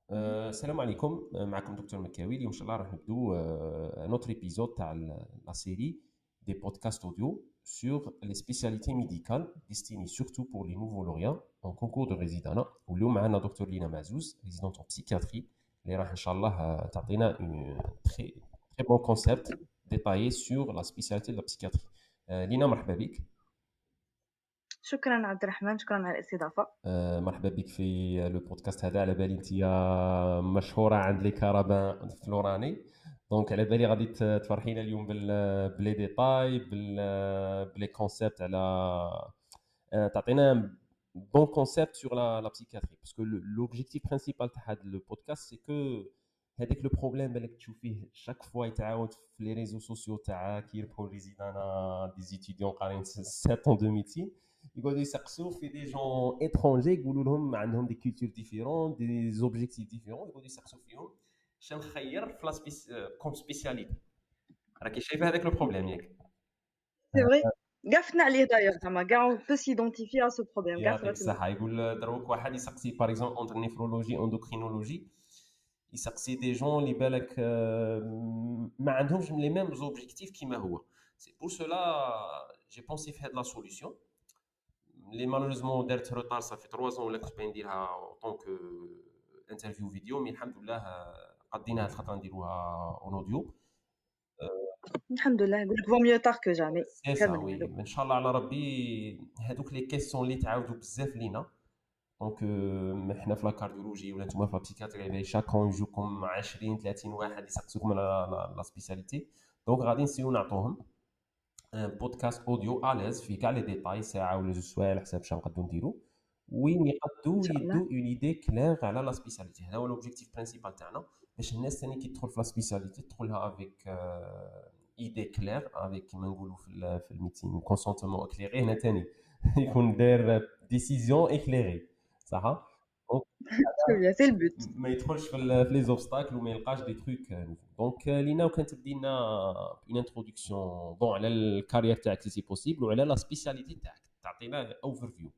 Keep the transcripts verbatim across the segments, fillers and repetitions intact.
Euh, salam alaikum, euh, معكم دكتور مكاوي. اليوم ان شاء الله راح نبدو un autre épisode تاع ال- la série des podcasts audio sur les spécialités médicales destinées surtout pour les nouveaux lauréats en concours de résidence. واليوم معنا دكتور لينا معزوز résidente en psychiatrie اللي راح ان شاء الله آه، تعطينا un très très bon concept détaillé sur la spécialité de la psychiatrie. آه، لينا مرحبا بك. شكرا عبد الرحمن، شكرا على الاستضافة. آه، مرحبا بك في لو بودكاست هذا. على بالي انت مشهوره عند لي كارابان فلوراني، دونك على بالي غادي ت- تفرحينا اليوم بال بلي ديتاي بال بلي كونسيبت على آه، تعطينا بون كونسيبت سور لا لا بسيكاتري، باسكو لوبجيكتيف برينسيبال تاع هذا لو بودكاست سي كو هذاك لو بروبليم بالك تشوفيه شاك فوا يتعاود في لي ريزو سوسيو تاع كي يربحوا ريزيدانا دي زيتيديون قارين سبعة ans دو ميديسين، يقعدوا يسقسوا في دي جون اترونجي يقولوا لهم عندهم دي كولتور ديفيرون دي زوبجيكتيف ديفيرون، يقعدوا يسقسوا فيهم شنو نخير في لا سبيس كوم سبيسياليتي. راكي شايفه هذاك لو بروبليم ياك؟ C'est vrai. كاع فتنا عليه d'ailleurs زعما كاع on peut s'identifier à ce problème كاع يعطيك صرات لنا. الصحه. يقول دروك واحد يسقسي باغ اكزومبل اونتر نيفرولوجي اندوكرينولوجي، يسقسي دي جون اللي بالك آه، ما عندهمش لي ميم زوبجيكتيف كيما هو. سي بور سولا جي بونسي في هاد لا سوليسيون اللي مالوريزمون دارت روتار صافي ثلاثة زون ولا كنت باغي نديرها اون طونك انترفيو فيديو، مي الحمد لله آه، قدينا هاد الخطره نديروها اون اوديو. الحمد لله، نقول لك vaut mieux tard que jamais. سي خير سا من وي، والو. ان شاء الله على ربي. هادوك لي كيسيون اللي تعاودوا بزاف لينا، دونك euh, حنا في لا كارديولوجي ولا نتوما في لا بسيكاتري على شاكون يجوكم عشرين ثلاثين واحد يسقسوكم على لا لا سبيسياليتي، دونك غادي نسيو نعطوهم ان بودكاست اوديو اليز في كاع لي ديتاي ساعه ولا جوج سوايع على حساب شنو نقدروا نديروا، وين ان يقدروا شاء الله. يدوا اون ايدي كلير على لا سبيسياليتي. هذا هو لوبجيكتيف برينسيبال تاعنا، باش الناس ثاني كي تدخل في لا سبيسياليتي تدخلها افيك ايدي كلير، افيك كيما نقولوا في ال- في الميتين كونسونتمون اكليري. هنا ثاني يكون داير ديسيزيون اكليري، صح؟ دونك Très bien, c'est le but. ما يدخلش في ال- في لي زوبستاكل وما يلقاش دي تروك نوفو. دونك لينا وكان تبدي لنا اون انتروداكسيون بون على الكارير تاعك سي بوسيبل وعلى لا سبيسياليتي تاعك، تعطينا اوفر فيو.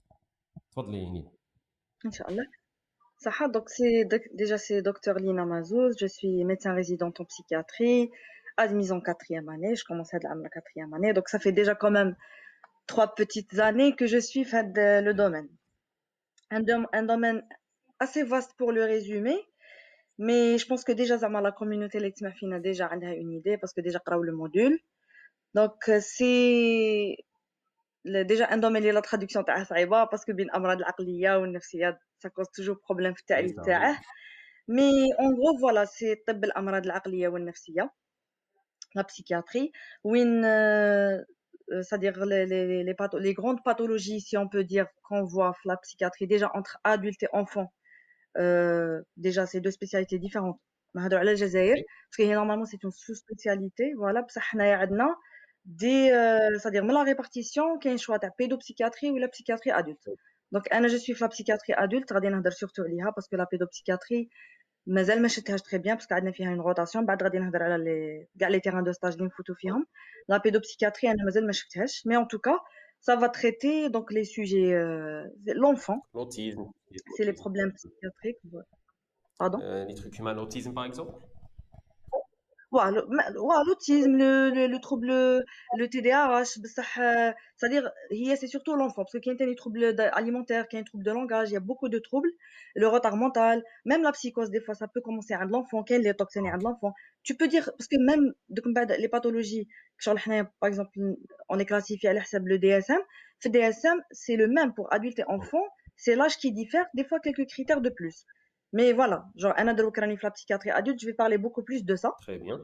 تفضلي لينا. ان شاء الله. صح. Donc c'est doc- déjà c'est docteur Lina Mazouz, je suis médecin résidente en psychiatrie, admise en quatrième année, je commence à la quatrième année, donc ça fait déjà quand même trois petites années que je suis fait de, le domaine. Un, dom- un domaine assez vaste pour le résumer. Mais je pense que déjà, Zama, la communauté Letmafine a déjà une idée parce que déjà, قراو le module. Donc, euh, c'est le- déjà un domaine de la traduction تاعها صعيبة parce que بين الأمراض العقلية والنفسية ça cause toujours problème في وي التعريف سا وي. تاعه. Mais en gros, voilà, c'est طب الأمراض العقلية والنفسية, la psychiatrie, وين euh, euh, c'est-à-dire les, les, les, patho- les grandes pathologies, si on peut dire, qu'on voit la psychiatrie, déjà entre adultes et enfants. Euh, déjà, c'est deux spécialités différentes. نهضروا على الجزائر وي parce que normalement c'est une sous-spécialité. Voilà, بصح حنايا عندنا des euh, c'est-à-dire من la répartition كاين شوا تاع pédopsychiatrie ولا psychiatrie adulte. Donc انا je suis في la psychiatrie adulte غادي نهضر surtout عليها parce que la pédopsychiatrie مازال ما شفتهاش très bien parce que عندنا فيها une rotation. بعد غادي نهضر على les كاع les terrains de stage اللي نفوتوا فيهم. La pédopsychiatrie انا مازال ما شفتهاش, mais en tout cas ça va traiter donc les sujets euh, l'enfant, لوتيزم. c'est les problèmes psychiatriques. Pardon? لي تروك كيما لوتيزم باغ اكزومبل. Ouah, le- ma- ouah, l'autisme, le, le, le trouble, le T D A H, بصح, euh, c'est-à-dire, هي, c'est surtout l'enfant, parce que كاين تاني troubles d- alimentaires, كاين troubles de langage, il y a beaucoup de troubles, le retard mental, même la psychose, des fois, ça peut commencer à l'enfant, كاين les toxines à l'enfant. Tu peux dire, parce que même, دوك من بعد, les pathologies, شغل حنايا, par exemple, on est classifié à حساب le D S M, في D S M, c'est le même pour adultes et enfants, c'est l'âge qui diffère, des fois quelques critères de plus. Mais voilà, genre, أنا دروك راني في la psychiatrie adulte, je vais parler beaucoup plus de ça. تري بيان.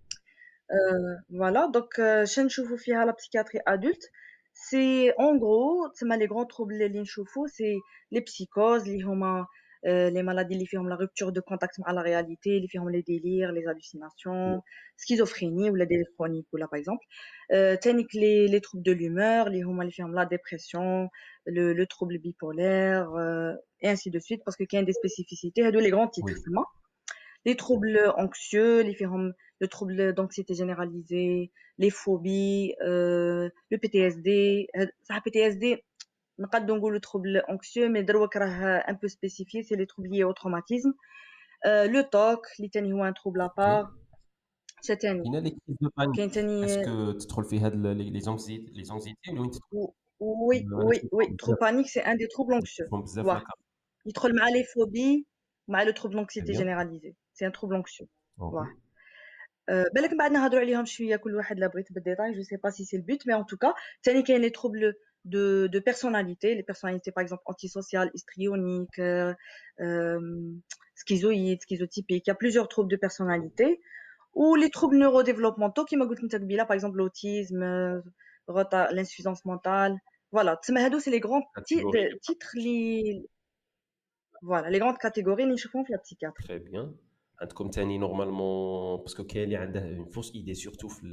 Euh, voilà, donc euh, chez نشوفوا فيها la psychiatrie adulte, c'est en gros تسمى les grands troubles اللي نشوفوا, c'est les psychoses اللي هما euh, les maladies اللي فيهم la rupture de contact مع la réalité, اللي فيهم les délires, les hallucinations, schizophrénie ou la délire chronique ou là par exemple. Euh, تانيك les les troubles de l'humeur اللي هما اللي فيهم la dépression, le le trouble bipolaire euh, et ainsi de suite parce que كاين des spécificités, هادو les grands titres وي تسمى. Les troubles anxieux, les phénom- le trouble d'anxiété généralisée, les phobies, euh, le P T S D. Euh, ça, P T S D, نقدروا نقولوا trouble anxieux mais دروك راه un peu spécifié c'est les troubles liés au traumatisme. euh, le T O C اللي تاني هو un trouble à part. اوكي. شا تاني كاينه لي كريز دو بانيك، كاين تاني. اسكو تدخل في هاد لي لي زونكزيتي لي زونكزيتي وين تدخل؟ Oui, انا oui, oui. نشوفهم Trouble بزاف، panique, c'est un des troubles anxieux. نشوفهم بزاف Ouais. لاكار. يدخل مع les phobies مع le trouble تري d'anxiété بيان. généralisée. C'est un trouble anxieux. Ouais. اوكي. Euh, بالك من بعد نهضروا عليهم شويه كل واحد لا بغيت بالديتاي. Je sais pas si c'est le but, mais en tout cas, ثاني كاين les troubles de de personnalité, les personnalités par exemple antisociales, histrioniques, euh, euh, schizoïdes, schizotypiques. Il y a plusieurs troubles de personnalité ou les troubles neurodéveloppementaux qui m'a قلت انت قبيله par exemple l'autisme, euh, retard- l'insuffisance mentale. Voilà, تسمى هادو c'est les grands ti- كاتيجوري. de- titres li voilà, les grandes catégories اللي نشوفهم في la psychiatrie. تري بيان. عندكم تاني نورمالمون باسكو كاين اللي عنده اون فوس ايدي سورتو في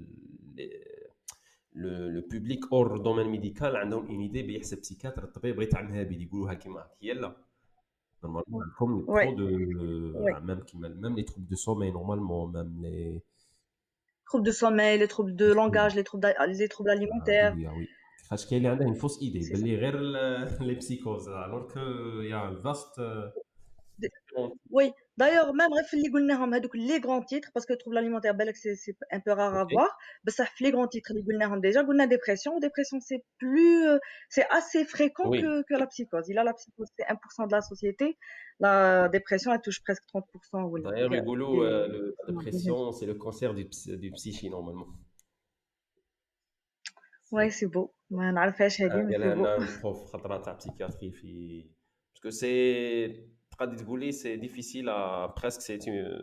لو لو بوبليك اور دومين ميديكال، عندهم اون ايدي بيحسب بسيكاتر الطبيب بغى يتعامل هابيل يقولوها كيما هي. لا نورمالمون عندكم Oui, ترو دو oui. ميم كيما ميم لي تروب دو سومي نورمالمون ميم لي Troubles de sommeil, les troubles de langage, les troubles, d'a- les troubles Ah alimentaires. oui, ah oui. خاطش كاين اللي عنده une fausse idée C'est ça. باللي غير لي بسيكوز alors que il y a un vaste D- Oui, d'ailleurs, même bref, les قلناهم هذوك les grands titres, parce que le trouble alimentaire, بالك, c'est c'est un peu rare à OK. voir. بس صح في les grands titres اللي قلناهم déjà, قلنا dépression. Dépression, c'est plus, euh, c'est assez fréquent Oui. que, que la psychose. Il a la psychose, c'est un pour cent de la société. La dépression, elle touche presque trente pour cent ou D'ailleurs, des, يقولوا des, euh, le- la des jeunes. dépression, c'est le cancer du, ps- du psyché normalement. Ouais, C'est c'est beau. ما نعرفهاش هذه, mais قال c'est beau. لنا بروف خطره تاع بسيكياتري في باسكو سي تقدر تقولي سي ديفيسيل ا بريسك سي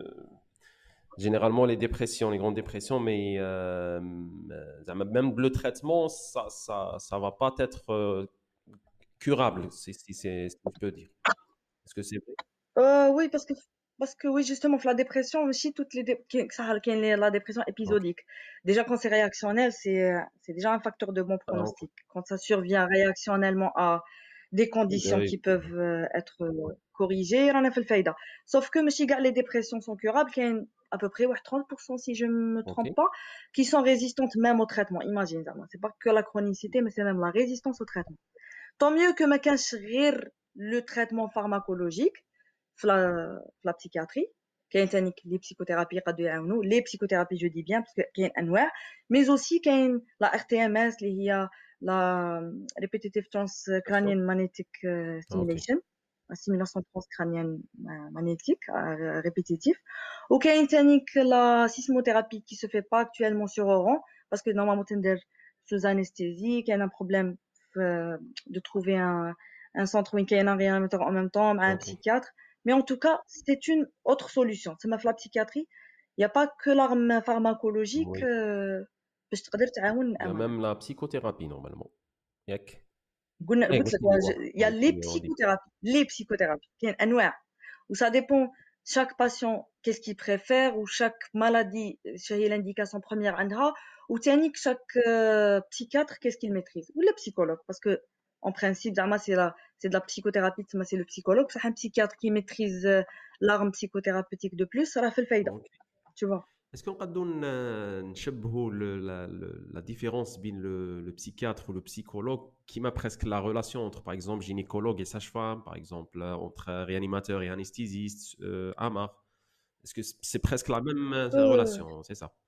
généralement les dépressions, les grandes dépressions, mais euh, même le traitement, ça, ça, ça va pas être euh, curable, si, si, c'est- si je peux dire. Est-ce que c'est vrai? Euh, oui, parce que, parce que oui, justement, la dépression aussi, toutes les, dé- qui- ça, qui est la dépression Ok. épisodique. Déjà, quand c'est réactionnel, c'est, euh, c'est déjà un facteur de bon Alors, pronostic. Quand ça survient réactionnellement à des conditions oui, qui peuvent euh, être euh, corrigées, on a fait le faïda. Sauf que, monsieur, les dépressions sont curables, qu'il y a une- à peu près ouais, trente pour cent, si je ne me ok. trompe pas, qui sont résistantes même au traitement. Imagine, ça, c'est pas que la chronicité, mais c'est même la résistance au traitement. Tant mieux que ما كانش غير le traitement pharmacologique في la, في la psychiatrie. كاين تاني les psychothérapies يقدروا يعاونوا les psychothérapies je dis bien parce que كاين انواع, mais aussi كاين la R T M S اللي هي la repetitive transcranial magnetic euh, Ah, ok. stimulation, la stimulation transcrânienne euh, magnétique euh, répétitive. وكاين تاني la sismothérapie qui se fait pas actuellement sur Oran parce que normalement تندير sous anesthésie. كاين un problème euh, de trouver un, un centre où il y a un réanimateur en même temps, un Ok. psychiatre. Mais en tout cas, c'est une autre solution. C'est ma la psychiatrie. Il n'y a pas que l'arme pharmacologique. Oui. euh, باش تقدر تعاون Il y a أمانة. même la psychothérapie normalement. ياك. قلنا ايه قلت قلت لك لي واحد. il y a قلت les لي اون ديبي. psychothérapies, les psychothérapies. كاين أنواع. Où ça dépend chaque patient qu'est-ce qu'il préfère ou chaque maladie شهي l'indication première عندها ou تاني chaque euh, psychiatre qu'est-ce qu'il maîtrise ou le psychologue parce que en principe زعما c'est la c'est de la psychothérapie تسمى c'est le psychologue. صح un psychiatre qui maîtrise euh, l'arme psychothérapeutique de plus راه في الفايدة, Ok. tu vois. Est-ce qu'on peut نشبهوا le- la, le- la différence entre le, le psychiatre ou le psychologue qui m'a presque la relation entre par exemple gynécologue et sage-femme, par exemple euh, entre réanimateur et anesthésiste, euh, Amar. Est-ce que c'est presque la même euh, Euh, relation, c'est ça?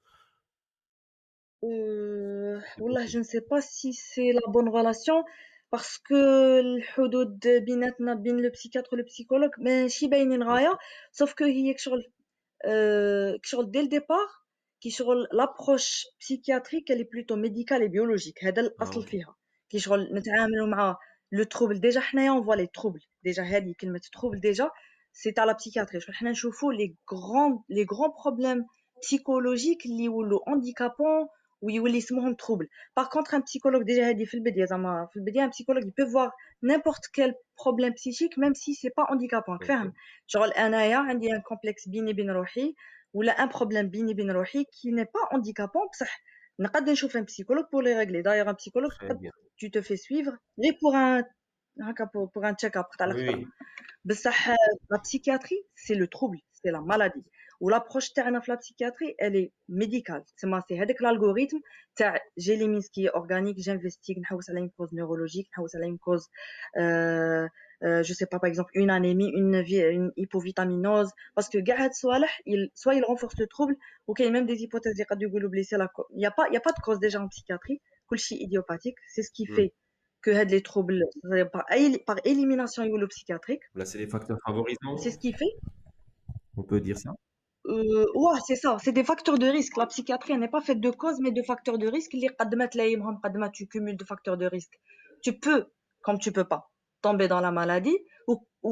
euh, C'est والله je possible. ne sais pas si c'est la bonne relation parce que الحدود بيناتنا بين le psychiatre et le psychologue ماشي باينين غاية. Ok. sauf que هي كشغل euh, كشغل dès le départ كشغل l'approche psychiatrique elle est plutôt médicale et biologique. هذا Ah, الأصل ok. فيها كشغل نتعاملوا مع le trouble. déjà حنايا on voit les troubles. déjà هذه كلمة trouble déjà c'est à la psychiatrie. شغل حنا نشوفوا les grands les grands problèmes psychologiques اللي يولوا handicapants ويولي اسمهم trouble. par contre un psychologue déjà هذه في البداية زعما في البداية un psychologue il peut voir n'importe quel problème psychique même si c'est pas handicapant. راك فاهم Ok. شغل انايا عندي un complexe بيني بين روحي ولا un problème بيني بين روحي qui n'est pas handicapant بصح نقدر نشوف un psychologue pour les régler. d'ailleurs un psychologue Très bien. tu te fais suivre غير pour un هكا pour, pour un check-up تاع Oui, الخطره. oui. بصح la psychiatrie c'est le trouble, c'est la maladie. والابروش تاعنا في لا بسيكياتري الي ميديكال تسمى سي هذاك الالغوريثم تاع جي لي ميسكي اورغانيك جانفستيغ نحوس على une cause neurologique نحوس على une cause euh, euh, je sais pas par exemple une anémie une, une hypovitaminose parce que كاع هاد الصوالح il soit il renforce le trouble ou qu'il y a même des hypothèses اللي قد يقولوا بلي سي لا il y a pas il y a pas de cause déjà en psychiatrie كلشي idiopathique c'est ce qui fait que had les troubles par, par élimination psychiatrique. Là, c'est les facteurs favorisants. C'est ce qui fait. On peut dire ça. Euh, ouais, c'est ça. C'est des facteurs de risque. La psychiatrie n'est pas faite de causes, mais de facteurs de risque. Tu cumules de facteurs de risque. Tu peux, comme tu peux pas, tomber dans la maladie. Ou, ou,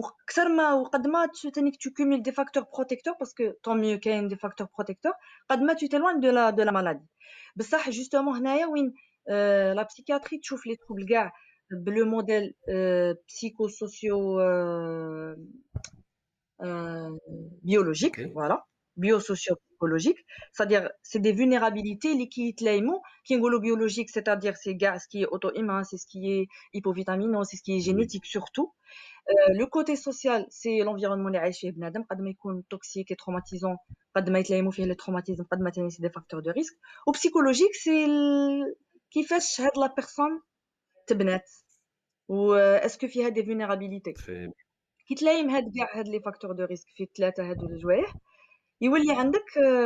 tu cumules des facteurs protecteurs parce que tant mieux qu'il y ait des facteurs protecteurs. Tu t'éloignes de la, de la maladie. Mais ça, justement, euh, la psychiatrie, tu trouves les troubles gars, le modèle euh, psychosocio euh, euh, biologique, okay. Voilà, biosocio-psychologique, c'est-à-dire c'est des vulnérabilités liquides qui sont biologiques, c'est-à-dire c'est gaz qui est auto-immun, c'est ce qui est hypovitaminose, c'est ce qui est génétique oui. Surtout. Euh, le côté social, c'est l'environnement اللي عايش فيه بنادم قد ما يكون toxique et traumatisant قد ما يتلايموا فيه les traumatismes قد ما تاني c'est des facteurs de risque. Ou psychologique, c'est كيفاش هاد la personne تبنات و est-ce que فيها des vulnérabilités. كي تلايم هاد كاع هاد لي فاكتور دو ريسك في ثلاثه هادو الجوايح يولي عندك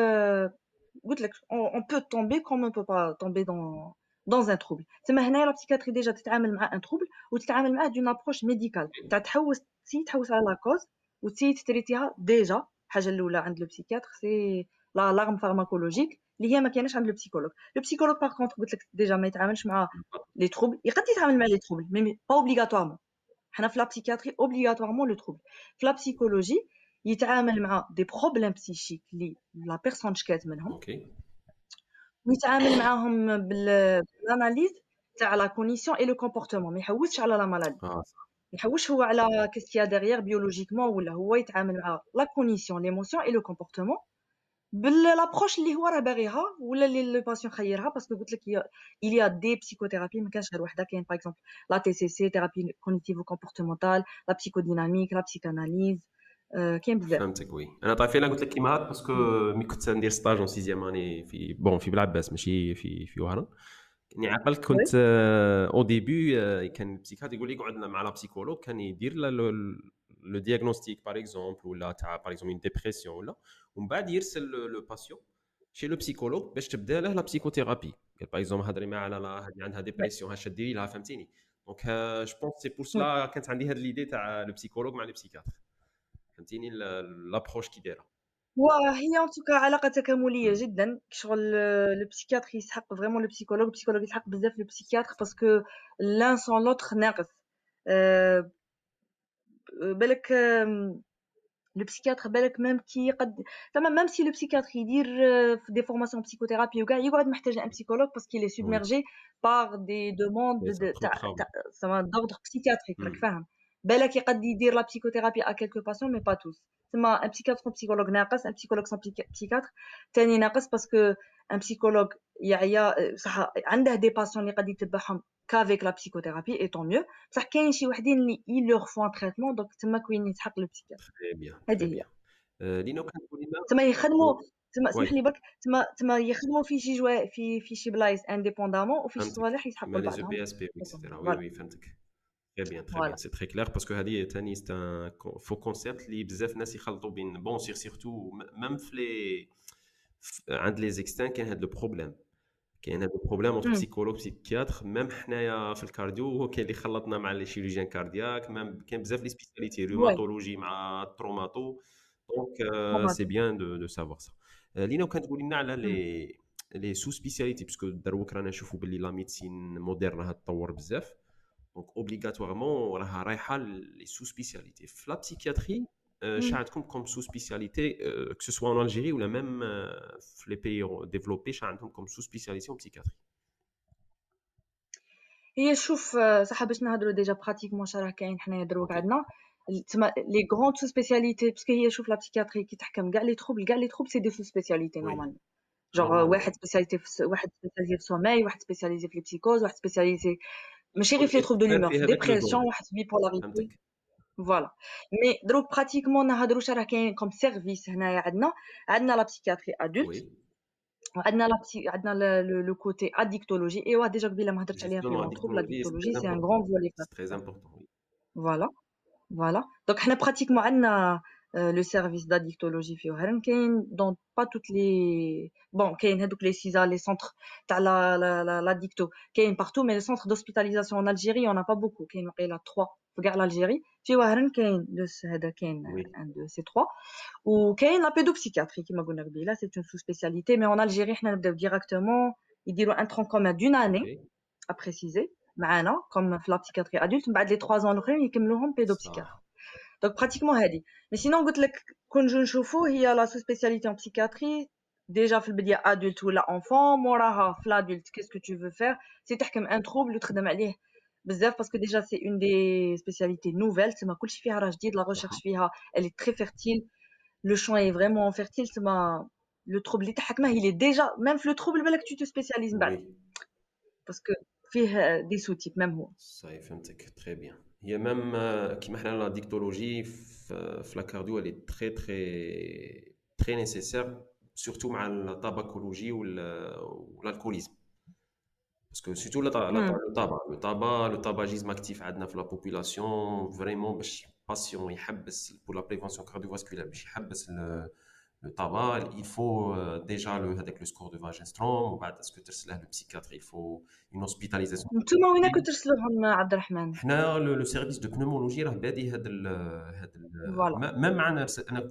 قلت لك on peut tomber comme on peut pas tomber dans dans un trouble. تما هنايا لا بسيكاتري ديجا تتعامل مع ان trouble وتتعامل معاه دون ابروش ميديكال تاع تحوس تي تحوس على لا كوز وتي تريتيها ديجا. الحاجه الاولى عند لو بسيكاتر سي لا لارم فارماكولوجيك اللي هي ما كايناش عند لو بسيكولوج. لو بسيكولوج باغ كونطخ قلت لك ديجا ما يتعاملش مع لي trouble يقد يتعامل مع لي trouble مي با اوبليغاتوارمون. حنا في لا بسيكاتري اوبليغاتوارمون لو trouble. في لا بسيكولوجي يتعامل مع دي بروبليم بسيشيك لي لا بيرسون شكات منهم اوكي ويتعامل معاهم بالاناليز تاع لا كونيسيون اي لو كومبورتمون. ما يحوسش على لا مالادي ما يحوسش هو على كيسكيا ديغيير بيولوجيكمون ولا هو يتعامل مع لا كونيسيون ليموسيون اي لو كومبورتمون بالابروش اللي هو راه باغيها ولا اللي لو باسيون خيرها. باسكو قلت لك il y a des psychothérapies ما كانش غير وحده. كاين باغ اكزومبل لا تي سي سي ثيرابي كوغنيتيفو كومبورتمونتال لا بسيكوديناميك لا بسيكاناليز كاين بزاف. فهمتك وي. انا طايفه انا قلت لك كيما هاد باسكو ملي كنت ندير ستاج اون سيزيام اني في بون في بلعباس ماشي في في وهران كني عقل كنت او ديبي كان البسيكات يقول لي قعد مع لا بسيكولوج كان يدير لو دياغنوستيك باغ اكزومبل ولا تاع باغ اكزومبل اون ديبرسيون ولا ومن بعد يرسل لو باسيون شي لو بسيكولوج باش تبدا له لا بسيكوثيرابي. قال باغ اكزومبل هضري معها على هذه عندها ديبرسيون هاش ديري لها فهمتيني. دونك جو بونس سي بور سلا كانت عندي هاد ليدي تاع لو بسيكولوج مع لو بسيكاتر فهمتيني لابروش كي دايره. وهي ان توكا علاقه تكامليه جدا. شغل لو بسيكاتر يسحق فريمون لو بسيكولوج البسيكولوج يسحق بزاف لو بسيكاتر باسكو لان سون لوتر ناقص. أه بالك لو بسيكاتر بالك ميم كي قد تمام ميم سي لو بسيكاتر يدير في دي فورماسيون بسيكوثيرابي وكاع يقعد محتاج ان بسيكولوج باسكو لي سوبميرجي بار دي دوموند تاع تاع دوردر بسيكاتريك راك فاهم. بالك يقد يدير لا بسيكوثيرابي ا كيلكو باسيون مي با توس. تما ان بسيكاتر سون بسيكولوج ناقص ان بسيكولوج سون بسيكاتر ثاني ناقص باسكو ان بسيكولوج يعيا صح عنده دي باسيون اللي قد يتبعهم كافيك لا بسيكوثيرابي اي طون ميو. بصح كاين شي وحدين اللي اي لور فون تريتمون دونك تما كوين يتحق لو بسيكاتر. تري بيان هذه هي لينا كنقول لنا تما يخدموا تما اسمح لي برك تما تما يخدموا في شي جوا في في شي بلايص انديبوندامون وفي شي صوالح يسحقوا لبعضهم. لي بي اس بي اكسترا وي وي فهمتك. Très bien, très voilà. bien, c'est très clair parce que هذه ثاني c'est un faux concept اللي بزاف ناس يخلطوا بين بون سير سيرتو ميم في لي عند لي زيكستان كاين هذا لو بروبليم. كاين هذا البروبليم اونتر بسيكولوج بسيكياتر ميم حنايا في الكارديو كاين اللي خلطنا مع لي شيروجيان كاردياك ميم كاين بزاف لي سبيسياليتي روماتولوجي مع التروماتو دونك سي بيان دو دو سافوار سا. لينا كنتقولي لنا على لي لي سو سبيسياليتي باسكو دروك رانا نشوفوا باللي لا ميديسين موديرن راه تطور بزاف دونك اوبليغاتوارمون راها رايحه لي سو سبيسياليتي. في لا بسيكياتري شنو عندكم كوم سو سبيسياليتي كو سوا ان الجيري ولا ميم في لي بيي ديفلوبي شنو عندهم كوم سو سبيسياليتي اون بسيكياتري؟ هي شوف صح باش نهضروا ديجا براتيكمون شراه كاين حنايا دروك عندنا تما لي غروند سو سبيسياليتي باسكو هي شوف لا بسيكياتري كي تحكم كاع لي تروبل كاع لي تروبل سي دي سو سبيسياليتي نورمالمون جوغ واحد سبيسياليتي في واحد سبيسياليزي في سوماي واحد سبيسياليزي في لي بسيكوز واحد سبيسياليزي ماشي غير في لي تروبل دو لومور في ديبرسيون واحد في بيبولاريتي فوالا. مي دروك براتيكمون نهضروش راه كاين كوم سيرفيس هنايا عندنا عندنا لا بسيكياتري ادولت Oui, وعندنا لا بسي عندنا لو كوتي اديكتولوجي. ايوا ديجا قبيله ما هضرتش عليها في justement, لي la زون تروبل. dictologie, c'est لاديكتولوجي très سي ان important. غران فولي. C'est très important, oui. فوالا فوالا. دونك حنا براتيكمون عندنا لو سيرفيس داديكتولوجي في وهران. كاين دون با توت لي بون كاين هذوك لي سيزا لي سونتر تاع لا لا لا ديكتو كاين بارتو. مي لي سونتر دوسبيتاليزاسيون ان الجيري اون با بوكو. كاين وقيلا ثلاثة في كاع الجيري. في وهران كاين لو هذا كاين Oui, ان دو سي ثلاثة. وكاين لا بيدوبسيكياتري كيما قلنا قبيله سي اون سو سبيسياليتي. مي اون الجيري حنا نبداو ديراكتومون يديروا ان ترون كومون دون ok, اني ا بريسيزي معانا كوم في لا بسيكياتري ادولت. من بعد لي ثلاثة زون الاخرين يكملوهم بيدوبسيكياتري. ça, دونك براتيكمون هادي. مي سينون قلت لك كون جو نشوفو هي لا سو سبيسياليتي ان بسيكياتري ديجا في البدايه ادولت ولا انفون. موراها في لادولت كيسكو تو فو فير سي تحكم ان تروبل وتخدم عليه بزاف باسكو ديجا سي اون دي سبيسياليتي نوفيل. تما كلشي فيها راه جديد. لا ريشيرش صح. فيها الي تري فيرتيل. لو شون اي فريمون فيرتيل. تما لو تروبل اللي تحكمه il est déjà même في لو تروبل بالك tu te spécialises من بعد Oui, باسكو فيه دي سو تيب ميم هو. صحيح فهمتك très bien. هي même euh, كيما حنا لا ديكتولوجي في في لا كارديو elle est très très très nécessaire surtout مع الطاباكولوجي وال والالكوليزم. Parce que surtout le, ta- la- امم le tabac, le tabac, le tabagisme actif عندنا في la population vraiment باش patient يحبس pour la prévention cardiovasculaire باش يحبس le, le tabac, il faut euh, déjà le avec le score de Wagenstrom وبعد اسكو ترسله le psychiatre, il faut une hospitalisation. نتوما وين كنتو ترسلوهم عبد الرحمن؟ حنا لو لو سيرفيس دو بنومولوجي راه بادي هذا ال هذا فوالا. ميم معنا انا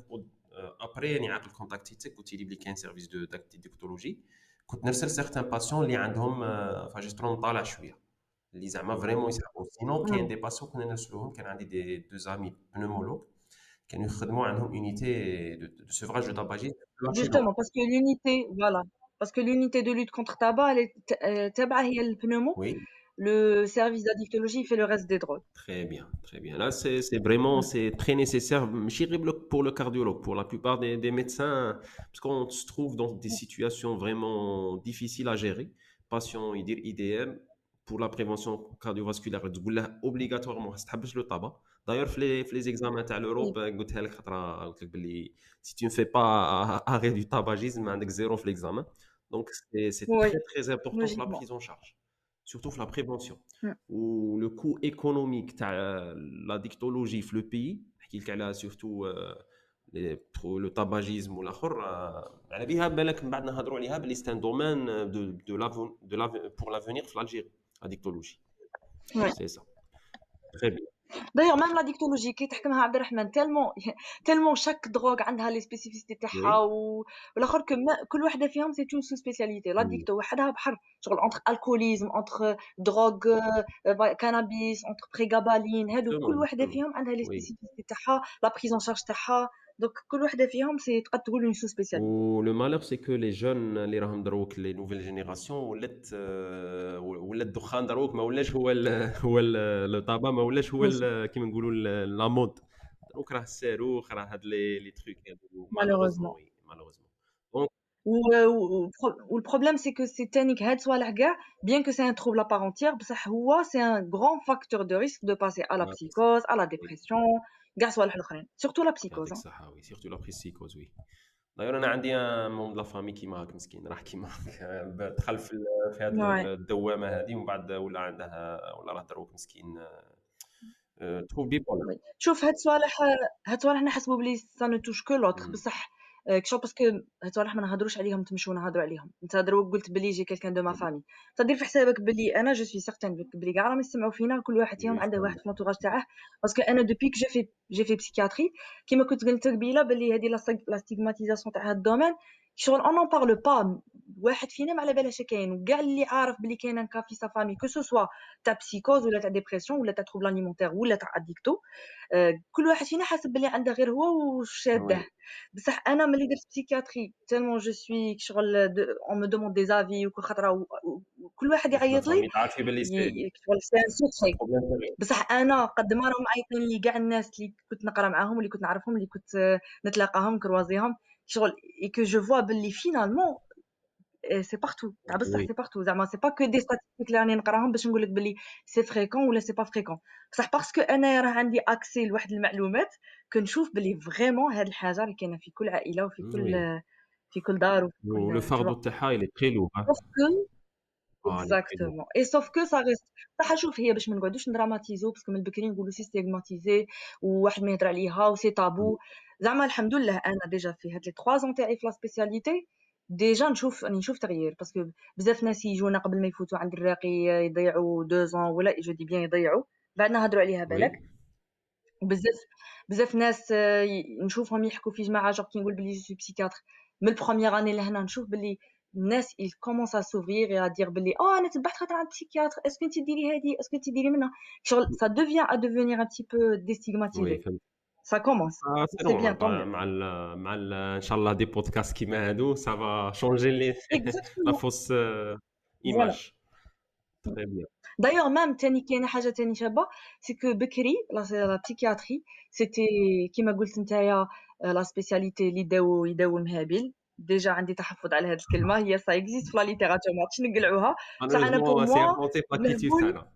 ابري يعني عاقل كونتاكتيتك قلت لي بلي كاين سيرفيس دو ديكتولوجي كنت نرسل سيغتان باسيون اللي عندهم فاجسترون طالع شويه اللي زعما فريمون يسحبوا. سينو كاين امم دي باسيون كنا نرسلوهم كان عندي دي دو زامي بنومولوج كانوا يخدموا عندهم اونيتي دو سيفراج دو تاباجي. Justement, parce que l'unité, voilà, parce que l'unité de lutte contre tabac, elle est t- euh, تابعة هي le pneumo. Oui. Le service d'addictologie fait le reste des drogues. Très bien, très bien. Là, c'est c'est vraiment Mm. c'est très nécessaire. ماشي غير pour le cardiologue, pour la plupart des, des médecins, parce qu'on se trouve dans des situations vraiment difficiles à gérer. Patient يدير I D M pour la prévention cardiovasculaire تقول له obligatoirement خاص تحبس le tabac. D'ailleurs في les في les examens تاع l'Europe Oui, قلتها لك خطره قلت لك باللي si tu ne fais pas arrêt du tabagisme عندك zéro في l'examen. Donc c'est c'est oui, très très important pour la logiquement. prise en charge, surtout pour la prévention. Mm. Ou le coût économique تاع la dictologie في le pays نحكي لك على surtout euh, les- pour le tabagisme والاخر آه، على بها بالك من بعد نهضروا عليها بلي c'est un domaine de de l'aven- de l'aven- pour l'avenir في l'Algérie la dictologie. Ouais. C'est ça. Très bien. D'ailleurs, même la dictologie كي تحكمها عبد الرحمن tellement tellement chaque drogue عندها les spécificités تاعها Oui. و- والاخر que ما- كل وحده فيهم c'est une sous-spécialité. La Oui. dicto وحدها بحر شغل entre alcoolisme entre drogue euh, euh, cannabis entre prégabalin هادو كل Justement, وحده justement. فيهم عندها les Oui. spécificités تاعها la prise en charge تاعها. donc كل وحده فيهم c'est تقدر تقول une sous-spécialité. Ou le malheur c'est que les jeunes اللي راهم دروك les nouvelles générations ولات آه، ولات الدخان دروك ما ولاش هو ال هو لو طابا ما ولاش هو Oui, ال- كيما نقولوا ال- لا مود. دروك راه الصاروخ راه هاد لي لي تروك هادو مالوغوزمون. malheureusement. وي مالوغوزمون. دونك و- و- و- والبروبلème c'est que c'est تانيك هاد صوالح كاع bien que c'est un trouble à part entière بصح هو c'est un grand facteur de risque de passer à la يعطيك الصحة. psychose à la وي dépression كاع صوالح الاخرين surtout la psychose يعطيك hein. الصحة. وي سيرتو لا بريسيكوز. وي داير انا عندي ان مون لا فامي كيما هاك مسكين راه كيما هاك دخل في ال- في هذه Ouais. الدوامه هذه ومن بعد ولا عندها ولا راه دروك مسكين تروف بي بروبليم. وي. شوف هاد الصوالح هاد الصوالح نحسبوا بلي سا نو توش كو لوتر بصح آه، كشغل باسكو هاد الصوالح ما نهضروش عليهم تمشيو نهضروا عليهم. انت دروك قلت بلي جي كيلكان دو ما فامي تدير في حسابك بلي انا جو سوي سيغتان بلي كاع راهم يسمعوا فينا كل واحد فيهم عنده واحد في لونتوراج تاعه. باسكو انا دوبي كو جي في جي في بسيكياتري كيما كنت قلت قبيله بلي هذه لا ستيغماتيزاسيون تاع هاد الدومين شغل اون نون بارلو با. واحد فينا ما على بالهاش كاين وكاع اللي عارف بلي كاين ان كا في سا فامي كو سو سوا تاع بسيكوز ولا تاع ديبرسيون ولا تاع تروبل اليمونتير ولا تاع اديكتو. آه، كل واحد فينا حاسب بلي عنده غير هو وشاده. وي بصح انا ملي درت بسيكياتري تالمون جو سوي شغل اون مي دوموند دي زافي وكل خطره و- و- وكل واحد لا يعيط لي فامي تعرفي باللي سي ي- شغل سي ان ان سوكري. بروبليم سيريو. بصح انا قد ما راهم معيطين لي كاع الناس اللي كنت نقرا معاهم اللي كنت نعرفهم اللي كنت آه، نتلاقاهم كروازيهم شغل اي كو جو فوا باللي فينالمون سي بارتو تاع بصح وي سي بارتو زعما سي با كو دي statistiques اللي راني نقراهم باش نقول لك بلي سي فريكون ولا سي با فريكون بصح باسكو انا راه عندي اكسي لواحد المعلومات كنشوف بلي فريمون هاد الحاجه اللي كاينه في كل عائله وفي كل وي في كل دار وفي ولو كل tu فاردو vois تاعها il est très lourd hein. sauf que اه il est très lourd exactement et sauf que ça reste صح شوف هي باش ما نقعدوش ندراماتيزو باسكو من البكري نقولوا سي ستيغماتيزي وواحد ما يهضر عليها وسي مم. تابو زعما الحمد لله انا ديجا في هاد لي ثلاثة ans تاعي في لا سبيسياليتي ديجا نشوف راني نشوف تغيير باسكو بزاف ناس يجونا قبل ما يفوتوا عند الراقي يضيعوا deux ans ولا جو دي بيان يضيعوا بعدنا هضروا عليها بالك وي وبزاف بزاف ناس آه، ي- نشوفهم يحكوا في جماعه جوغ كي نقول بلي جو سوي بسيكاتر من البروميير اني لهنا نشوف بلي الناس il commence à s'ouvrir et à dire بلي اه انا تبعت خاطر عند بسيكياتر اسكو انت ديري هذه اسكو انت ديري منها شغل ça devient à devenir un petit peu وي déstigmatisé فهمت ça commence آه سي c'est bien نورمال tant mieux مع ال مع ال ان شاء الله دي بودكاست كيما هادو سافا شونجي لي لا exactement فوس voilà ايماج تري بيان d'ailleurs même تاني كاينه حاجه تاني شابه سي كو بكري لا لا بسيكياتري سيتي كيما قلت نتايا لا سبيسياليتي اللي يداو يداو المهابيل ديجا عندي تحفظ على هذه الكلمه هي سا اكزيست في لا ليتيراتور ما عرفتش نقلعوها بصح انا بور مالوروزمون سي موا امبلونتي في لاكتيتود مهبول تاعنا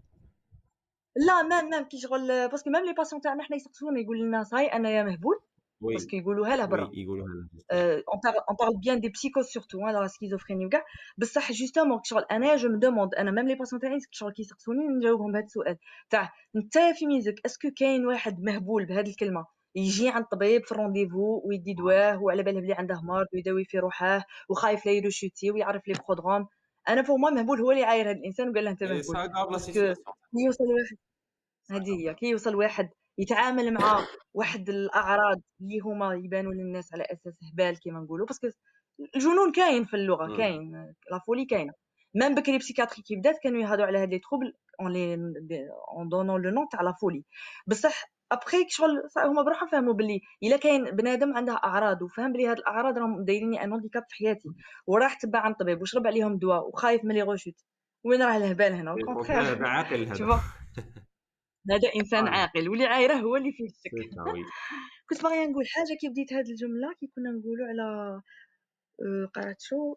لا مام مام كي شغل باسكو ميم لي باسيون تاعنا حنا يسقسونا يقول لنا صاي انا يا مهبول وي باسكو يقولوها له وي برا يقولوا هذا جوستومون Euh, on, parle, on parle bien des psychoses surtout, hein, la schizophrénie وكاع بصح justement شغل انا جو me demande انا même les patients تاعي شغل كيسقسوني نجاوبهم بهذا السؤال تاع انت في ميزك اسكو كاين واحد مهبول بهذه الكلمه يجي عند الطبيب في الرونديفو ويدي دواه وعلى باله بلي عنده مرض ويداوي في روحه وخايف لا يروشوتي ويعرف لي برودروم انا فور موا مهبول هو اللي عاير هذا الانسان وقال له انت اي مهبول سا غاف لا باسكو سيتوياسيون يوصل واحد هذه هي كي يوصل واحد يتعامل مع واحد الأعراض اللي هما يبانوا للناس على أساس هبال كيما نقولوا باسكو الجنون كاين في اللغة كاين لا فولي كاينة ميم بكري بسيكاتري كي بدات كانوا يهضروا على هاد لي تروبل اون لي اون دونون لو نون تاع لا فولي بصح ابخي شغل هما بروحهم فهموا باللي الا كاين بنادم عنده اعراض وفهم بلي هاد الاعراض راهم دايريني ان هانديكاب في حياتي وراح تبع عند الطبيب وشرب عليهم دواء وخايف من لي غوشوت وين راه الهبال هنا اي الكونترير كونترير هذا عاقل هذا tu هذا انسان فوالا عاقل واللي عايره هو اللي فيه سي الشك سا وي كنت باغيه نقول حاجه كي بديت هذه الجمله كي كنا نقولوا على آه، قرات شو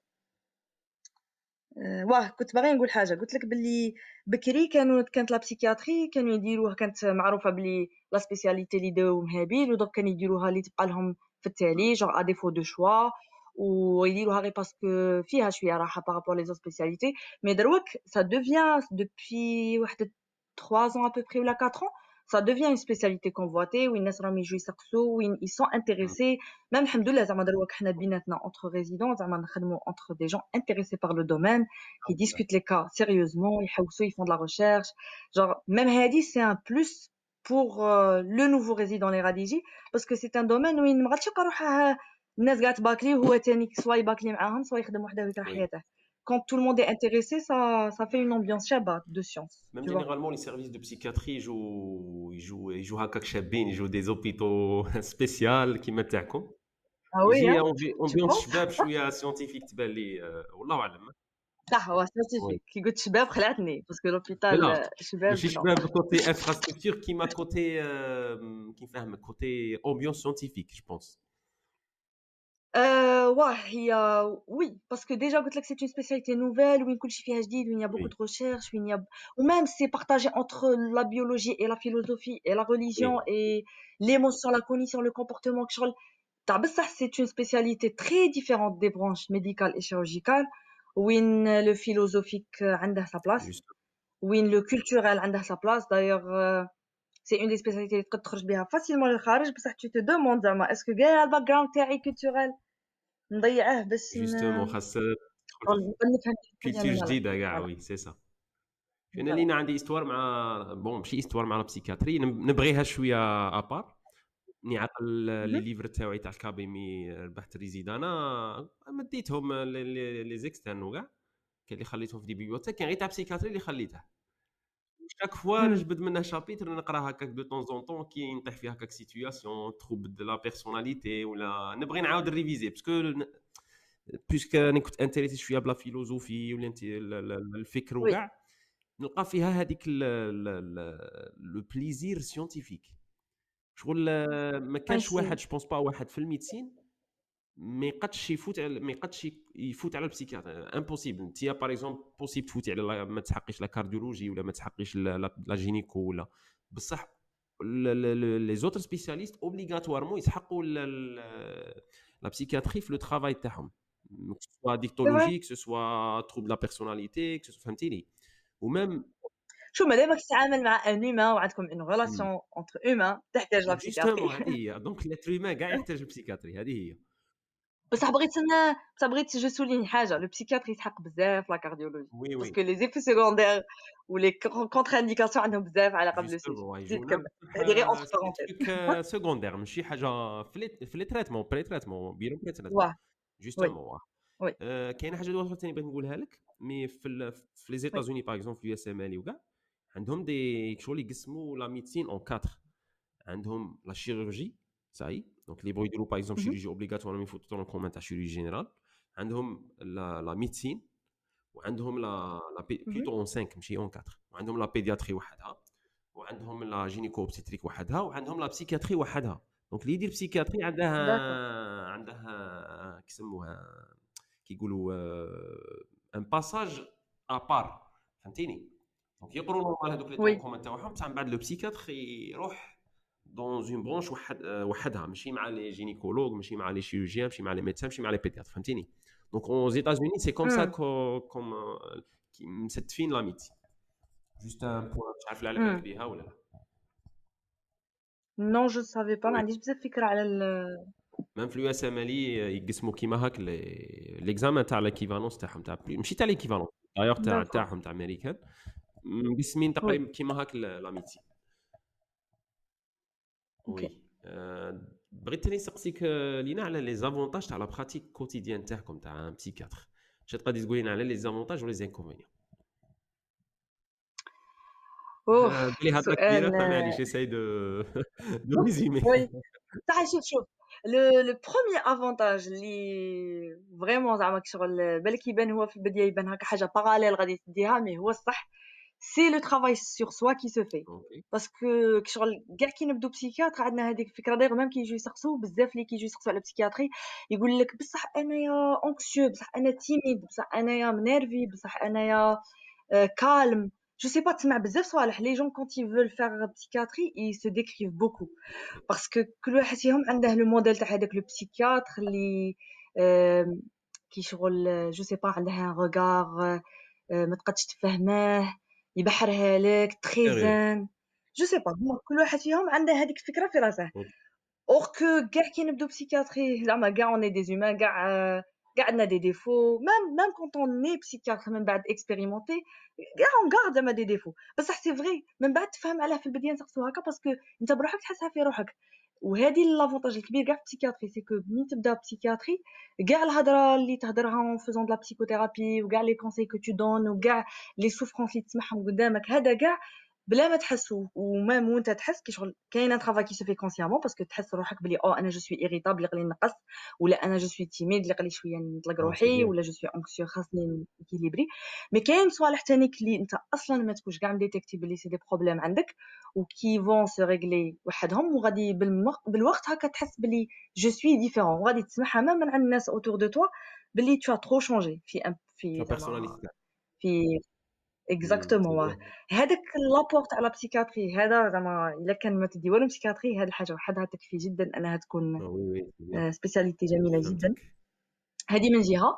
آه، واه كنت باغيه نقول حاجه قلت لك باللي بكري كانوا كانت لا بسيكياتري كانوا يديروها كانت معروفه باللي لا سبيسياليتي اللي داو مهابيل ودوك كانوا يديروها اللي تبقى لهم في التالي جونغ ا ديفو دو شوا ويديروها غير باسكو فيها شويه راحه بارابور لي زو سبيسياليتي مي دروك سا دوفيان دوبوي واحد trois ans à peu près ou la quatre ans ça devient une spécialité convoitée وين الناس راهم يجوا يسقسوا وين ils sont intéressés même الحمد لله زعما دروك حنا بيناتنا entre résidents زعما نخدموا entre des gens intéressés par le domaine qui discutent les cas sérieusement يحوسوا ils font de la recherche genre même هادي c'est un plus pour euh, le nouveau résident les radigi parce que c'est un domaine وين ما غاديش يبقى روحه الناس قاعد تباكلي وهو تاني سوا يباكلي معاهم سوا يخدم وحده ويكره وي حياته quand tout le monde est intéressé ça ça fait une ambiance شابه de science Même tu vois généralement, les services de psychiatrie ils jouent, ils jouent, ils jouent هكاك شابين, ils jouent des hôpitaux spéciaux كيما تاعكم. ah oui يجي hein tu امبيونس penses شباب شويه سيونتيفيك تبان لي آه، والله اعلم. صح هو وي scientifique كي قلت شباب خلعتني باسكو لا لوبيتال شباب ماشي non شباب كوتي انفراستركتور كيما كوتي آه، كيف فاهمك كوتي امبيونس سيونتيفيك جو بونس. Euh, ouais, il y a... Oui, parce que déjà, قلت لك c'est une spécialité nouvelle, où كل شيء فيها جديد, où il y a beaucoup وي de recherches, où il y a... ou même c'est partagé entre la biologie et la philosophie et la religion وي et l'émotion, la cognition, le comportement. كشغل تاع بصح c'est une spécialité très différente des branches médicales et chirurgicales, où le philosophique عنده sa place, جوست où le culturel عنده sa place. D'ailleurs, euh, c'est une des spécialités اللي تقدر تخرج بها facilement للخارج بصح tu te demandes زعما est-ce que كاع الباك جراوند تاعي culturel نضيعه باش جوستومون خاص نقدر نفهم حاجه كولتور انا لا جديده كاع. فوالا وي سي سا. انا فوالا لينا عندي استوار مع بون ماشي استوار مع البسيكاتري نبغيها شويه ابار. ني عقل لي ليفر تاعي تاع الكابيمي ربحت ريزيدانا مديتهم لي لي زيكسترن وكاع كاين اللي خليتهم في دي بيبيوتيك كاين غير تاع بسيكاتري اللي خليته. شاك فوا نجبد منه شابيتر نقرا هكاك دو طون زون طون كي نطيح فيها هكاك سيتوياسيون تروب دو لا بيرسوناليتي ولا نبغي نعاود ريفيزي باسكو بيسك انا كنت انتريسي شويه بلا فيلوزوفي ولا انت الفكر وي وكاع نلقى فيها هذيك لو بليزير سيونتيفيك شغل. ما كانش ماشي واحد جو بونس با واحد في الميديسين ما يقدش يفوت على ما يقدش يفوت على البسيكياتر امبوسيبل. انت باغ اكزومبل بوسيبل تفوتي على ما تحقيش لا كارديولوجي ولا ما تحقيش لا جينيكو ولا بصح لي زوتر سبيسياليست اوبليغاتوارمون يسحقوا لا بسيكياتري في لو ترافاي تاعهم سوا ديكتولوجي كو سوا تروبل لا بيرسوناليتي كو فهمتيني ومام شو مادامك تتعامل مع ان هيومان وعندكم اون ريلاسيون اونتر هيومان تحتاج لا جوستومون بسيكياتري. هذه هي دونك لاتر هيومان كاع يحتاج البسيكياتري هذه هي. بصح بغيت انا بصح بغيت جو سولين حاجه لو بسيكياتري يسحق بزاف لا كارديولوجي وي وي باسكو لي زيفي سيكوندير ولي كونتر انديكاسيون عندهم بزاف على قبل لو سي جي. جوستومون زيد يجونا كمل هذه غير اونتر سي بارونتيز. تروك سكوندير ماشي حاجه في لي في لي تريتمون بري تريتمون بيرو بري تريتمون واه وي جوستومون. وي آه، كاينه حاجه اخرى ثاني بغيت نقولها لك مي في ال في لي زيتازوني باغ اكزومبل في اليو اس ام ال وكاع عندهم دي شغل يقسموا لا ميديسين اون كاتر. عندهم لا شيروجي صاي دونك لي بغيو يديروا باغ اكزومبل شيروجي اوبليغاتوار مي يفوتوا طون كومون تاع شيروجي جينيرال. عندهم لا لا ميديسين وعندهم لا لا بلوتو اون خمسة ماشي اون أربعة وعندهم لا بيدياتري وحدها وعندهم لا جينيكو اوبستريك وحدها وعندهم لا بسيكياتري وحدها. دونك اللي يدير بسيكياتري عندها داكور عندها كيسموها كيقولوا ان باساج ابار فهمتيني. دونك يقروا نورمال هذوك لي طون وي كومون تاعهم بصح من بعد لو بسيكياتر يروح دون اون برونش وحد وحدها ماشي مع لي جينيكولوج ماشي مع لي شيروجيان ماشي مع لي ميدسان ماشي مع لي بيدياتر فهمتيني. دونك aux États-Unis c'est comme ça كوم مستفين لا ميديسين جوست ان بوان مش عارف على بالك بها ولا لا. نو جو سافي با ما عنديش بزاف فكره على ال ميم في اليو اس ام ال يقسموا كيما هاك ليكزامان تاع ليكيفالونس تاعهم تاع ماشي تاع ليكيفالونس دايوغ تاع داكور تاعهم تاع امريكان مقسمين وي تقريبا كيما هاك لا ميديسين. اوكي. وي آه، بغيت تاني نسقسيك آه، لينا على لي زافونتاج تاع لا براتيك كوتيديان تاعكم تاع ان بسيكاتر. اش تقدري تقولي لنا على لي زافونتاج ولي زانكونفينيون؟ اوه بلي هضره سؤال كبيره فمعليش جيساي دو دو ريزومي. وي صح. شوف شوف لو لو بروميير افونتاج اللي فريمون زعما كشغل بالك يبان هو في البدايه يبان هكا حاجه باراليل غادي تديها مي هو الصح سي لو ترافاي سور سوا كي سو في اوكي باسكو كشغل كاع كي نبدو بسيكياتر عندنا هذيك الفكره داير ميم كي يجيو يسقسوا بزاف اللي كيجيو يسقسوا على بسيكياتري يقول لك بصح انايا اونكسيو بصح انا تيميد بصح انايا منيرفي بصح انايا كالم جو سي با تسمع بزاف صوالح لي جون كونت يفول فار بسيكياتري اي سو ديكريف بوكو باسكو كل واحد فيهم عنده لو موديل تاع هذاك لو بسيكياتر اللي آم، كي شغل جو سي با عنده ان روغار ما تقدش تفهمه يبحرها لك تري سيريو زين جو سي با هما كل واحد فيهم عنده هذيك الفكره في راسه اور كو كاع كي نبدو بسيكياتري زعما كاع اون دي زومان كاع كاع عندنا دي ديفو ميم ميم كونط اون ني بسيكياتر من بعد اكسبيريمونتي كاع اون غارد زعما دي ديفو بصح سي فري من بعد تفهم علاه في البدايه نسقسو هكا باسكو انت بروحك تحسها في روحك وهذه لافونتاج الكبير كاع في البسيكياتري سي كو ملي تبدا بسيكياتري كاع الهضره اللي تهضرها اون فيزون دو لا بسيكوثيرابي وكاع لي كونساي كو تو دون وكاع لي سوفرونس اللي تسمعهم قدامك هذا كاع بلا ما تحسو ومام وانت تحس كي شغل كاين ان ترافاي كي سو في كونسيامون باسكو تحس روحك بلي او انا جو سوي ايريتابل يقلي نقص ولا انا جو سوي تيميد يقلي شويه نطلق اه سي روحي بيان ولا جو سوي انكسيو خاصني اكيليبري مي كاين صوالح تانيك اللي انت اصلا ما تكونش كاع مديتيكتي بلي سي دي بروبليم عندك وكي فون سو ريغلي وحدهم وغادي بالمق- بالوقت هكا تحس بلي جو سوي ديفيرون وغادي تسمعها مام من عند الناس اوتور دو توا بلي تو ترو شونجي في أم- في لا زعما بيرسوناليتي تاعك في سي اكزاكتومون بيان هذاك لابور تاع لا بسيكاتري هذا زعما الا كان ما تدي والو بسيكاتري هذه الحاجه وحدها تكفي جدا انها تكون وي وي سي بيان سبيسياليتي جميله جدا فهمتك. هذه من جهه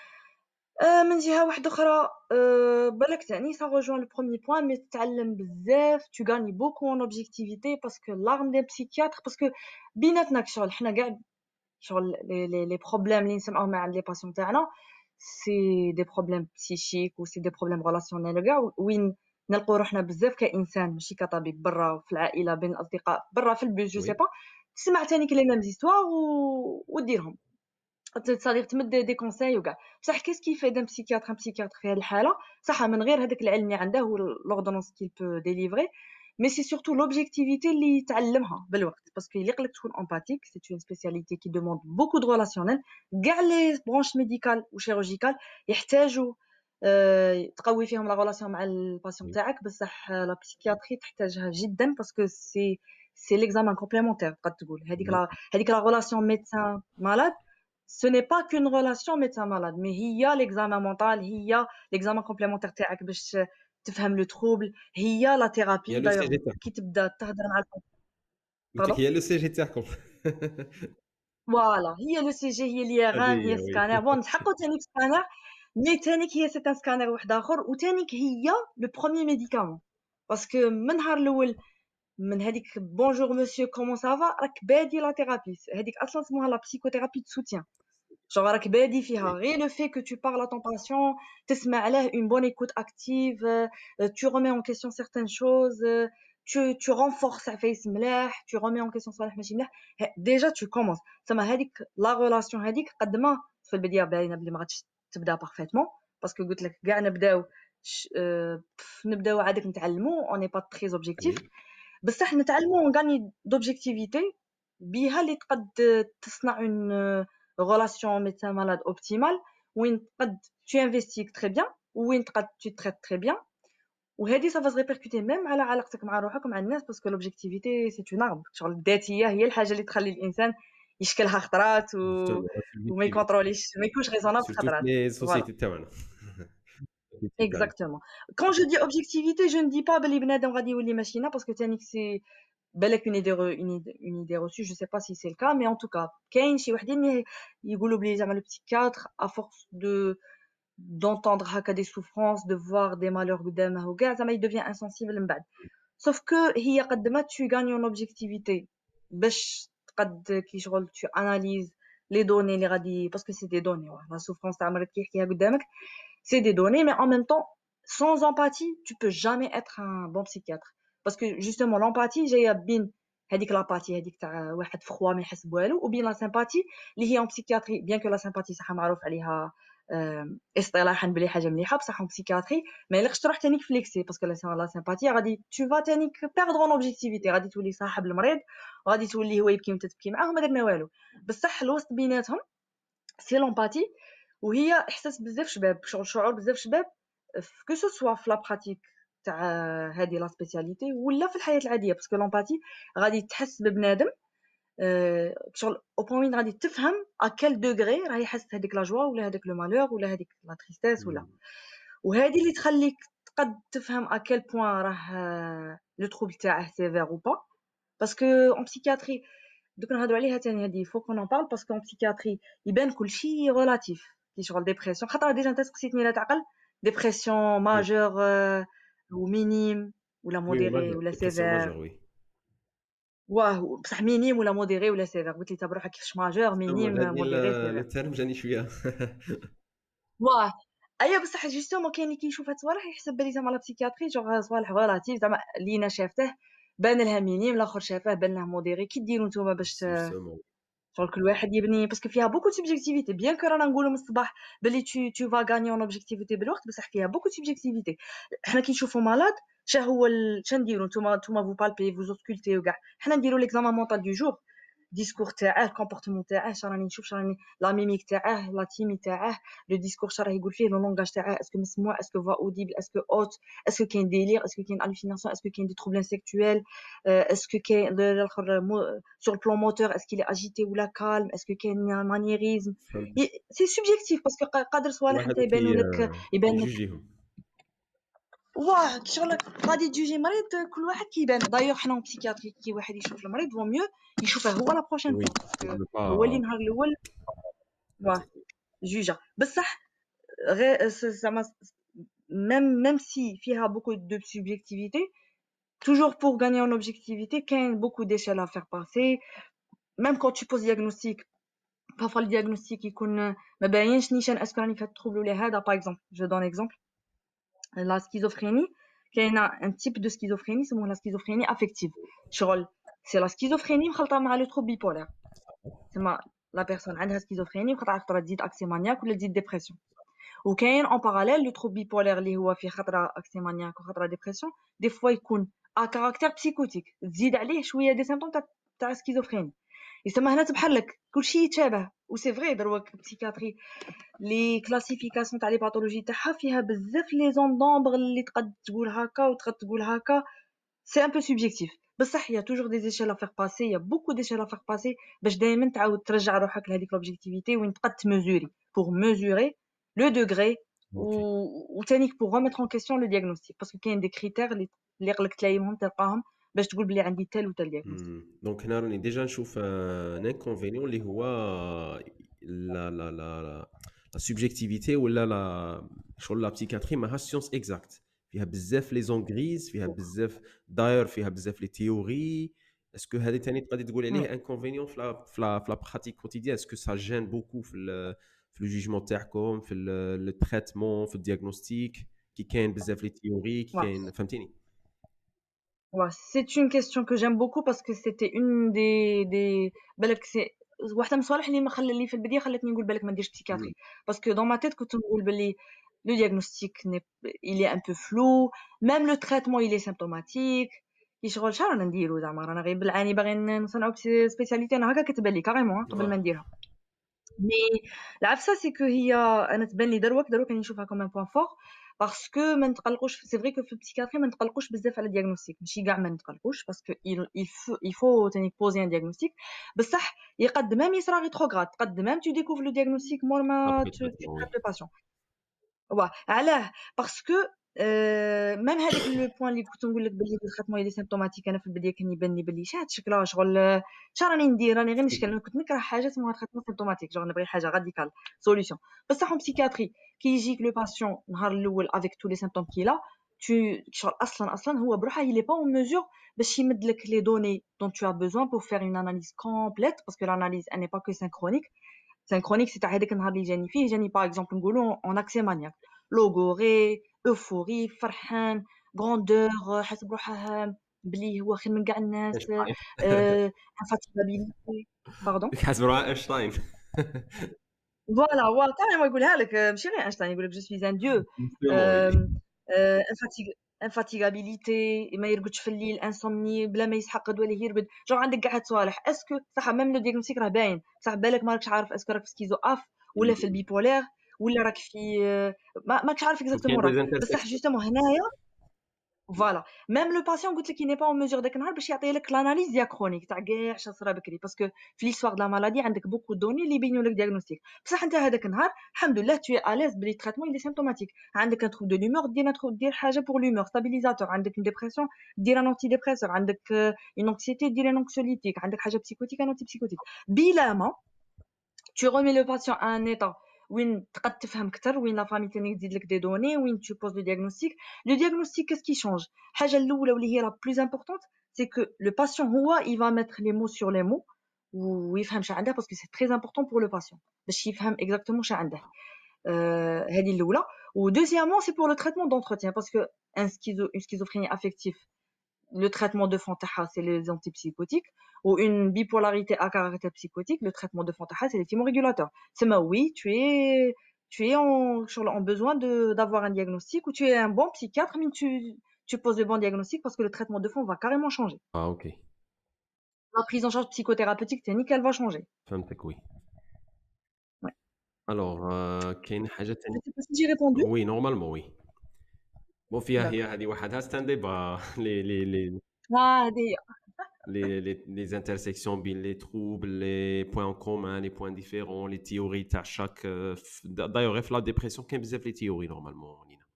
آه، من جهه واحده اخرى آه، بالك تعني سا rejoint لو بروميير بوين مي تتعلم بزاف tu gagnes beaucoup en objectivité parce que l'arme des psychiatres parce que بيناتنا كشغل حنا كاع شغل لي لي لي بروبليم اللي نسمعوهم مع لي باسيون تاعنا سي دي بروبليم بسيشيك و سي دي بروبليم ريلاسيونيل كاع وين نلقاو روحنا بزاف كانسان ماشي كطبيب برا في العائله بين الاصدقاء برا في البيت جو سي وي با تسمع تاني لي ميم زيستوار و وديرهم تصادير تمد دي كونساي وكاع بصح كيس كي فايد ان بسيكياتر ان بسيكياتر في هذه الحاله صح من غير هذاك العلم اللي عنده والاوردونونس كي بو ديليفري مي سي سورتو لوبجيكتيفيتي اللي تعلمها بالوقت باسكو يليق لك تكون امباتيك سي اون سبيسياليتي كي دوموند بوكو دو ريلاسيونيل كاع لي برونش ميديكال وشيروجيكال يحتاجوا آه، تقوي فيهم لا ريلاسيون مع الباسيون وي تاعك بصح لا بسيكياتري تحتاجها جدا باسكو سي سي ليكزامان كومبليمونتير قد تقول هذيك بيان لا هذيك لا ريلاسيون ميدسان مالاد ce n'est pas qu'une relation médecin-malade, mais هي l'examen mental, هي l'examen complémentaire تاعك باش تفهم le trouble, هي la Il y a thérapie le d'ailleurs C G T. كي تبدا تهضر مع قلت لك pardon هي لو سي جي تي كوم. فوالا هي لو سي جي هي هذه اليغان هي هي وي. سكانر بون حقو تانيك سكانر مي تانيك هي سيت ان سكانر واحد اخر وتانيك هي لو بروميي ميديكامون باسكو من نهار الاول من هذيك بونجور مسيو كومون سافا راك بادي لا ثيرابي هذيك اصلا اسمها لا بسيكوثيرابي دو سوتيان genre راك بادي فيها وي. غير لو في que tu parles à ton patient تسمع له une bonne écoute active euh, tu remets en question certaines choses euh, tu tu renforces عفايس ملاح tu remets en question صوالح ماشي ملاح déjà tu commences سما هذيك لا ريلاسيون هذيك قد ما في البدايه باينه بلي ما غاديش تبدا بارفيتمون باسكو قلت لك كاع نبداو نبداو عادك نتعلموا اوني با تري اوبجيكتيف وي. بصح نتعلموا ونغاني دوبجيكتيفيتي بها اللي تقد تصنع اون relation médecin malade optimale وين تقد tu investis très bien وين تقد tu traites très bien وهذه ça va se répercuter même على علاقتك مع روحك ومع الناس parce que l'objectivité c'est une arme شغل الذاتيه هي الحاجه اللي تخلي الانسان يشكلها خطرات و... وما يكونتروليش ما يكونش ريزونابل سورتو خطرات في voilà سوسيتي تاعنا. exactement quand je dis objectivité je ne dis pas بلي بنادم غادي يولي ماشينا parce que تانيك c'est بالك une idée re- une idée une idée reçue je sais pas si c'est le cas mais en tout cas كاين شي وحدين يقولوا بلي زعما le psychiatre à force de d'entendre هكا des souffrances de voir des malheurs قدامه وكاع زعما il devient insensible من بعد sauf que هي قد ما tu gagnes en objectivité باش تقد كي شغل tu analyses les données اللي غادي parce que c'est des données ouais. la souffrance تاع مريض كي يحكيها قدامك c'est des données mais en même temps sans empathie tu peux jamais être un bon psychiatre parce que justement l'empathie جايه بين هذيك لاباتي هذيك تاع واحد فخوا ما يحس بوالو وبين لا سيمباتي اللي هي en psychiatrie bien que la sympathie صح معروف عليها اصطلاحا بلي حاجه مليحه بصح en psychiatrie ما يلقش تروح تانيك فليكسي باسكو لا سيمباتي غادي tu vas تانيك perdre en objectivité غادي تولي صاحب المريض وغادي تولي هو يبكي وانت تبكي معاه وما درنا والو بصح الوسط بيناتهم سي لومباتي وهي احساس بزاف شباب شغل شعور بزاف شباب كو سو سوا في لا براتيك تاع هذه لا سبيسياليتي ولا في الحياه العاديه باسكو لومباتي غادي تحس ببنادم شغل او بوين غادي تفهم ا كال دوغري راه يحس هذيك لا جوا ولا هذاك لو مالور ولا هذيك لا تريستيس ولا وهذه اللي تخليك تقد تفهم ا كال بوين راه لو تروبل تاعه سيفير او با باسكو اون بسيكياتري دوك نهضروا عليها ثاني هذه فو كون بارل باسكو اون بسيكياتري يبان كلشي ريلاتيف كي شغل ديبرسيون خاطر ديجا انت سقسيتني لا تعقل ديبرسيون ماجور ou minime ولا وي موديري ماجور ولا ديبرسيون سيفير ماجور وي. واه بصح مينيم ولا موديري ولا سيفير قلت لي تا بروحك كيفاش ماجور مينيم هذه موديري لو سيفير تيرم جاني شويه. واه ايوا بصح جوستومون كاين اللي كيشوف هاد الصوالح يحسب بلي زعما لا بسيكياتري جوغ صوالح ريلاتيف زعما لينا شافته بان لها مينيم الاخر شافه بان له موديري كي ديروا نتوما باش جوستومون شغل كل واحد يبني باسكو فيها بوكو سوبجيكتيفيتي بيان كو رانا نقولوا من الصباح بلي tu tu vas gagner en objectivité بالوقت بصح فيها بوكو سوبجيكتيفيتي حنا كي نشوفوا مالاد شا هو ال... شا نديروا نتوما نتوما فو بالبي فو اوسكولتي وكاع حنا نديروا ليكزامان مونطال دو جور ديسكور تاعه الكومبورتمون تاعه شا راني نشوف شا راني لا ميميك تاعه لا تيمي تاعه لو ديسكور شا راه يقول فيه لو لونغاج تاعه اسكو مسموع اسكو فا اوديبل اسكو اوت اسكو كاين ديلير اسكو كاين الوسيناسيون اسكو كاين دي تروبل سيكتويل اسكو كاين الاخر sur le plan moteur est-ce qu'il est agité ou la calme est-ce que كاين un maniérisme c'est subjectif parce que قادر صوالح انت يبانوا لك يبان لك يجيهم واه شغل غادي تجوجي مريض كل واحد كيبان دايوغ حنا بسيكياتري كي واحد يشوف المريض فو ميو يشوفه هو لا بروشين وي فوا هو اللي نهار الاول واه جوجا بصح غير زعما même même si فيها beaucoup de subjectivité toujours pour gagner en objectivité كاين beaucoup d'échelles à faire passer même quand tu poses diagnostic parfois le diagnostic يكون ما باينش نيشان اسكو راني في هاد التروبل ولا هذا باغ اكزومبل جو دون اكزومبل لا سكيزوفريني كاينه ان تيب دو سكيزوفريني اسمه لا سكيزوفريني افكتيف شغل سي لا سكيزوفريني مخلطه مع لو تروب بيبولار تما لا بيرسون عندها سكيزوفريني وخطره خطره تزيد اكسي مانياك ولا تزيد ديبرسيون وكاين اون باراليل لو تروب بيبولار اللي هو فيه خطره اكسي مانياك وخطره ديبرسيون دي فوا يكون ا كاركتير بسيكوتيك تزيد عليه شويه دي سيمبتوم تاع تاع سكيزوفريني يسمى هنا تبحر لك كلشي يتشابه و سي فري دروك بسيكاتري لي كلاسيفيكاسيون تاع لي باثولوجي تاعها فيها بزاف لي زون دومبر اللي تقد تقول هكا وتقد تقول هكا سي ان بو سوبجيكتيف بصح il y a toujours des échelles à faire passer, il y a beaucoup d'échelles à faire passer باش دائما تعاود ترجع روحك لهذيك l'objectivité وين تقد تمزوري pour mesurer le degré Ok. ou تانيك pour remettre en question le diagnostic parce que كاين des critères اللي اللي قلك تلاقيهم تلقاهم باش تقول بلي عندي tel ou tel diagnostic. دونك هنا راني ديجا نشوف ان انكونفينيون اللي هو لا لا لا لا سوبجيكتيفيتي ولا لا شغل لا بسيكاتري ماهاش سيونس اكزاكت فيها بزاف لي زون غريز فيها بزاف داير فيها بزاف لي تيوري اسكو هذه ثاني تقدر تقول عليه انكونفينيون في لا في لا في لا براتيك كوتيديان اسكو سا جين بوكو في ال في لو جوجمون تاعكم في لو تريتمون في الدياغنوستيك كي كاين بزاف لي تيوري كي كاين فهمتيني. Ouais, c'est une question que j'aime beaucoup parce que c'était une des des بالك c'est واحدة من الصوالح اللي ما خلى اللي في البداية خلتني نقول بالك ما نديرش بسيكاتري parce que dans ma tête كنت نقول باللي le diagnostic n'est il est un peu flou même le traitement il est symptomatique كي شغل شحال رانا نديرو زعما رانا غير بالعاني باغيين نصنعو سبيسياليتي انا هكا كتبان لي كاريمون قبل ما نديرها مي العفسه سي كو هي انا تبان لي دروك دروك راني نشوفها كوم ان بوين فور باسكو ما نتقلقوش سي فري كو في البسيكاتري ما نتقلقوش بزاف على الدياغنوستيك ماشي كاع ما نتقلقوش باسكو il faut il faut تاني بوزي ان دياغنوستيك بصح يقد ميم يصرا ريتروغراد قد ميم تو ديكوفر لو دياغنوستيك مور ما تو تريت لو باسيون واه علاه باسكو ميم هذاك لو بوين اللي كنت نقول لك بلي التريتمون اللي سيمبتوماتيك انا في البدايه كان يبان لي بلي شات شكلها شغل شا راني ندير راني غير نشكل انا كنت نكره حاجه اسمها تريتمون سيمبتوماتيك شغل نبغي حاجه راديكال سوليوشن بصح اون بسيكاتري كي يجيك لو باسيون نهار الاول افيك تو لي سيمبتوم كيلا tu شغل اصلا اصلا هو بروحه il est pas en mesure باش يمد لك les données dont tu as besoin pour faire une analyse complète parce que l'analyse elle n'est pas que synchronique synchronique c'est هذاك النهار اللي جاني فيه جاني باغ اكزومبل نقولوا en accès maniaque لوغوري اوفوري فرحان غروندور حاسب بروحه بلي هو خير من كاع الناس انفاتيغابيليتي باردون حاسب روحه اينشتاين فوالا هو كاريمون يقولها لك ماشي غير اينشتاين يقول لك جو سوي ان ديو انفاتيغابيليتي ما يرقدش في الليل انسومني بلا ما يسحق قدوه ليه يرقد جو عندك كاع هاد الصوالح اسكو صح ميم لو دياغنوستيك راه باين صح بالك ما راكش عارف اسكو راك في سكيزو اف ولا في البيبولير ولا راك في ما ماكش عارف اكزاكتومون راك بصح جوستومون هنايا فوالا ميم لو باسيون قلت لك ني با اون ميزور داك النهار باش يعطي لك لاناليز دياكرونيك تاع كاع اش صرا بكري باسكو في ليستوار د لا مالادي عندك بوكو دوني اللي يبينوا لك دياغنوستيك بصح انت هذاك النهار الحمد لله تو اليز بلي تريتمون اللي سيمبتوماتيك عندك ان تروب دو لومور دير تروب دير حاجه بور لومور ستابيليزاتور عندك اون ديبرسيون دير ان انتي ديبريسور عندك اون انكسيتي دير ان انكسوليتيك عندك حاجه بسيكوتيك ان انتي بسيكوتيك بلا ما tu remets le patient à un état وين تقد تفهم اكثر وين لا فامي تاني تزيد لك دي دوني وين tu poses le diagnostic le diagnostic qu'est-ce qui change الحاجه الاولى واللي هي la plus importante c'est que le patient هو il va mettre les mots sur les mots ويفهم شنو عنده parce que c'est très important pour le patient باش يفهم exactement شنو عنده هذه الاولى و deuxièmement c'est pour le traitement d'entretien parce que un schizo une schizophrénie affective le traitement de fond c'est les antipsychotiques ou une bipolarité à caractère psychotique le traitement de fond c'est les thymorégulateurs c'est mais oui tu es tu es en, en besoin de d'avoir un diagnostic ou tu es un bon psychiatre mais tu tu poses le bon diagnostic parce que le traitement de fond va carrément changer. Ah ok. La prise en charge psychothérapeutique technique elle va changer. فهمتك oui. Ouais. Alors كاين حاجه ثانيه. Je sais pas si j'ai répondu. Oui normalement oui. بون فيها هي هذه وحدها ستان ديبا لي لي لي اه هذه les les les intersections بين les troubles les points en commun les points différents les théories تاع chaque d'ailleurs في la dépression كاين بزاف لي théories normalement نينا.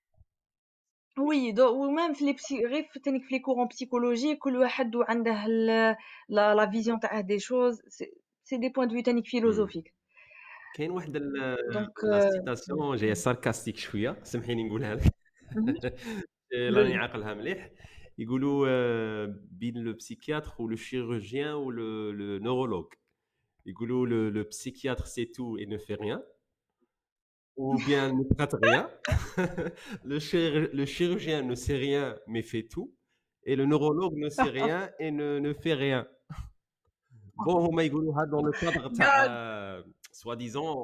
وي دو ومام في لي بسي غير في تانيك في لي كورون بسيكولوجي كل واحد وعنده لا لا فيزيون تاع دي شوز سي دي بوين دو في تانيك فيلوزوفيك. كاين واحد لا سيتاسيون جايه ساركاستيك شويه سمحيني نقولها لك راني عاقلها مليح يقولوا بين لو بسيكياتر و لو شيروجيان و لو لو نورولوج يقولوا لو لو بسيكياتر سي تو et ne fait rien ou bien ne traite rien le chir le chirurgien ne sait rien mais fait tout et le neurologue ne sait rien et ne ne fait rien. Bon هما يقولوها dans le cadre تاع soi-disant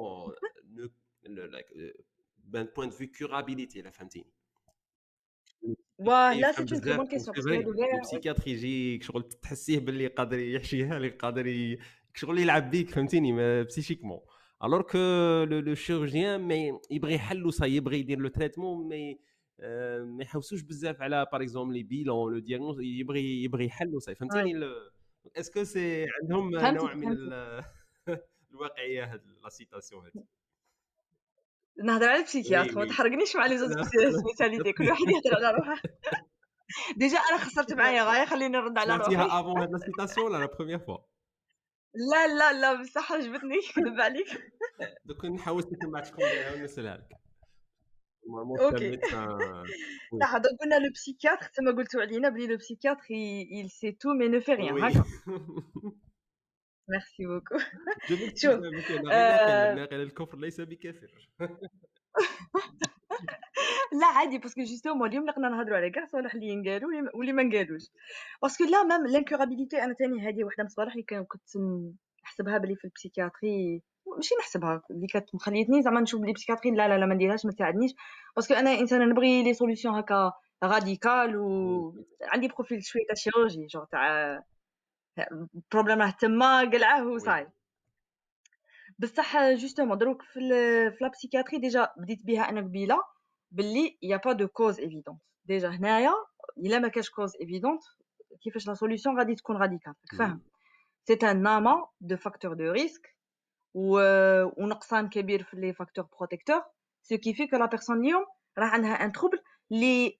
d'un point de vue curabilité la فهمتيني. واه لا سي اون تري بون كيسيون باسكو هادو كاع البسيكياتر يجيك شغل تحسيه باللي قادر يحشيها لك قادر شغل يلعب بيك فهمتيني بسيشيكمون alors que le, le chirurgien mais يبغي يحل وصا يبغي يدير لو تريتمون mais ما يحوسوش بزاف على باغ اكزومبل لي بيلون لو دياغنوز يبغي يبغي يحلوا صافي فهمتيني اسكو سي عندهم نوع من الواقعيه هاد لا سيتاسيون هادي نهضر على البسيكياتر ما تحرقنيش مع لي زوج سبيسياليتي كل واحد يهضر على روحه ديجا انا خسرت معايا غايه خليني نرد على روحي سمعتيها افون هاد لا سيتاسيون لا بروميير فوا لا لا لا بصح عجبتني كذب عليك دوك نحاول نسمع تكون ونسالها لك اوكي صح دوك قلنا لو بسيكياتر كما قلتوا علينا بلي لو بسيكياتر il sait tout mais ne fait rien هكا ميرسي بوكو شوف ناقل الكفر ليس بكافر لا عادي باسكو جوستومون اليوم نقدر نهضروا على كاع صوالح اللي ينقالوا واللي ما نقالوش باسكو لا ميم لانكورابيليتي انا ثاني هذه وحده من الصوالح اللي كنت نحسبها بلي في البسيكياتري ماشي نحسبها اللي كانت مخليتني زعما نشوف بلي بسيكياتري لا لا لا ما نديرهاش ما تساعدنيش باسكو انا انسانه نبغي لي سوليوشن هكا راديكال وعندي بروفيل شويه تاع شيروجي جو تاع بروبليم تما قلعه وصاي بصح جوستومون دروك في في لا بسيكياتري ديجا بديت بها انا قبيله باللي يا با دو كوز ايفيدونت ديجا هنايا الا ما كاش كوز ايفيدونت كيفاش لا سوليوشن غادي تكون راديكال فاهم سي ان ناما دو فاكتور دو ريسك ونقصان كبير في لي فاكتور بروتيكتور سو كي في كو لا بيرسون اليوم راه عندها ان تروبل لي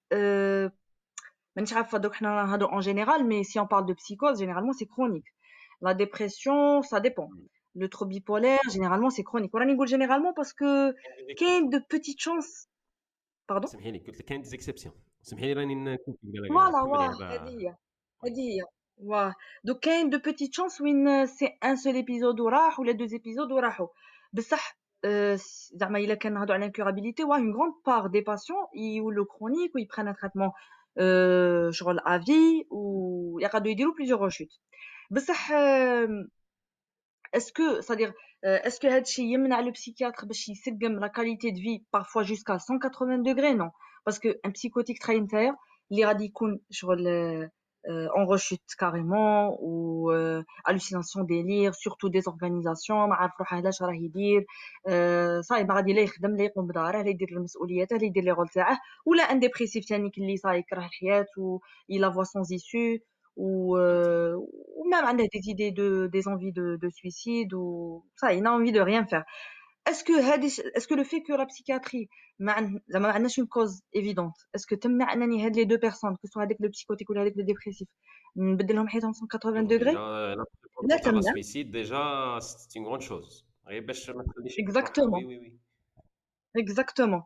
مانيش عارفه دوك حنا نهضروا ان جينيرال مي سي اون بارل دو بسيكوز جينيرالمون سي كرونيك لا ديبرسيون سا ديبون le trouble bipolaire généralement c'est chronique وراني نقول généralement parce que كاين de petites chances pardon سمحيلي قلت لك كاين دي اكسبسيون سمحيلي راني نكون فوالا واه هذه هي هذه هي واه دو كاين de petites chances وين سي ان سول ايبيزود وراح ولا دو ايبيزود وراحوا بصح زعما الا كان نهضروا على l'incurabilité واه une grande part des patients يولوا chronique وي prennent un traitement شغل à vie و يقعدوا يديروا plusieurs rechutes بصح Est-ce que, c'est-à-dire, euh, est-ce que هادشي يمنع le psychiatre باش يسقم la qualité de vie parfois jusqu'à cent quatre-vingts degrés non parce que un psychotique تراي نتايا اللي غادي يكون شغل en rechute carrément ou euh, hallucination délire surtout désorganisation ما عارف روحه علاش راه يدير صاي ما غادي لا يخدم لا يقوم بداره لا يدير المسؤوليات لا يدير لي رول تاعه ولا ان ديبريسيف ثاني اللي صاي يكره الحياه و il a voix sans issue ou euh, ou même on a des idées de des envies de de suicide ou ça il a envie de rien faire est-ce que est-ce que le fait que la psychiatrie ما زعما ما عندناش une cause évidente est-ce que تمنع انني هاد les deux personnes que soit avec le psychotique ou avec le dépressif نبدل لهم حياتهم cent quatre-vingts degrés لا تمنع suicide déjà c'est une grande chose غير باش ما تخليش exactement oui oui oui exactement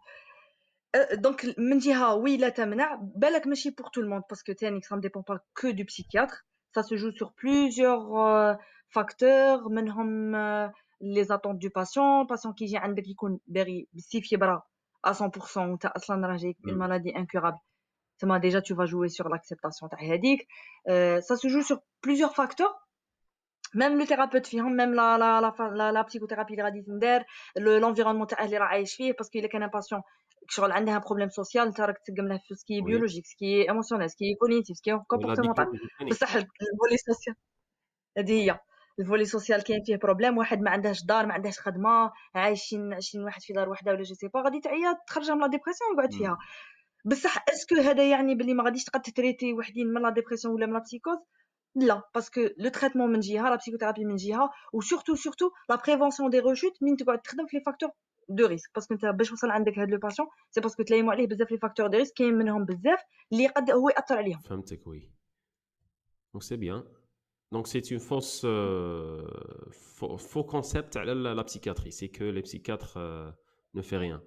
donc من جهه oui لا تمنع بالك ماشي pour tout le monde parce que تاني ça ne dépend pas que du psychiatre ça se joue sur plusieurs euh, facteurs منهم euh, les attentes du patient patient qui يجي عندك يكون باغي بزاف يبرا à cent pour cent وانت اصلا راه جايك une maladie incurable تما déjà tu vas jouer sur l'acceptation تاع هذيك euh, ça se joue sur plusieurs facteurs même le thérapeute فيهم même la la la la, la psychothérapie اللي غادي تندار l'environnement تاعه اللي راه عايش فيه parce que الا كان un patient شغل عندها بروبليم سوسيال انت راك تسقم له في سكي بيولوجيك سكي ايموشنال سكي كوغنيتيف سكي كومبورتمونتال بصح الفولي سوسيال هذه هي الفولي سوسيال كاين فيه بروبليم واحد ما عندهاش دار ما عندهاش خدمه عايشين عايشين واحد في دار وحده ولا جو سي با غادي تعيا تخرجها من لا ديبرسيون ويقعد فيها بصح اسكو هذا يعني بلي ما غاديش تقد تريتي وحدين من لا ديبرسيون ولا من لا بسيكوز لا باسكو لو تريتمون من جهه لا بسيكوثيرابي من جهه وسورتو سورتو لا بريفونسيون دي ريشوت من تقعد تخدم في لي فاكتور دو ريسك باسكو انت باش توصل عندك هاد لو باسيون سي باسكو تلايموا عليه بزاف لي فاكتور دو ريسك كاين منهم بزاف اللي قد هو ياثر عليهم فهمتك وي دونك سي بيان دونك سي اون فوس فو كونسيبت على لا بسيكاتري سي كو لي بسيكاتر نو في ريان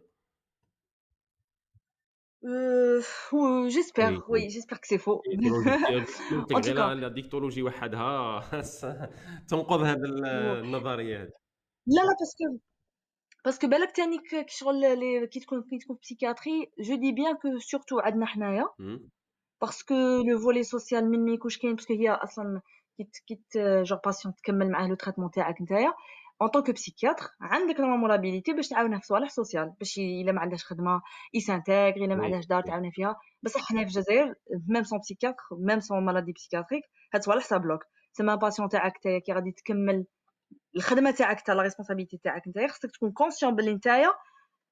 Euh, j'espère, oui, oui j'espère que c'est faux. En tout cas, la dictologie وحدها تنقض هذه النظريه هذه. لا لا باسكو باسكو بالك تاني كي شغل لي كي تكون كي تكون بسيكياتري جو دي بيان كو سورتو عندنا حنايا باسكو لو فولي سوسيال من ما يكونش كاين باسكو هي اصلا كي كي جور باسيون تكمل معاه لو تريتمون تاعك نتايا en tant que psychiatre عندك نورمال ابيليتي باش تعاونها في صوالح سوسيال باش الا ما عندهاش خدمه يسانتيغ الا ما عندهاش دار تعاونها فيها بصح حنا في الجزائر ميم سون بسيكياتر ميم سون مالادي بسيكياتريك هاد صوالح سا بلوك سما باسيون تاعك تاعك كي غادي تكمل الخدمه تاعك تاع لا ريسبونسابيلتي تاعك نتايا خصك تكون كونسيون بلي نتايا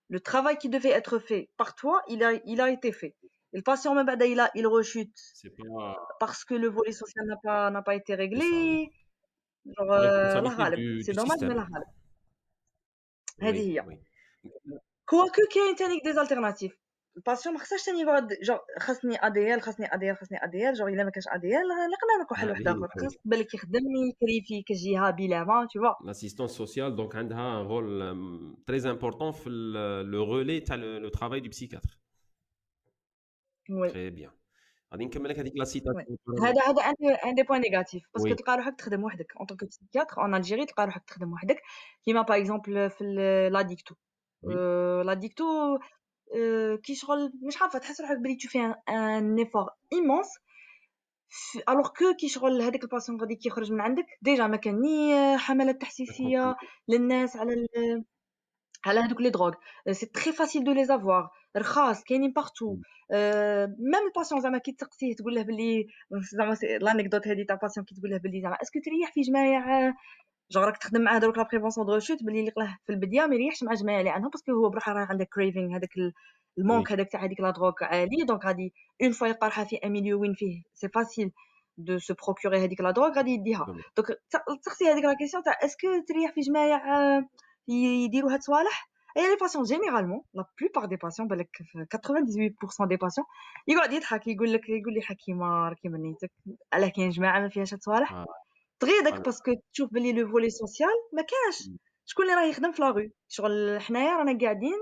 le travail qui devait être fait par toi, il a, il a été fait. Et le patient, même بعد, il, a, il rechute C'est pas parce que le volet social n'a pas, n'a pas été c'est ça, oui. réglé. Genre, La euh, الله responsabilité غالب. du, C'est du dommage, mais système. الله غالب. هذه Oui, هي. oui. كواكو كاين تاني دي زالتيرناتيف. الباسيون ما خصهاش تاني يقعد جور خاصني اديال خاصني اديال خاصني اديال جور الا ما كانش اديال نقدر نلقى حل واحد هذه اخر خاص بالك يخدم يكريفي كجهه بلا ما tu vois. l'assistance sociale donc عندها un rôle euh, très important في le, le relais تاع le, le travail du psychiatre. وي Très bien. غادي نكمل لك هذيك لا سيتاسيون. هذا هذا ان ان دي بوين نيجاتيف باسكو وي تلقى روحك تخدم وحدك اون طونك بسيكياتر اون الجيري تلقى روحك تخدم وحدك كيما باغ اكزومبل في لا ديكتو وي لا ديكتو كي شغل مش عارفه تحس روحك بلي تو في ان ايفور ايمونس الوغ كو كي شغل هذاك الباسيون غادي كيخرج من عندك ديجا ما كان ني حملات تحسيسيه للناس على ال... على هذوك لي دروغ سي تري فاسيل دو لي افوار رخاص كاينين بارتو ميم الباسيون زعما كي تسقسيه تقول له بلي زعما لانيكدوت هذه تاع باسيون كي تقول له بلي زعما اسكو تريح في جمايع جون راك تخدم معاه دروك لا بريفونسيون دو ريشوت بلي اللي قلاه في البدايه ما يريحش مع جماعه اللي عندهم باسكو هو بروحه راه عنده كريفينغ هذاك المونك هذاك تاع هذيك لا دروغ عالي دونك غادي اون فوا يلقى روحها في ان ميليو وين فيه سي فاسيل دو سو بروكوري هذيك لا دروغ غادي يديها دونك تسقسي هذيك لا كيسيون تاع اسكو تريح في جمايع يديروا هاد الصوالح. Et les patients, généralement, la plupart des patients, بالك quatre-vingt-dix-huit pour cent des patients, يقعد يضحك يقول لك يقول لي حكيمه راكي منيتك علاه كاين جماعه ما فيهاش هاد الصوالح تغيدك باسكو تشوف بلي لو فولي سوسيال ما كاش شكون اللي راه يخدم في لاغو شغل حنايا رانا قاعدين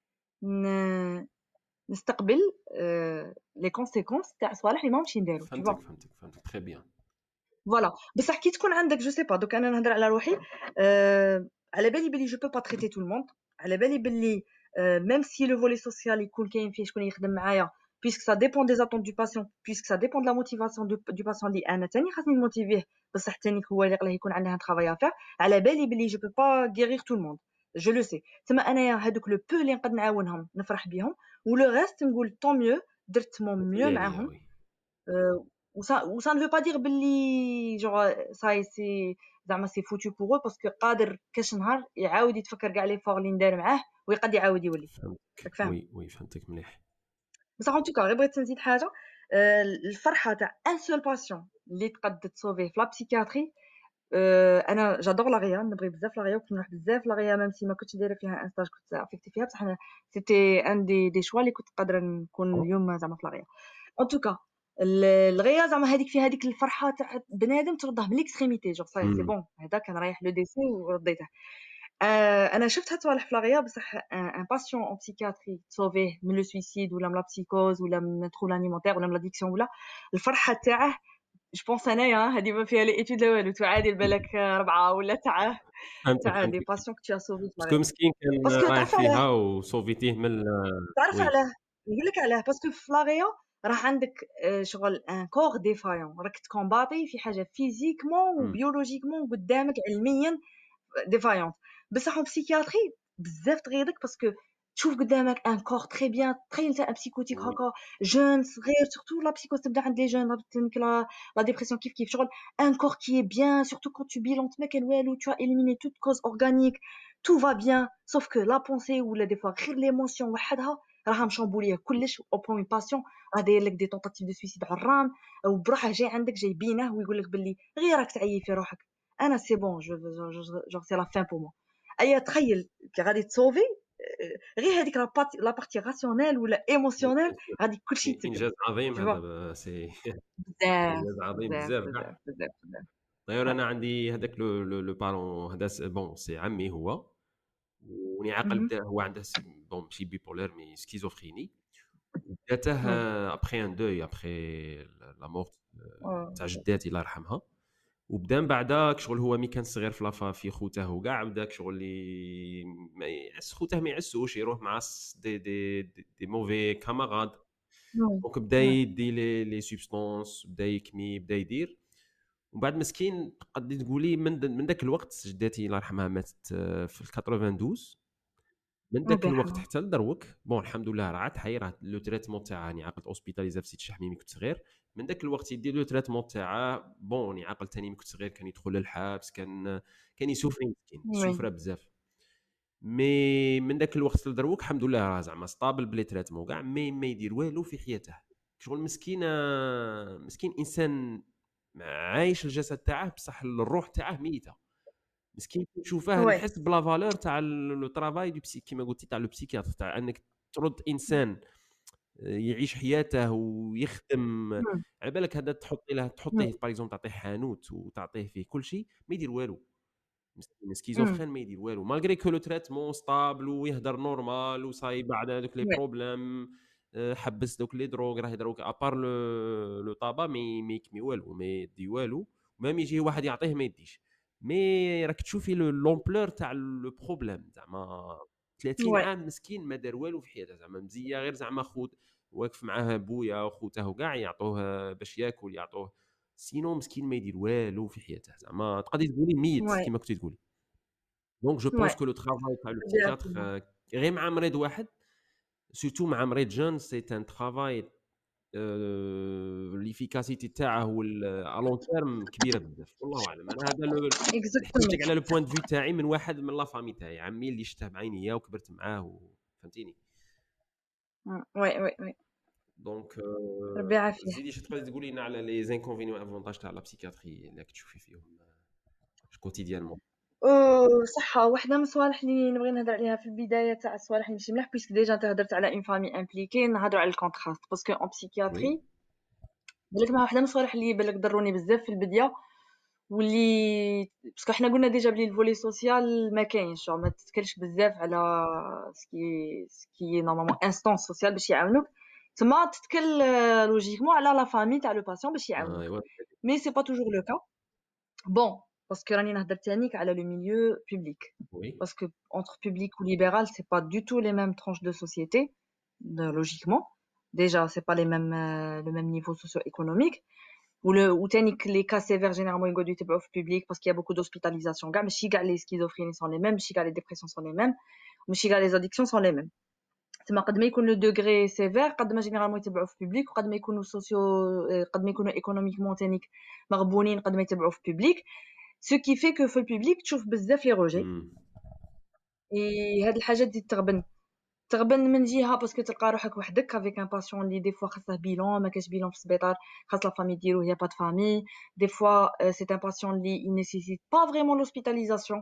نستقبل لي كونسيكونس تاع صوالح اللي ماهمش نديرو فهمتك فهمتك فهمتك تري بيان فوالا بصح كي تكون عندك جو سي با دوك انا نهضر على روحي أه على بالي بلي جو بو با تريتي تو الموند على بالي بلي ميم سي لو فولي سوسيال يكون كاين فيه شكون يخدم معايا puisque ça dépend des attentes du patient puisque ça dépend de la motivation du, du patient اللي انا تاني خاصني نموتيفيه بصح تاني هو اللي قلاه يكون عنده طرافاي افير على بالي بلي جو بو با غيرير تو الموند جو لو سي تما انايا هذوك لو بو اللي نقد نعاونهم نفرح بهم ولو ريست نقول طون ميو درت مون ميو معاهم ou ça ou ça ne veut pas dire باللي genre ça c'est زعما سي فوتو بور باسكو قادر كاش نهار يعاود يتفكر كاع لي فور اللي ندار معاه ويقد يعاود يولي فهمتك وي وي فهمتك مليح بصح ان توكا غير بغيت نزيد حاجه الفرحه تاع ان سول باسيون اللي تقد تصوفيه في لا بسيكياتري انا جادور لا غيا نبغي بزاف لا غيا وكنت نروح بزاف لا غيا ميم سي ما كنتش دايره فيها ان ستاج كنت افيكتي فيها بصح انا سيتي ان دي دي شوا اللي كنت قادره نكون اليوم زعما في لا غيا ان توكا الغيا زعما هذيك فيها هذيك الفرحه تاع بنادم ترضاه من ليكستريميتي جوغ سي سي بون هذا كان رايح لو ديسي ورديته آه انا شفت هاد الصوالح في لاغيا بصح ان باسيون اون بسيكياتري تصوفيه من لو سويسيد ولا من لا بسيكوز ولا من ترول انيمونتير ولا من لاديكسيون ولا الفرحه تاعه جو بونس انايا هذه ما فيها لي ايتود لا والو تعادل بالك ربعه ولا تاع تاع دي باسيون كنت صوفي في لاغيا باسكو مسكين كان رايح فيها وصوفيتيه من تعرف علاه نقول لك علاه باسكو في لاغيا راه عندك شغل ان كور ديفايون راك تكومباتي في حاجه فيزيكمون وبيولوجيكمون قدامك علميا ديفايون بصح بسيكياتري بزاف تغيظك باسكو تشوف قدامك ان كور تري بيان تخيل تاع بسيكوتيك هكا جون صغير سورتو لا بسيكوز تبدا عند لي جون لا لا ديبرسيون كيف كيف شغل ان كور كي بيان سورتو كون تو بيلونت ما كان والو تو اليميني توت كوز اورغانيك تو فا بيان سوف كو لا بونسي ولا دي فوا غير ليموسيون وحدها راها مشامبوليه كلش او بون باسيون راه داير لك دي طونطاتيف دو سويسيد عرام وبروحه جاي عندك جاي بينه ويقول لك باللي غير راك تعيي في روحك انا سي بون جو جو سي لا فين بور مو ايا تخيل كي غادي تصوفي غير هذيك لا بارتي لا بارتي راسيونيل ولا ايموسيونيل غادي كلشي يتسكر انجاز عظيم هذا سي انجاز عظيم بزاف بزاف بزاف داير انا عندي هذاك لو لو بارون هذا بون سي عمي هو وني عقل بدا هو عنده بون ماشي بيبولار مي سكيزوفريني بداته ابخي ان دوي ابخي لا مورت تاع جداتي الله يرحمها وبدا من بعداك شغل هو مي كان صغير في لافا في خوته وكاع بداك شغل اللي ما يعس خوته ما يعسوش يروح مع دي دي دي, دي موفي كاماراد دونك بدا يدي لي لي سوبستانس بدا يكمي بدا يدير ومن بعد مسكين تقدري تقولي من من ذاك الوقت جداتي الله يرحمها ماتت في اثناش من ذاك الوقت حتى لدروك بون الحمد لله راه عاد حي راه لو تريتمون تاعها ني عقلت اوسبيتاليزا في سيت شحميمي كنت صغير من ذاك الوقت يدير لو تريتمون تاعها بون ني عقل ثاني ملي كنت صغير كان يدخل للحبس كان كان يسوفر مسكين سوفر بزاف مي من داك الوقت لدروك الحمد لله راه زعما ستابل بلي تريتمون كاع مي ما يدير والو في حياته. شغل مسكين مسكين انسان عايش الجسد تاعه بصح الروح تاعه ميته. مسكين نشوفه Ouais. نحس بلا فالور تاع لو طرافاي دو بسي كيما قلتي تاع لو بسيكياتر تاع انك ترد انسان يعيش حياته ويخدم. مم. على بالك هذا تحطي له مم. تحطيه باغ اكزومبل تعطيه حانوت وتعطيه فيه كل شيء ما يدير والو. مسكين مم. سكيزوفرين ما يدير والو مالغري كو لو تريتمون ستابل ويهدر نورمال وصاي بعد هذوك لي Ouais. بروبليم حبس دوك لي دروغ راه يدروك ابار لو لو طابا مي مي يكمي والو ما يدي والو. ميم يجي واحد يعطيه ما يديش. مي راك تشوفي لو لومبلور تاع لو بروبليم زعما ثلاثين Ouais. عام مسكين ما دار والو في حياته زعما مزيه غير زعما خوت واقف معاه بويا وخوته وكاع يعطوه باش ياكل يعطوه سينو مسكين ما يدير والو في حياته زعما تقدري تقولي ميت Ouais. كيما كنتي تقولي. دونك جو بونس Ouais. كو لو ترافاي تاع لو Bien بسيكياتر sûr. غير مع مريض واحد سورتو مع مريض جون سي ان ترافاي ليفيكاسيتي تاعه ولا لون تيرم كبيره بزاف والله اعلم. انا هذا لو نحكي لك Exactement. على لو بوين دو في تاعي من واحد من لا فامي تاعي عمي اللي شفته بعينيا وكبرت معاه فهمتيني. Mm. Ouais, ouais, ouais. دونك ربي يعافيه. زيدي شي تقدري تقولي لنا على لي زانكونفينيون افونتاج تاع لا بسيكياتري اللي تشوفي فيهم كوتيديانمون. أه صح، واحدة من الصوالح اللي نبغي نهضر عليها في البداية تاع الصوالح اللي ماشي ملاح بيسك ديجا انت هضرت على اون فامي امبليكي، نهضروا على الكونتراست باسكو اون وي بسيكياتري بالك مع واحدة من الصوالح اللي بالك ضروني بزاف في البداية واللي باسكو حنا قلنا ديجا بلي الفولي سوسيال ما كاينش، ما تتكلش بزاف على سكي سكي نورمالمون انستانس سوسيال باش يعاونوك، تما تتكل لوجيكمون على لا فامي تاع لو باسيون باش يعاونوك. ايوا مي سي با توجور لو كا. بون باسكو راني نهضر تانيك على لو ميليو بوبليك وي parce que entre public ou libéral c'est pas du tout les mêmes tranches de société de, logiquement déjà c'est pas les mêmes euh, le même niveau socio-économique ou le ou تانيك les cas sévères généralement يقعدوا يتبعوا في public parce qu'il y a beaucoup d'hospitalisation كاع ماشي كاع les schizophrénies sont les mêmes ماشي كاع les dépressions sont les mêmes ماشي كاع les addictions sont les mêmes. تما قد ما يكون لو دوغري سيفير قد ما جينيرالمون يتبعوا في public وقد ما يكونوا سوسيو قد ما يكونوا ايكونوميكمون تانيك مغبونين قد ما يتبعوا في public ce qui fait que في البوبليك تشوف بزاف لي روجي. اي هاد الحاجه دي تغبن تغبن من جهه باسكو تلقى روحك وحدك افيك ان باسيون اللي دي فوا خاصه بيلون ما كاش بيلون في السبيطار خاص لا فامي ديالو هي با د فامي دي فوا سي ان باسيون اللي il nécessite pas vraiment l'hospitalisation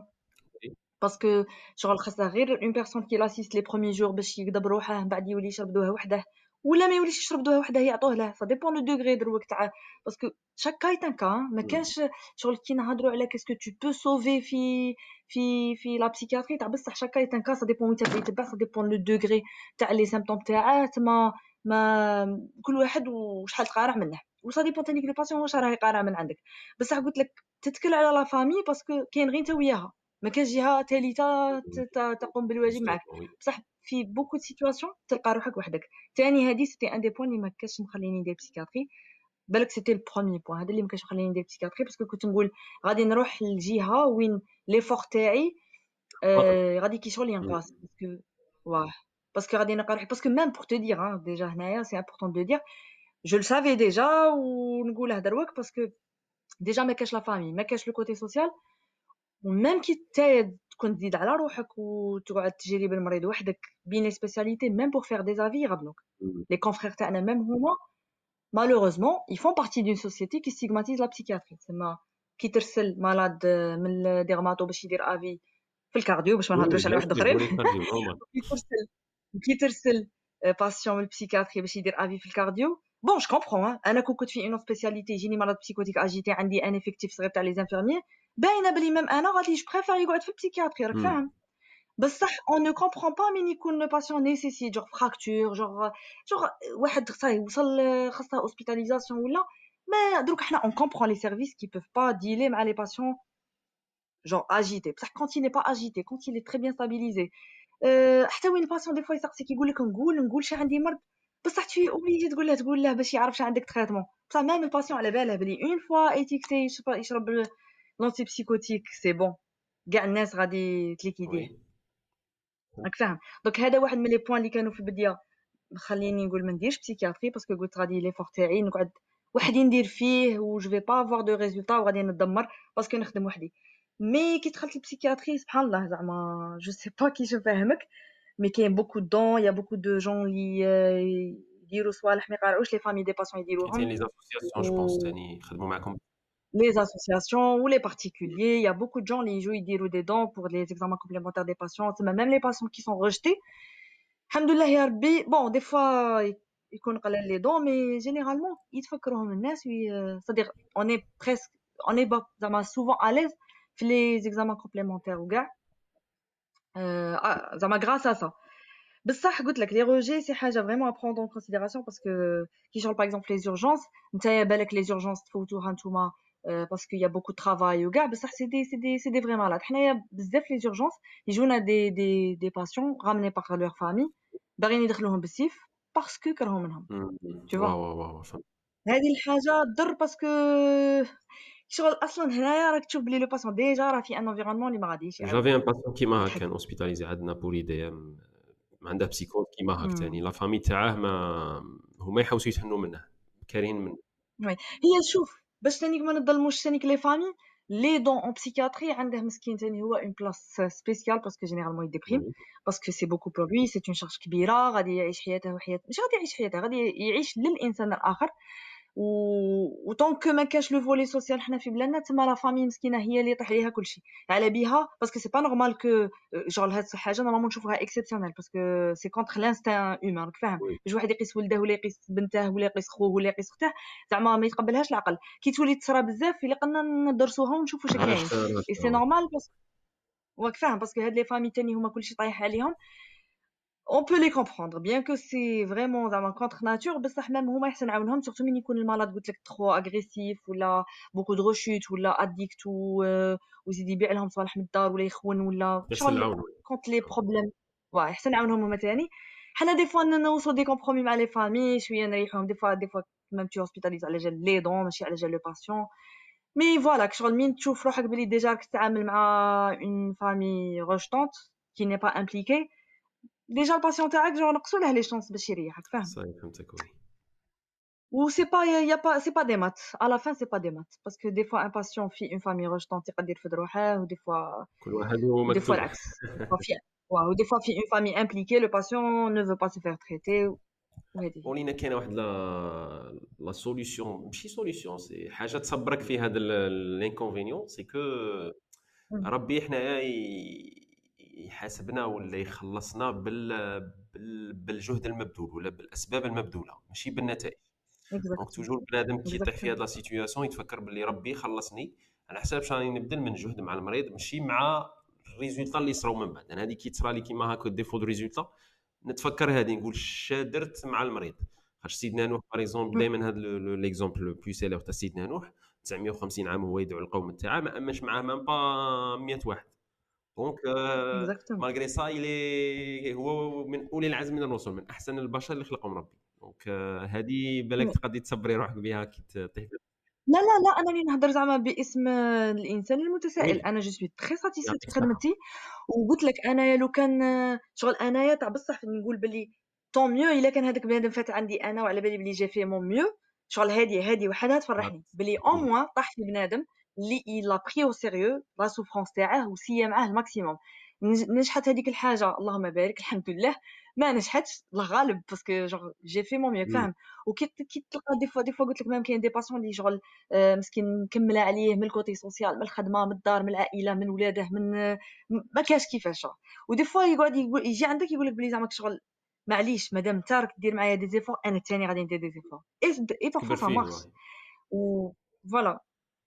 باسكو شغل خاصه غير اون بيرسون كي لاسيست لي بروميي جور باش يقدر روحه من بعد يولي يشرب دوها وحده ولا ما يوليش يشرب دوها وحده يعطوه له سا ديبون لو دوغري دروك تاع باسكو شاك كا ايت ان كا ما كانش شغل كي نهضروا على كاسكو تو بو سوفي في في في لا بسيكياتري تاع بصح شاك كا ايت ان كا سا ديبون وين تبدا يتبع سا ديبون لو دوغري تاع لي سيمبتوم تاعه ما ما كل واحد وشحال تقارع منه وسا ديبون تانيك لو باسيون واش راه يقارع من عندك بصح قلت لك تتكل على لا فامي باسكو كاين غير انت وياها ما كاينش جهه ثالثه تقوم بالواجب معك بصح في بوكو سيتواسيون تلقى روحك وحدك. ثاني هذه سيتي ان دي بوين اللي ما كانش مخليني ندير بسيكاتري بالك سيتي البروميي بوين هذا اللي ما كانش مخليني ندير بسيكاتري باسكو كنت نقول غادي نروح للجهه وين لي فور تاعي آه غادي كي شغل ينقاص باسكو واه باسكو غادي نلقى روحي باسكو ميم بور تو دير ها ديجا هنايا سي امبورطون دو دير جو لو سافي ديجا ونقولها دروك باسكو ديجا ما كاش لا فامي ما كاش لو كوتي سوسيال وميم كي تايد تكون تزيد على روحك وتقعد تجري بالمريض وحدك بين لي سبيسياليتي ميم بور فير دي افي يغبنوك لي كونفرير تاعنا ميم هما malheureusement ils font partie d'une société qui stigmatise la psychiatrie تما كي ترسل مالاد من الديرماتو باش يدير افي في الكارديو باش ما نهضروش على واحد اخرين كي ترسل كي ترسل باسيون من البسيكاتري باش يدير افي في الكارديو بون جو كومبرون انا كون كنت في اون سبيسياليتي يجيني مرض بسيكوتيك اجيتي عندي ان افيكتيف صغير تاع لي زانفيرميي باينه بلي ميم انا غادي جو بريفير يقعد في البسيكياتري راك فاهم بصح اون نو كومبرون با مين يكون لو باسيون نيسيسي جوغ فراكتور جوغ جوغ واحد صاي وصل خاصه هوسبيتاليزاسيون ولا ما دروك حنا اون كومبرون لي سيرفيس كي بوف با ديلي مع لي باسيون جوغ اجيتي بصح كونت il n'est pas agité quand il est très bien stabilisé أه حتى وين الباسيون دي فوا يسقسيك يقول لك نقول نقول شي عندي مرض بصح تي اوبليجي تقول له تقول له باش يعرف شي عندك تريتمون بصح ميم الباسيون على باله بلي اون فوا ايتيكتي يشرب لونتي بسيكوتيك سي بون كاع الناس غادي تليكيديه راك فاهم. دونك هذا واحد من لي بوين اللي كانوا في البدايه خليني نقول ما نديرش بسيكياتري باسكو قلت غادي لي فور تاعي نقعد وحدي ندير فيه و جو في با افوار دو ريزولطا وغادي ندمر باسكو نخدم وحدي مي كي دخلت البسيكياتري سبحان الله زعما جو سي با كيش نفهمك مي كاين بوكو دون يا بوكو دو جون لي يديروا صوالح ما يقارعوش لي فامي دي باسيون كاين يديروهم لي زاسوسياسيون جو بونس و ثاني يخدموا معكم. les associations ou les particuliers, il y a beaucoup de gens les jouent ils diront des dons pour les examens complémentaires des patients, c'est même les patients qui sont rejetés. Alhamdoulilah ya Rabbi, bon des fois يكون قلال les dons mais généralement يتفكروهم الناس وي- c'est-à-dire on est presque on est ba- زعما souvent à l'aise في les examens complémentaires وكاع euh, ah, زعما grâce à ça. بصح قلت لك les rejets c'est حاجه vraiment à prendre en considération parce que qui genre par exemple les urgences نتايا بالك les urgences تفوتوها نتوما euh, parce qu'il y a beaucoup de travail وكاع بصح c'est des c'est des c'est des vrais malades حنايا بزاف les urgences يجونا des des des patients ramenés par leur famille باغيين يدخلوهم بالسيف parce que كرهوا منهم tu vois واو واو واو فهمت. هذه الحاجه تضر باسكو شغل اصلا هنايا راك تشوف بلي لو باسون ديجا راه في ان انفيرونمون اللي ما غاديش يعاود جافي ان باسيون كيما هكا كان يتحكم اوسبيتاليزي عندنا بور اي ام، ما عنده بسيكوز كيما هاك مم. ثاني لا فامي تاعه ما هما يحوسوا يتهنوا منه كارين من وي هي شوف باش تانيك ما نظلموش تانيك لي فامي لي دون اون بسيكياتري عنده مسكين تاني هو اون بلاص سبيسيال باسكو جينيرالمون يديبريم باسكو سي بوكو بور لوي سي اون شارج كبيره غادي يعيش حياته وحياه مش غادي يعيش حياته غادي يعيش للانسان الاخر و وطونك ما كاش لو فولي سوسيال حنا في بلادنا تما لا فامي مسكينه هي اللي يطيح ليها كلشي على بها باسكو سي با نورمال كو جون هاد الحاجه نورمالمون نشوفوها اكسيبسيونيل باسكو سي كونتر لانستان هيومان راك فاهم وي باش واحد يقيس ولده ولا يقيس بنته ولا يقيس خوه ولا يقيس اخته زعما ما يتقبلهاش العقل كي تولي تصرا بزاف الا قلنا ندرسوها ونشوفوا اش كاين اي سي نورمال بس راك فاهم باسكو هاد لي فامي تاني هما كلشي طايح عليهم on peut les comprendre bien que c'est vraiment زعما contre nature بصح même هما يحسن عاونهم surtout من يكون المرض قلت لك trop agressif ولا beaucoup de rechutes ولا addict و ويزيد يبيع لهم صوالح من الدار ولا يخون ولا يحسن شغل العون. contre les problèmes واه يحسن عاونهم هما تاني حنا دي فوا نوصلوا دي كومبرومي مع لي فامي شويه نريحوهم دي فوا دي فوا même tu hospitalises على جال لي دون ماشي على جال لو باسيون مي فوالا شغل مين تشوف روحك بلي ديجا راك تتعامل مع une famille rejetante qui n'est pas impliquée ديجا الباسيون تاعك جو نقصوا له لي شانس باش يريحك فاهم صحيح فهمتك. وي و سي با يا با سي با دي مات à la fin c'est pas des maths parce que des fois un patient في une famille rejetante يقدر يرفد روحه ودي فوا كل واحد هو ودي فوا مكتوب. العكس des fois في واو ودي فوا في une famille impliquée le patient ne veut pas se faire traiter وهذه ولينا كاينه واحد لا لا سوليوشون ماشي سوليوشون سي حاجه تصبرك في هذا الانكونفينيون سي كو ربي حنايا يحاسبنا ولا يخلصنا بال بالجهد المبذول ولا بالاسباب المبذوله ماشي بالنتائج. دونك توجور بنادم كي يطيح في هذه لا سيتوياسيون يتفكر باللي ربي خلصني على حساب اش راني نبذل من جهد مع المريض ماشي مع الريزولطا اللي صراو من بعد. انا هذه كي تصرى لي كيما هكا ديفو دو ريزولطا نتفكر هذه نقول اش درت مع المريض. خاطر سيدنا نوح باغ اكزومبل دائما هذا ليكزومبل لو بلو سيلير تاع سيدنا نوح تسعمية وخمسين عام هو يدعو القوم تاعه ما امنش معاه مام با مية واحد. دونك مالغري سا يلي هو من اولي العزم من الرسل من احسن البشر اللي خلقهم ربي. دونك هذه بالك تقدري تصبري روحك بها كي تطيح. لا لا لا انا اللي نهضر زعما باسم الانسان المتسائل انا جو سوي تري ساتيسفيت في خدمتي وقلت لك انايا لو كان شغل انايا تاع بصح نقول بلي طون ميو الا كان هذاك بنادم فات عندي انا وعلى بالي بلي جا فيه مون ميو شغل هذه هذه وحدها تفرحني بلي او موان طاح في بنادم اللي لا بري او سيريو لا سوفرونس تاعه وسيا معاه الماكسيموم. نجحت هذيك الحاجه اللهم بارك الحمد لله ما نجحتش الله غالب باسكو جونغ جي في مون ميو فاهم. وكي كي تلقى دي فوا دي فوا قلت لك ميم كاين دي باسيون اللي شغل مسكين مكمله عليه من الكوتي سوسيال من الخدمه من الدار من العائله من ولاده من ما كاش كيفاش. ودي فوا يقعد يقول يجي عندك يقول لك بلي زعما شغل معليش مادام انت راك دير معايا دي زيفور انا الثاني غادي ندير دي زيفور اي بارفو سا مارش و فوالا.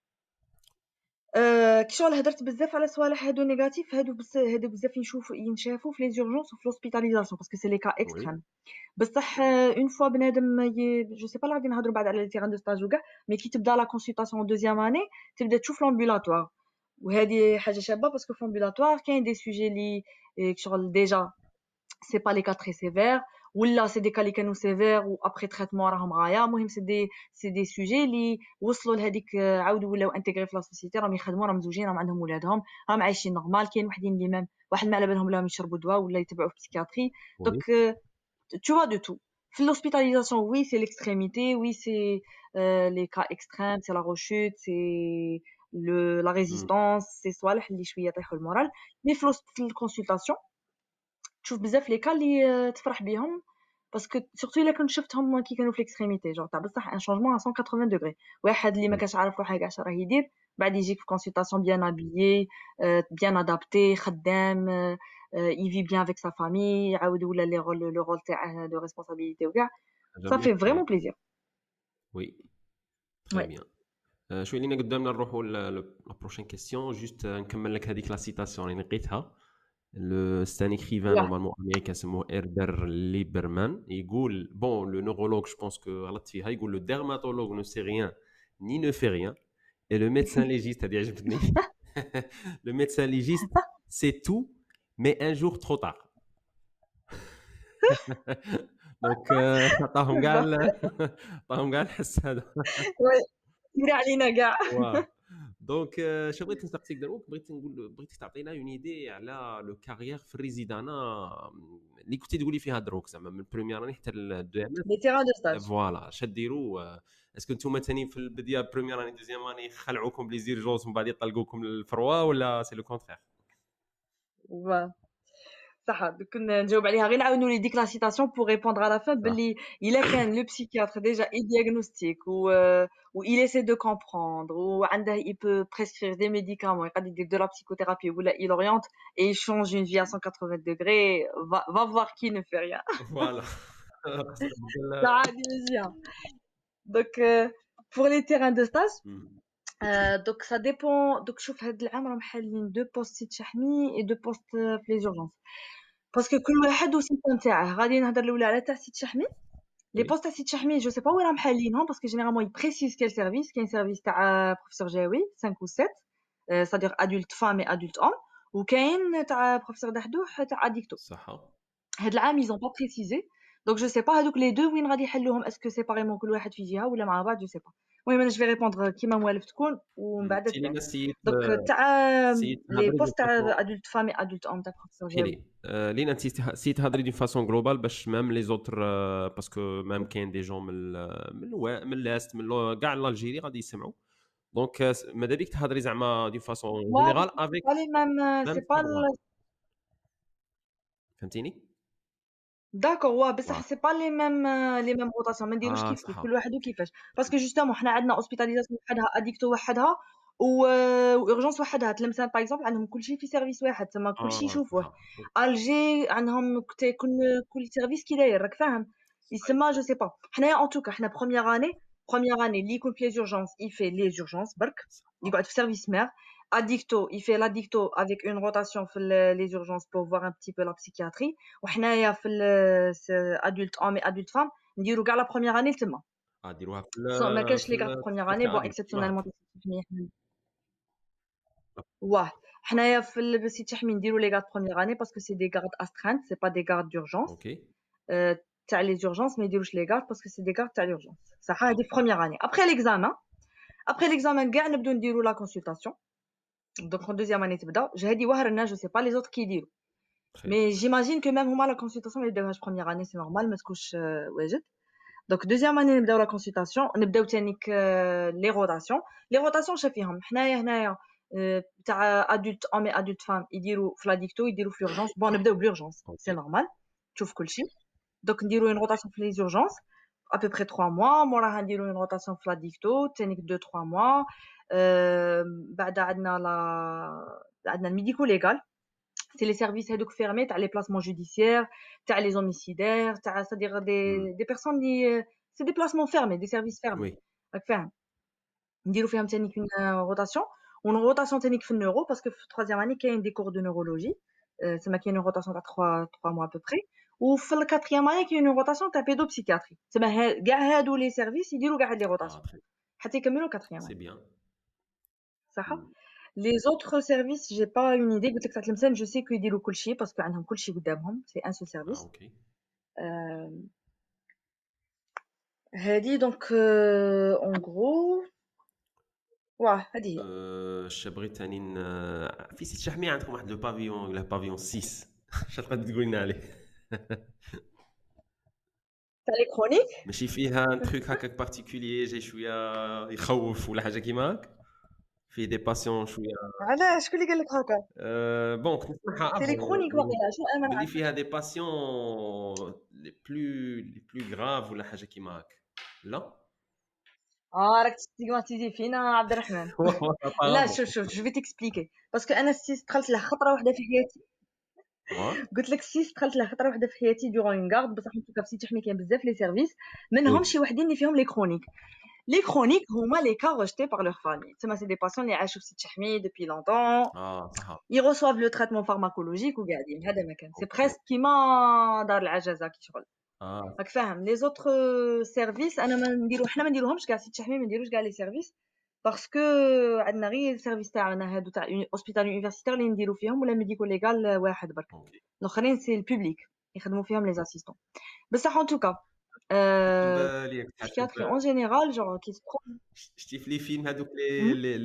أه كي شغل هدرت بزاف على صوالح هادو نيجاتيف هادو بس هادو بزاف ينشوفوا ينشافوا في لي زورجونس وفي لوسبيتاليزاسيون باسكو سي لي كا اكستريم بصح اون فوا بنادم جو سي با غادي نهضروا بعد على لي تيران دو ستاج وكاع مي كي تبدا لا كونسلطاسيون دوزيام اني تبدا تشوف لامبولاتوار وهذه حاجه شابه باسكو في لامبولاتوار كاين دي سوجي لي شغل ديجا سي با لي كا تري سيفير ولا سي دي كا لي كانوا سيفير و ابري تريتمون راهم غايا المهم سي دي سي دي سوجي لي وصلوا لهذيك عاودوا ولاو انتيغري في لا سوسيتي راهم يخدموا راهم مزوجين راهم عندهم ولادهم راهم عايشين نورمال. كاين وحدين اللي مام واحد ما على بالهم ولاهم يشربوا دواء ولا يتبعوا في بسيكياتري دونك tu vois de tout. L'hospitalisation, oui, c'est l'extrémité, oui, c'est euh, les cas extrêmes, c'est la rechute, c'est le la مم. résistance سي صوالح اللي شويه يطيحوا المورال. مي في الوسط- في الكونسلطاسيون تشوف بزاف لي كا اللي آه، تفرح بيهم، باسكو سورتو الا كنت شفتهم كي كانوا في ليكستريميتي جونغ تاع بصح ان شونجمون à مية وثمانين دوغري. واحد اللي ما مم. كانش عارف روحه كاع راه يدير، بعد يجيك في كونسلطاسيون بيان ابيي بيان ادابتي خدام يفي بيان افيك سا فامي، يعاود ولا لي رول لو رول تاعه دو ريسبونسابيلتي وكاع. حاجه Ça fait مليحه vraiment وي. plaisir. وي تري Ouais. بيان. آه، شوي لينا قدامنا نروحوا لا بروشين كيسيون. جوست نكمل لك هذيك لا سيتاسيون اللي لقيتها. لو ستان ايكريفان Ouais. نورمالمون امريكان اسمه ايربر ليبرمان يقول بون لو نورولوج جو بونس كو غلطت فيها، يقول لو ديرماتولوج نو سي ريان ني نو في ريان et le médecin légiste هذه عجبتني. le médecin légiste c'est tout mais un jour trop tard. دونك عطاهم كاع عطاهم كاع الحس هذا. Ouais. تيري علينا كاع. واه دونك شنو بغيت نسقسيك دروك، بغيت نقول بغيتك تعطينا اون ايدي على لو كارير في الريزيدانا اللي كنتي تقولي فيها دروك، زعما من البريمير اني حتى الدو ام Les terrains de stage. اس. فوالا اش ديروا؟ اسكو نتوما ثاني في البدايه بريمير اني دوزيام اني خلعوكم بلي زيرجونس ومن بعد يطلقوكم للفروا، ولا سي لو كونترير؟ Ouais. صح. دوك نجاوب عليها غير نعاود نولي ديك لا سيتاسيون بور ريبوندر على فان باللي الا كان لو بسيكياتر ديجا اي دياغنوستيك و و il essaie de comprendre وعنده il peut prescrire des médicaments يقدر يدير de la psychothérapie ولا il oriente et il change une vie à cent quatre-vingts degrés, va, va voir qui ne fait rien. فوالا. Ça a des mésien. Donc euh, pour les terrains de stage euh, donc ça dépend. Donc شوف هاد العام راهم حالين دو بوست سيت شحمي et deux postes في les urgences. باسكو كل واحد والسيستم تاعه. غادي نهضر الاولى على تاع سيت شحمي. لي بوست تاع سيت شحمي جو سي با وين راهم حالينهم، باسكو جينيرالمون يبريسيز كيل سيرفيس. كاين سيرفيس تاع بروفيسور جاوي خمسة و سبعة صادير ادولت فام اي ادولت اوم، وكاين تاع بروفيسور دحدوح تاع اديكتو. صح. هاد العام ils ont pas précisé donc je sais pas هادوك لي دو وين غادي يحلوهم، اسكو سيباريمون كل واحد في جهه ولا مع بعض جو سي با. المهم انا جو في ريبوندر كيما موالف تكون ومن بعد تبان. تيلينا سيت دونك تاع سيت لي هضري بوست تاع دو ادولت فام اي ادولت اوم تاع بروفيسور جاوي. لي لينا انت سيت هضري دي فاسون جلوبال باش ميم لي زوتر، باسكو ميم كاين دي جون من ال- من الوا- من لاست من لو- كاع الجيري غادي يسمعوا. دونك ماذا بيك تهضري زعما دي فاسون جينيرال افيك pas les mêmes, c'est pas le... فهمتيني؟ داكور وا بصح واه. سي با لي ميم لي ميم روتاسيون. ما نديروش اه كيف كيف صح. كل واحد وكيفاش، باسكو جوستومون حنا عندنا اوسبيتاليزاسيون وحدها، اديكتو وحدها، و اورجونس وحدها. تلمسان باغ اكزومبل عندهم كلشي في سيرفيس واحد، تما كلشي اه يشوفوه. صح. الجي عندهم كت- كل كل سيرفيس كي داير، راك فاهم؟ يسمى جو سي با. حنايا ان توكا حنا بروميير اني بروميير اني اللي يكون في لي زورجونس يفي لي زورجونس برك، يقعد في سيرفيس مير. Addicto, il fait l'addicto avec une rotation في ال- les urgences pour voir un petit peu la psychiatrie. وحنايا في ال- س- adulte homme et adulte femme نديرو كاع لا première année تما. اه ديروها في So, ما ال- كاش في لي كاع في ال- première في année بون الكادر. اكسبسيونيلمون. واه حنايا في السيت شحمي نديرو لي غارد première année باسكو سي دي غارد astreinte, c'est pas des gardes d'urgence. اوكي. Euh, تاع les urgences ما يديروش لي غارد باسكو سي دي غارد تاع l'urgence. صح هذه في première année. après l'examen après l'examen كاع نبداو نديرو لا consultation. donc en deuxième année تبدا هذه واهرنا جو سي با لي زوتر كي يديرو. Mais j'imagine que même هما la consultation اللي يبداوها première année c'est normal ما تكونش آه، واجد. donc deuxième année نبداو la consultation، نبداو تانيك آه، les rotations. les rotations شافيهم حنايا هنايا آه، تاع adulte homme et adulte femme يديروا في l'adicto يديروا في l'urgence. bon نبداو بل'urgence c'est normal تشوف كلشي. donc نديروا une rotation في les urgences à peu près trois mois. موراها نديروا une rotation في l'adicto تانيك deux trois mois. euh, بعد عندنا la عندنا الميديكو ليغال، c'est les services هذوك fermés تاع les placements judiciaires تاع les homicidaires تاع c'est-à-dire des des personnes اللي c'est des placements fermés des services fermés. وي. راك فاهم؟ نديرو فيهم تانيك une rotation ون rotation تانيك في النورو باسكو في troisième année كاين des cours de neurologie تما كاين une rotation تاع trois trois mois à peu près. وفي الquatrième année كاين une rotation تاع pédopsychiatrie. تما ها- كاع هادو les services يديروا كاع هاد les rotations حتى يكملوا quatrième سي année. بيان. صح. Les autres services, j'ai pas une idée. قلت لك تاع تلمسان je sais qu'ils يديروا كلشي باسكو عندهم كلشي قدامهم c'est un seul اه service. اوكي. euh, هذه donc euh, en gros واه هذه هي. اش بغيت ثاني ن- في سيت شحمي عندكم واحد لو بافيون ولا بافيون ستة اش تقدر تقول لنا عليه؟ تاع لي كرونيك ماشي فيها ان تروك هكاك بارتيكولير جاي شويه يخوف ولا حاجه كيما هاك؟ فيه دي باسيون شويه علاش شكون اللي قال لك هكا؟ أه بون كنت نسمعها سي لي كرونيك واقيلا شنو انا بلي نعرف فيها دي باسيون لي بلو لي بلو غراف ولا حاجه كيما هكا لا اه راك تستيغماتيزي فينا عبد الرحمن لا شوف شوف جو في تكسبليكي باسكو انا السيس دخلت له خطره واحده في حياتي قلت لك السيس دخلت له خطره واحده في حياتي دورون اون غارد بصح انتو في سيتي حمي كاين بزاف لي سيرفيس منهم شي وحدين اللي فيهم لي كرونيك لي كرونيك هما لي كا ريجتي بار لور فامي تسمى سي دي باسيون اللي عاشوا في سيتي حمي دوبي لونطون اه صح ils reçoivent le traitement pharmacologique وقاعدين هذا مكان سي بريسك كيما دار العجزه كي شغل اه راك فاهم لي زوتر سيرفيس انا ما نديرو حنا ما نديروهمش كاع سيتي حمي ما نديروش كاع لي سيرفيس باسكو عندنا غير السيرفيس تاعنا هادو تاع اوسبيتال يونيفرسيتير اللي نديرو فيهم ولا ميديكو ليغال واحد برك الاخرين سي البوبليك يخدموا فيهم لي اسيستون بصح ان توكا psychiatrie en général genre qui se prend شتي في لي فيلم هذوك لي لي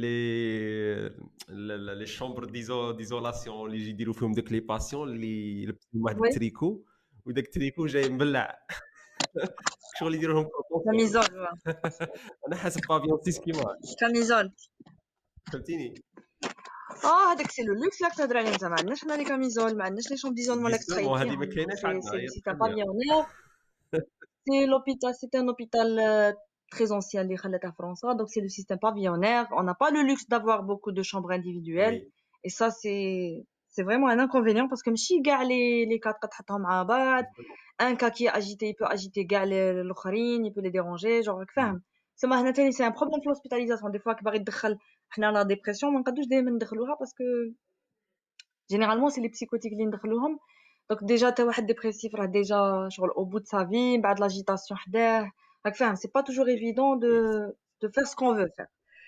لي لي شامبر ديزو ديزولاسيون اللي يجي يديروا فيهم داك لي باسيون اللي يلبسوا واحد التريكو وداك التريكو جاي مبلع شغل يديروا لهم كاميزول انا حاسب بافيون سيس كيما كاميزول فهمتيني اه هذاك سي لو لوكس لا تهضر عليه انت ما عندناش حنا لي كاميزول ما عندناش لي شومب ديزولمون لا تخيل هذه ما كايناش عندنا سي سي تا بافيونير c'est l'hôpital c'est un hôpital euh, très ancien اللي خلاتها فرنسا donc c'est le système pavillonnaire on n'a pas le luxe d'avoir beaucoup de chambres individuelles oui. et ça c'est c'est vraiment un inconvénient parce que ماشي كاع les les cas تحطهم مع بعض un cas qui est agité il peut agiter كاع الاخرين il peut les déranger genre راك فاهم سما هنا تاني c'est un problème في l'hospitalisation des fois كباغي تدخل حنا لا ديبرسيون ما نقدوش دائما ندخلوها parce que généralement c'est les psychotiques اللي ندخلوهم donc déjà t'as واحد dépressif راه déjà شغل au bout de sa vie بعد l'agitation حداه راك فاهم c'est pas toujours évident de de faire ce qu'on veut faire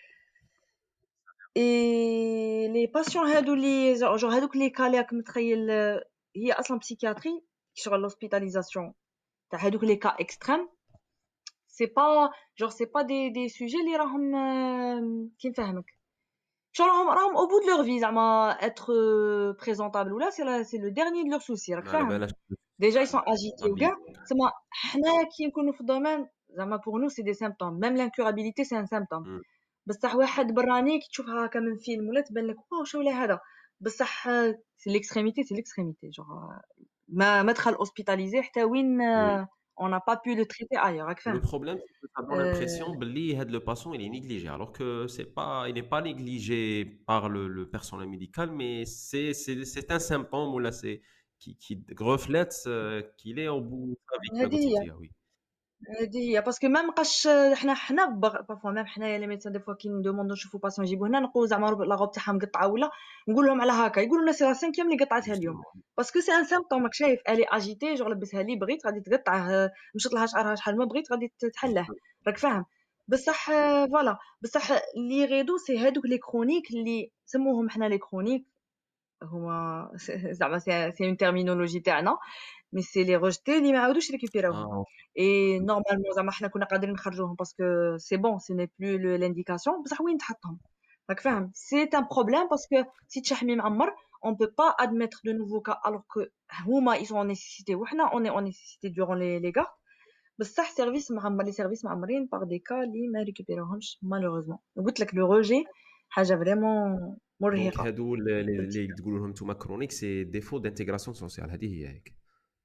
et les patients هادو اللي genre هادوك لي كا اللي راك متخيل هي اصلا psychiatrie شغل l'hospitalisation تاع هادوك لي كا extrême c'est pas genre c'est pas des des sujets اللي راهم كي نفهمك شغل راهم راهم au bout de leur vie زعما être présentable ولا c'est c'est le dernier de leurs soucis راك فاهم déjà ils sont agités وكاع تسمى حنا كي نكونوا في الدومين زعما pour nous c'est des symptômes même l'incurabilité c'est un symptôme بصح واحد براني كي تشوفها هكا من فيلم ولا تبان لك واو شو ولا هذا بصح c'est l'extrémité c'est l'extrémité genre ما ما دخل hospitalisé حتى وين on n'a pas pu le traiter ailleurs. Le problème, c'est que ça donne l'impression que le patient il est négligé, alors que c'est pas, il n'est pas négligé par le, le personnel médical, mais c'est, c'est, c'est un symptôme ou là c'est qui, qui reflète qu'il est au bout de sa vie. Oui. هذه باسكو ما بقاش حنا حنا بارفوا ميم حنايا لي ميدسان دي فوا كي ندوموندو نشوفو باسيون يجيبو هنا نقولوا زعما لا غوب تاعها مقطعه ولا نقول لهم على هكا يقولوا لنا سي لا سانكيام اللي قطعتها اليوم باسكو سي ان سيمبتوم راك شايف الي اجيتي جو لبسها لي بغيت غادي تقطعه مشات لها شعرها شحال ما بغيت غادي تحله راك فاهم بصح فوالا بصح لي غيدو سي هادوك لي كرونيك اللي سموهم حنا لي كرونيك هما زعما سي اون تيرمينولوجي تاعنا مي سي لي روجتي اللي ما عاودوش ريكوبيراوهم اي نورمالمون زعما حنا كنا قادرين نخرجوهم باسكو سي بون سي ني بلو لانديكاسيون بصح وين تحطهم راك فاهم سي ان بروبليم باسكو سي تشحمي معمر اون بو با ادميتر دو نوفو كا الوغ كو هما اي سون نيسيسيتي وحنا اون اون نيسيسيتي دورون لي لي غارد بصح سيرفيس معمر لي سيرفيس معمرين باغ دي كا اللي ما ريكوبيراوهمش مالوغوزمون قلت لك لو روجي حاجه فريمون مرهقه دونك هادو اللي تقولوا لهم نتوما كرونيك سي ديفو دانتيغراسيون سوسيال هذه هي هيك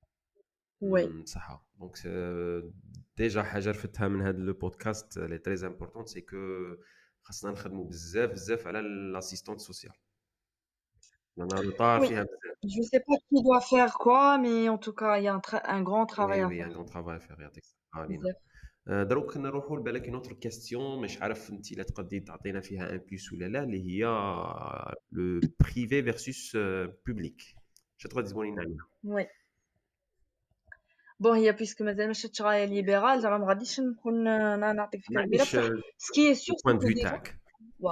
وي صح دونك ديجا حاجه رفتها من هذا لو بودكاست لي تري امبورطون سي كو خاصنا نخدموا بزاف بزاف على لاسيستونت سوسيال لان روطار فيها بزاف je sais pas qui doit faire quoi mais en tout cas il y a un, tra- un grand travail oui, à oui, faire un grand travail à faire يعطيك الصحه علينا دروك نروحوا لبالك اون اوتر كيستيون مش عارف انت لا تقدري تعطينا فيها ان بلس ولا لا اللي هي لو بريفي فيرسوس بوبليك اش تقدر تقولي لنا عليها وي بون هي بيسك مازال ما شفتش غايه ليبرال زعما ما غاديش نكون نعطيك فكره كبيره بصح سكي سور سي تاعك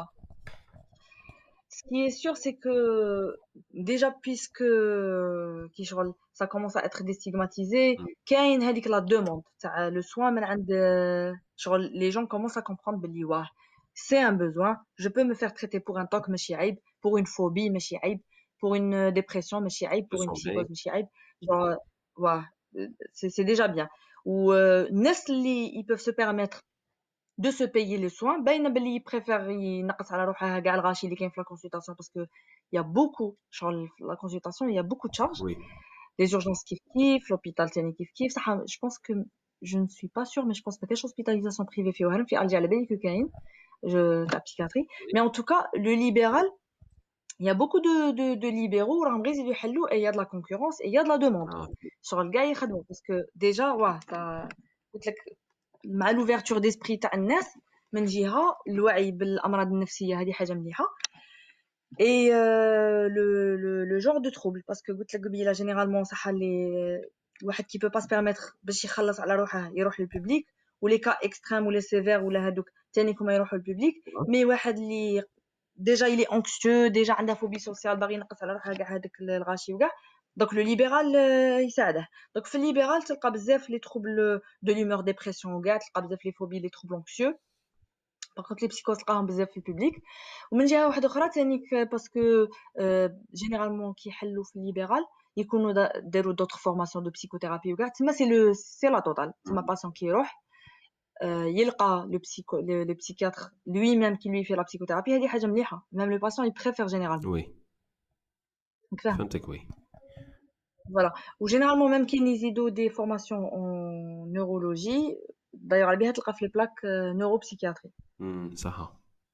Ce qui est sûr, c'est que déjà, puisque qui شغل ça commence à être déstigmatisé, كاين هذيك la demande تاع le soin من عند شغل les gens commencent à comprendre بلي واه c'est un besoin, je peux me faire traiter pour un T O C ماشي عيب, pour une phobie ماشي عيب, pour une dépression ماشي عيب, pour une psychose ماشي عيب, genre واه c'est c'est déjà bien. Ou الناس اللي ils peuvent se permettre de se payer les soins. باينه باللي يبريفير ينقص على روحها كاع الغاشي اللي كاين في لا consultation parce que il y a beaucoup شغل la consultation il y a beaucoup de charges. Oui. Les urgences كيف كيف, l'hôpital تاني كيف كيف. صح je pense que je ne suis pas sûre mais je pense ما كاينش hospitalisation privée في وهران. في الجي على بالي كو كاين je تاع psychiatrie. Mais en tout cas le libéral il y a beaucoup de de de libéraux راهم غير يزيدوا يحلوا et il y a de la concurrence et il y a de la demande. Ah, شغل كاع يخدموا parce que déjà واه تا قلت لك مع l'ouverture d'esprit تاع الناس من جهه الوعي بالامراض النفسيه هذه حاجه مليحه et euh, le le le genre de trouble parce que قلت لك قبيله généralement صح اللي واحد qui peut pas se permettre باش يخلص على روحه يروح للبوبليك ولي كا اكستريم ولا سيفير ولا هذوك ثاني كما يروحوا للبوبليك. مي واحد اللي ديجا il est anxieux ديجا عنده فوبي سوسيال باغي ينقص على روحه كاع هذاك الغاشي وكاع دونك لو ليبرال يساعده. دونك في الليبرال تلقى بزاف لي تروبل دو لومور ديبرسيون وكاع تلقى بزاف لي فوبي لي تروبل anxieux. باغ كونط لي بسيكوز تلقاهم بزاف في البوبليك. ومن جهه واحده اخرى ثاني باسكو جينيرالمون كيحلوا في الليبرال يكونوا داروا دوطر فورماسيون دو بسيكوثيرابي وكاع تما سي لو سي لا توتال. تما باسون كيروح يلقى لو بسيكو لو بسيكياتر لوي ميم كي لوي في لا بسيكوثيرابي. هذه حاجه مليحه ميم لو باسون يبريفير جينيرالمون. وي فهمتك. وي فوالا. وجينيرالمون ميم كاين يزيدوا دي فورماسيون اون نيورولوجي دايوغ على بها تلقى في البلاك نورو بسيكياتري. امم صح.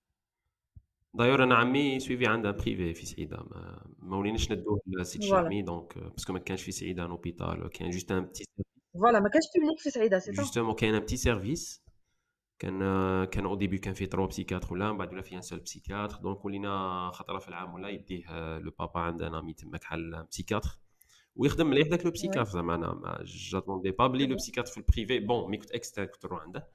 دايور انا عمي سويفي عندها بريفي في سعيده ما, ما وليناش ندوه لسيت شامي دونك باسكو ما كانش في سعيده ان اوبيتال كان جوست ان بتي فوالا ما كانش بوبليك في سعيده سي جوستومون كاين ان بتي سيرفيس كان كان او ديبي كان في ترو بسيكاتر ولا من بعد ولا في ان سول بسيكاتر دونك ولينا خطره في العام ولا يديه لو بابا عندنا مي تماك حل بسيكاتر ويخدم مليح داك لو بسيكاتر زعما انا ما جاتوندي با بلي لو بسيكاتر في البريفي بون مي كنت اكسترا كنت نروح عنده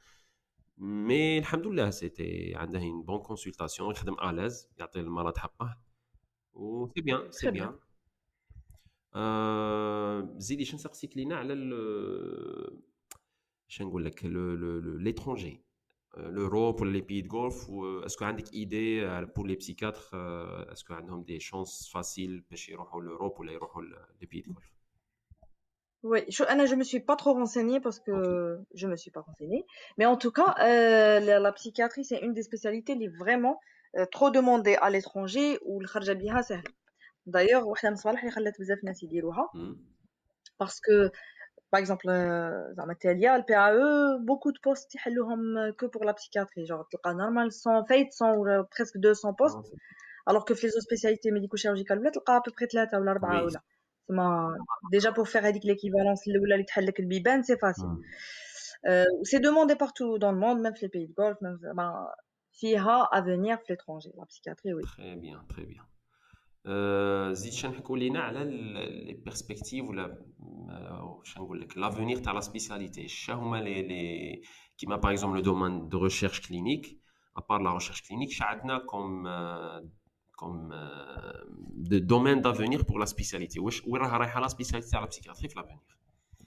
مي الحمد لله سيتي عنده une بون كونسلطاسيون يخدم الاز يعطي المرض حقه و سي بيان سي بيان. ا زيدي شنو نسقسيك لينا على شنو نقول لك ليترونجي l'Europe ولا لي بيي دو غولف اسكو عندك ايدي بور لي بسيكاتر اسكو عندهم دي شانس فاسيل باش يروحوا l'Europe ولا يروحوا لي بيي دو غولف؟ Oui, je, Anna, je me suis pas trop renseignée parce que okay. je me suis pas renseignée. Mais en tout cas, euh, la, la psychiatrie, c'est une des spécialités qui est vraiment euh, trop demandée à l'étranger ou le kharja biha sahl. D'ailleurs, واحدة من الصوالح اللي خلات بزاف ناس يديروها parce que par exemple زعما التالية ال P A E beaucoup de postes يحلوهم que pour la psychiatrie genre تلقى normal cent فايت cent ou presque deux cents postes alors que في les autres spécialités médico-chirurgicales ولا تلقى à peu près ثلاثة ولا أربعة ولا تما déjà pour faire هذيك l'équivalence الاولى اللي تحل لك البيبان c'est facile. euh, c'est demandé partout dans le monde même في les pays de Golfe même bah فيها avenir في l'étranger la psychiatrie. Oui, très bien très bien. زيد شنو نحكوا لينا على لي بيرسبكتيف ولا شنو نقول لك لافونير تاع لا سبيسياليتي شنو هما لي لي كيما باغ اكزومبل لو دومين دو ريشيرش كلينيك ابار لا ريشيرش كلينيك شعدنا كوم كوم دو دومين دافونير بور لا سبيسياليتي واش وين راها رايحه لا سبيسياليتي تاع لا بسيكاتري في لافونير؟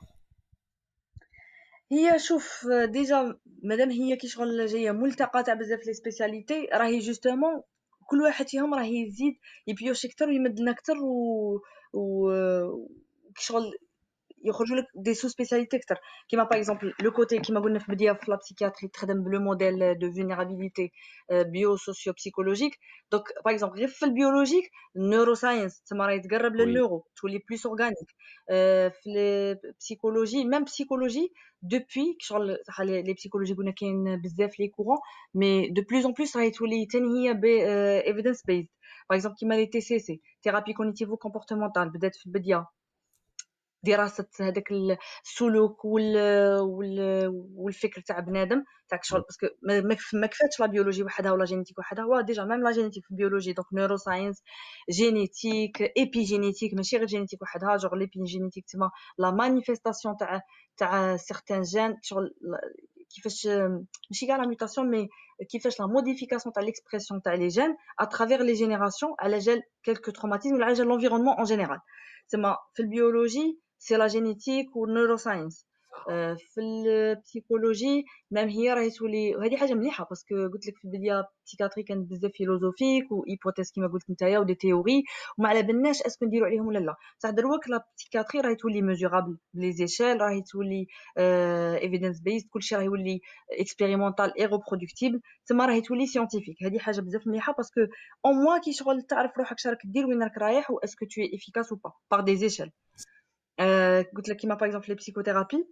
هي شوف ديجا مادام هي كي شغل جايه ملتقى تاع بزاف لي سبيسياليتي راهي جوستومون كل واحد فيهم راه يزيد يبيوش اكثر ويمدنا اكثر و و شغل يخرجوا لك دي سو سبيسياليتي اكثر كيما باغ اكزومبل لو كوتي كيما قلنا في البدايه في لا بسيكياتري تخدم بلو موديل دو فولنيرابيليتي بيو سوسيو بسيكولوجيك دونك باغ اكزومبل غير في البيولوجيك نيورو ساينس تما راه يتقرب للنيورو تولي بلوس اورغانيك في لي بسيكولوجي ميم بسيكولوجي دوبوي شغل صح لي بسيكولوجي قلنا كاين بزاف لي كورون مي دو بلوس ان بلوس راهي تولي ثاني هي ايفيدنس بيزد باغ اكزومبل كيما لي تي سي سي ثيرابي كوغنيتيفو كومبورتمونتال بدات في البدايه دراسه هذاك السلوك وال وال والفكر تاع بنادم تاع شغل باسكو ما كفاتش لا بيولوجي وحدها ولا جينيتيك وحدها هو ديجا ميم لا جينيتيك في البيولوجي دونك نيورو ساينس جينيتيك ايبي جينيتيك ماشي غير جينيتيك وحدها جوغ ليبي جينيتيك تما لا مانيفيستاسيون تاع تاع سيغتان جين شغل كيفاش ماشي كاع لا ميوتاسيون مي كيفاش لا موديفيكاسيون تاع ليكسبرسيون تاع لي جين ا ترافير لي جينيراسيون على جال كلكو تروماتيزم ولا على جال لونفيرونمون ان جينيرال تما في البيولوجي c'est la génétique ou neuroscience في البسيكولوجي مام هي راهي تولي، وهذه حاجه مليحه باسكو قلت لك في البدايه بسيكاتري كانت بزاف فيلوزوفيك وايبوتيز كيما قلت نتايا ودي تيوري وما على بالناش اسكو نديروا عليهم ولا لا. بصح دروك لا بسيكاتري راهي تولي ميزورابل بلي زيشيل، راهي تولي ايفيدنس بيست، كلشي راهي يولي اكسبيريمونطال اي ريبرودكتيبل، تما راهي تولي سيانتيفيك. هذه حاجه بزاف مليحه باسكو او موا كي شغل تعرف روحك شراك دير وين راك رايح واسكو تو اي افيكاس او با باغ دي زيشيل. قلت لك كيما باغ اكزومبل لي بسيكوثيرابي،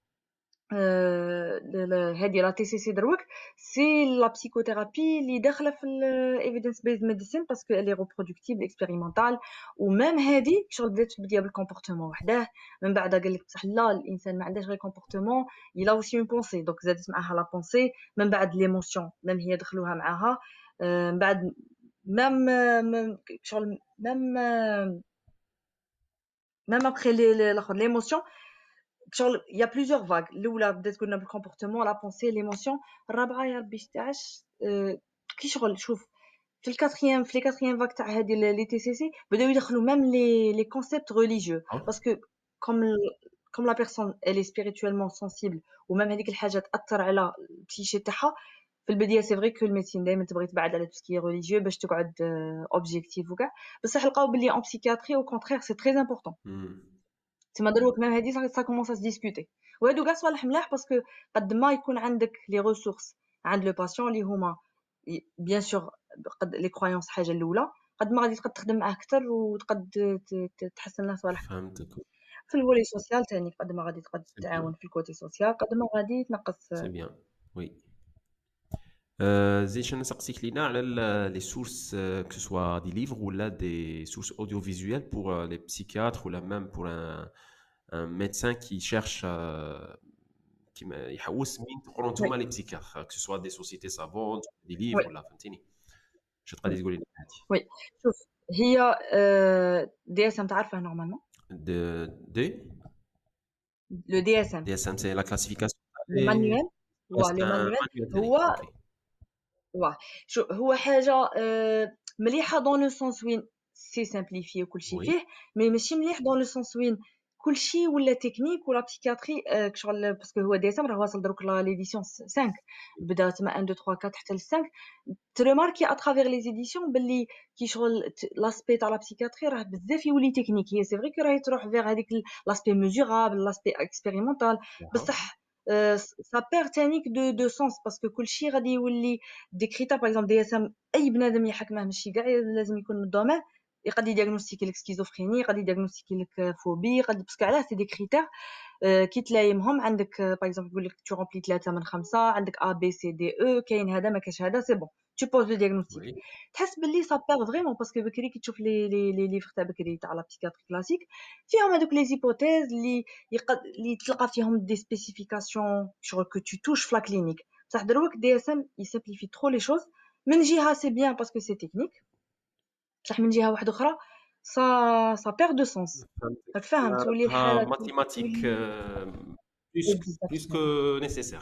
هذه لا تي سي سي دروك سي لا بسيكوثيرابي اللي داخله في الايفيدنس بيز ميديسين باسكو الي ريبرودكتيبل اكسبيريمونطال. ومام هذه شغل بدات في البدايه بالكومبورتمون وحده، من بعد قال لك بصح لا الانسان ما عندهش غير كومبورتمون، يلا اوسي اون بونسي، دونك زادت معاها لا بونسي، من بعد ليموسيون مام هي دخلوها معاها، من بعد مام شغل مام مام ابخي الاخر ليموسيون شغل يا بليزيور فاغ. الاولى بدات قلنا بالكومبورتمون، لا بونسي، ليموسيون. الرابعه يا ربي تاعش كي شغل شوف في الكاتريام في لي كاتريام فاغ تاع هذه لي تي سي سي بداو يدخلوا ميم لي لي كونسيبت ريليجيو باسكو كوم كوم لا بيرسون الي سبيريتويلمون سنسيبل وميم هذيك الحاجه تاثر على البسيشي تاعها. في البدايه سي فري كو الميديسين دائما تبغي تبعد على توسكي ريليجيو باش تقعد اوبجيكتيف وكاع، بصح لقاو بلي اون بسيكياتري او كونترير سي تري امبورطون. تما دروك ميم هادي سا كومونس ا ديسكوتي، وهادو كاع صوالح ملاح باسكو قد ما يكون عندك لي ريسورس عند لو باسيون اللي هما بيان سور قد لي كرويونس حاجه الاولى، قد ما غادي تقد تخدم معاه اكثر وتقد تحسن له صوالح. فهمتك. في الفولي سوسيال ثاني قد ما غادي تقد تتعاون في الكوتي سوسيال قد ما غادي تنقص. سي بيان وي. زيد شنو نسقسيك لينا على لي سورس كو سوا دي ليفر ولا دي سورس اوديو فيزويل بور لي بسيكياتر ولا ميم بور ان ان ميدسان كي شيرش كيما يحوس مين تقروا نتوما لي بسيكياتر كو سوا دي سوسيتي سافون دي ليفر ولا فهمتيني شنو تقدري تقولي لنا هادي؟ وي شوف هي دي اس ام تعرفها نورمالمون دو دي لو دي اس ام دي اس ام سي لا كلاسيفيكاسيون المانيوال وا لو مانيوال هو واه شو هو حاجه مليحه دون لو سونس وين سي سامبليفي وكلشي فيه، مي ماشي مليح دون لو سونس وين كلشي ولا تكنيك ولا بسيكياتري شغل باسكو هو ديسمبر راه واصل دروك لا ليديسيون خمسة بدا تما واحد اثنين ثلاثة أربعة حتى ل خمسة تريماركي اترافير لي زيديسيون باللي كي شغل لاسبي تاع لا بسيكياتري راه بزاف يولي تكنيك. هي سي فري كي راهي تروح فيغ هذيك لاسبي ميزورابل لاسبي اكسبيريمونطال، بصح ça perd تانيك دو دو سونس باسكو كلشي غادي يولي دي كريتير. باغ اكزومبل دي اس ام اي بنادم يحكمه ماشي كاع لازم يكون من الدومين، يقدر يدياغنوستيكي لك سكيزوفريني، يقدر يدياغنوستيكي لك فوبي، قد باسكو علاه سي دي كريتير كي تلايمهم عندك باغ اكزومبل يقول لك تو رومبلي ثلاثة من خمسة، عندك ا بي سي دي او، كاين هذا ما كاش هذا، سي بون tu poses le diagnostic. تحس باللي ça perd vraiment باسكو بكري كي تشوف لي لي لي ليفر تاع بكري تاع لا بسيكاتري كلاسيك فيهم هذوك لي زيبوتيز اللي يقد اللي تلقى فيهم دي سبيسيفيكاسيون شغل كو tu touches في لا كلينيك. بصح دروك دي اس ام يسامبليفي ترو لي شوز، من جهه سي بيان باسكو سي تكنيك، بصح من جهه واحده اخرى ça ça perd de sens. راك فاهم تولي الحاله ماتيماتيك بلوس بلوس كو نيسيسير.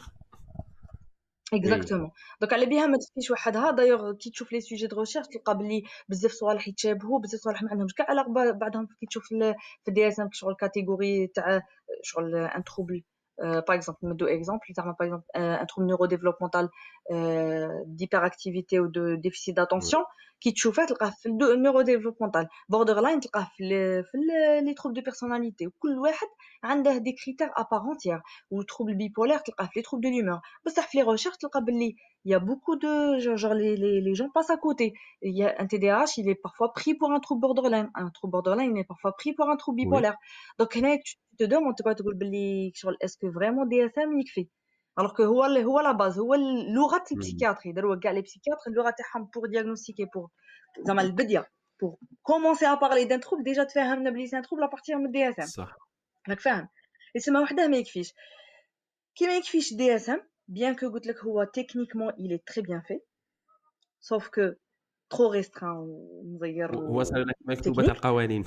اكزاكتومون دونك على بها ما تفيش وحدها. دايوغ كي تشوف لي سوجي دو ريشيرش تلقى بلي بزاف صوالح يتشابهوا، بزاف صوالح ما عندهمش كاع علاقه بعضهم. كي تشوف في دي اس ام شغل كاتيجوري تاع شغل ان تروبل باغ اكزومبل ندو اكزومبل زعما باغ اكزومبل ان تروبل نيورو ديفلوبمونتال ديبر اكتيفيتي و دو ديفيسيت داتونسيون كي تشوفها تلقاه في النيورو ديفلوبمونتال بوردر لاين تلقاه في في لي تروبل دو بيرسوناليتي، وكل واحد عنده دي كريتير ابارونتيير. و تروبل بيبولار تلقاه في لي تروبل دو لومور، بصح في لي ريشيرش تلقى باللي il y a beaucoup de genre les les les gens passent à côté. Il y a un T D A H, il est parfois pris pour un trouble borderline, un trouble borderline il est parfois pris pour un trouble bipolaire. Oui. Donc هنا tu te demandes tu vas تقول باللي شغل est-ce que vraiment D S M يكفي alors que هو هو لا باز هو لغه البسيكياتري. دروك كاع لي بسيكياتر اللغه تاعهم pour diagnostiquer pour زعما البديه pour commencer à parler d'un trouble déjà تفهمنا بلي c'est un trouble à partir من D S M صح راك فاهم. اسمها وحده ما يكفيش كي ما يكفيش D S M bien que قلت لك هو techniquement il est très bien fait sauf que trop restreint ومزير هو صار مكتوبه تاع القوانين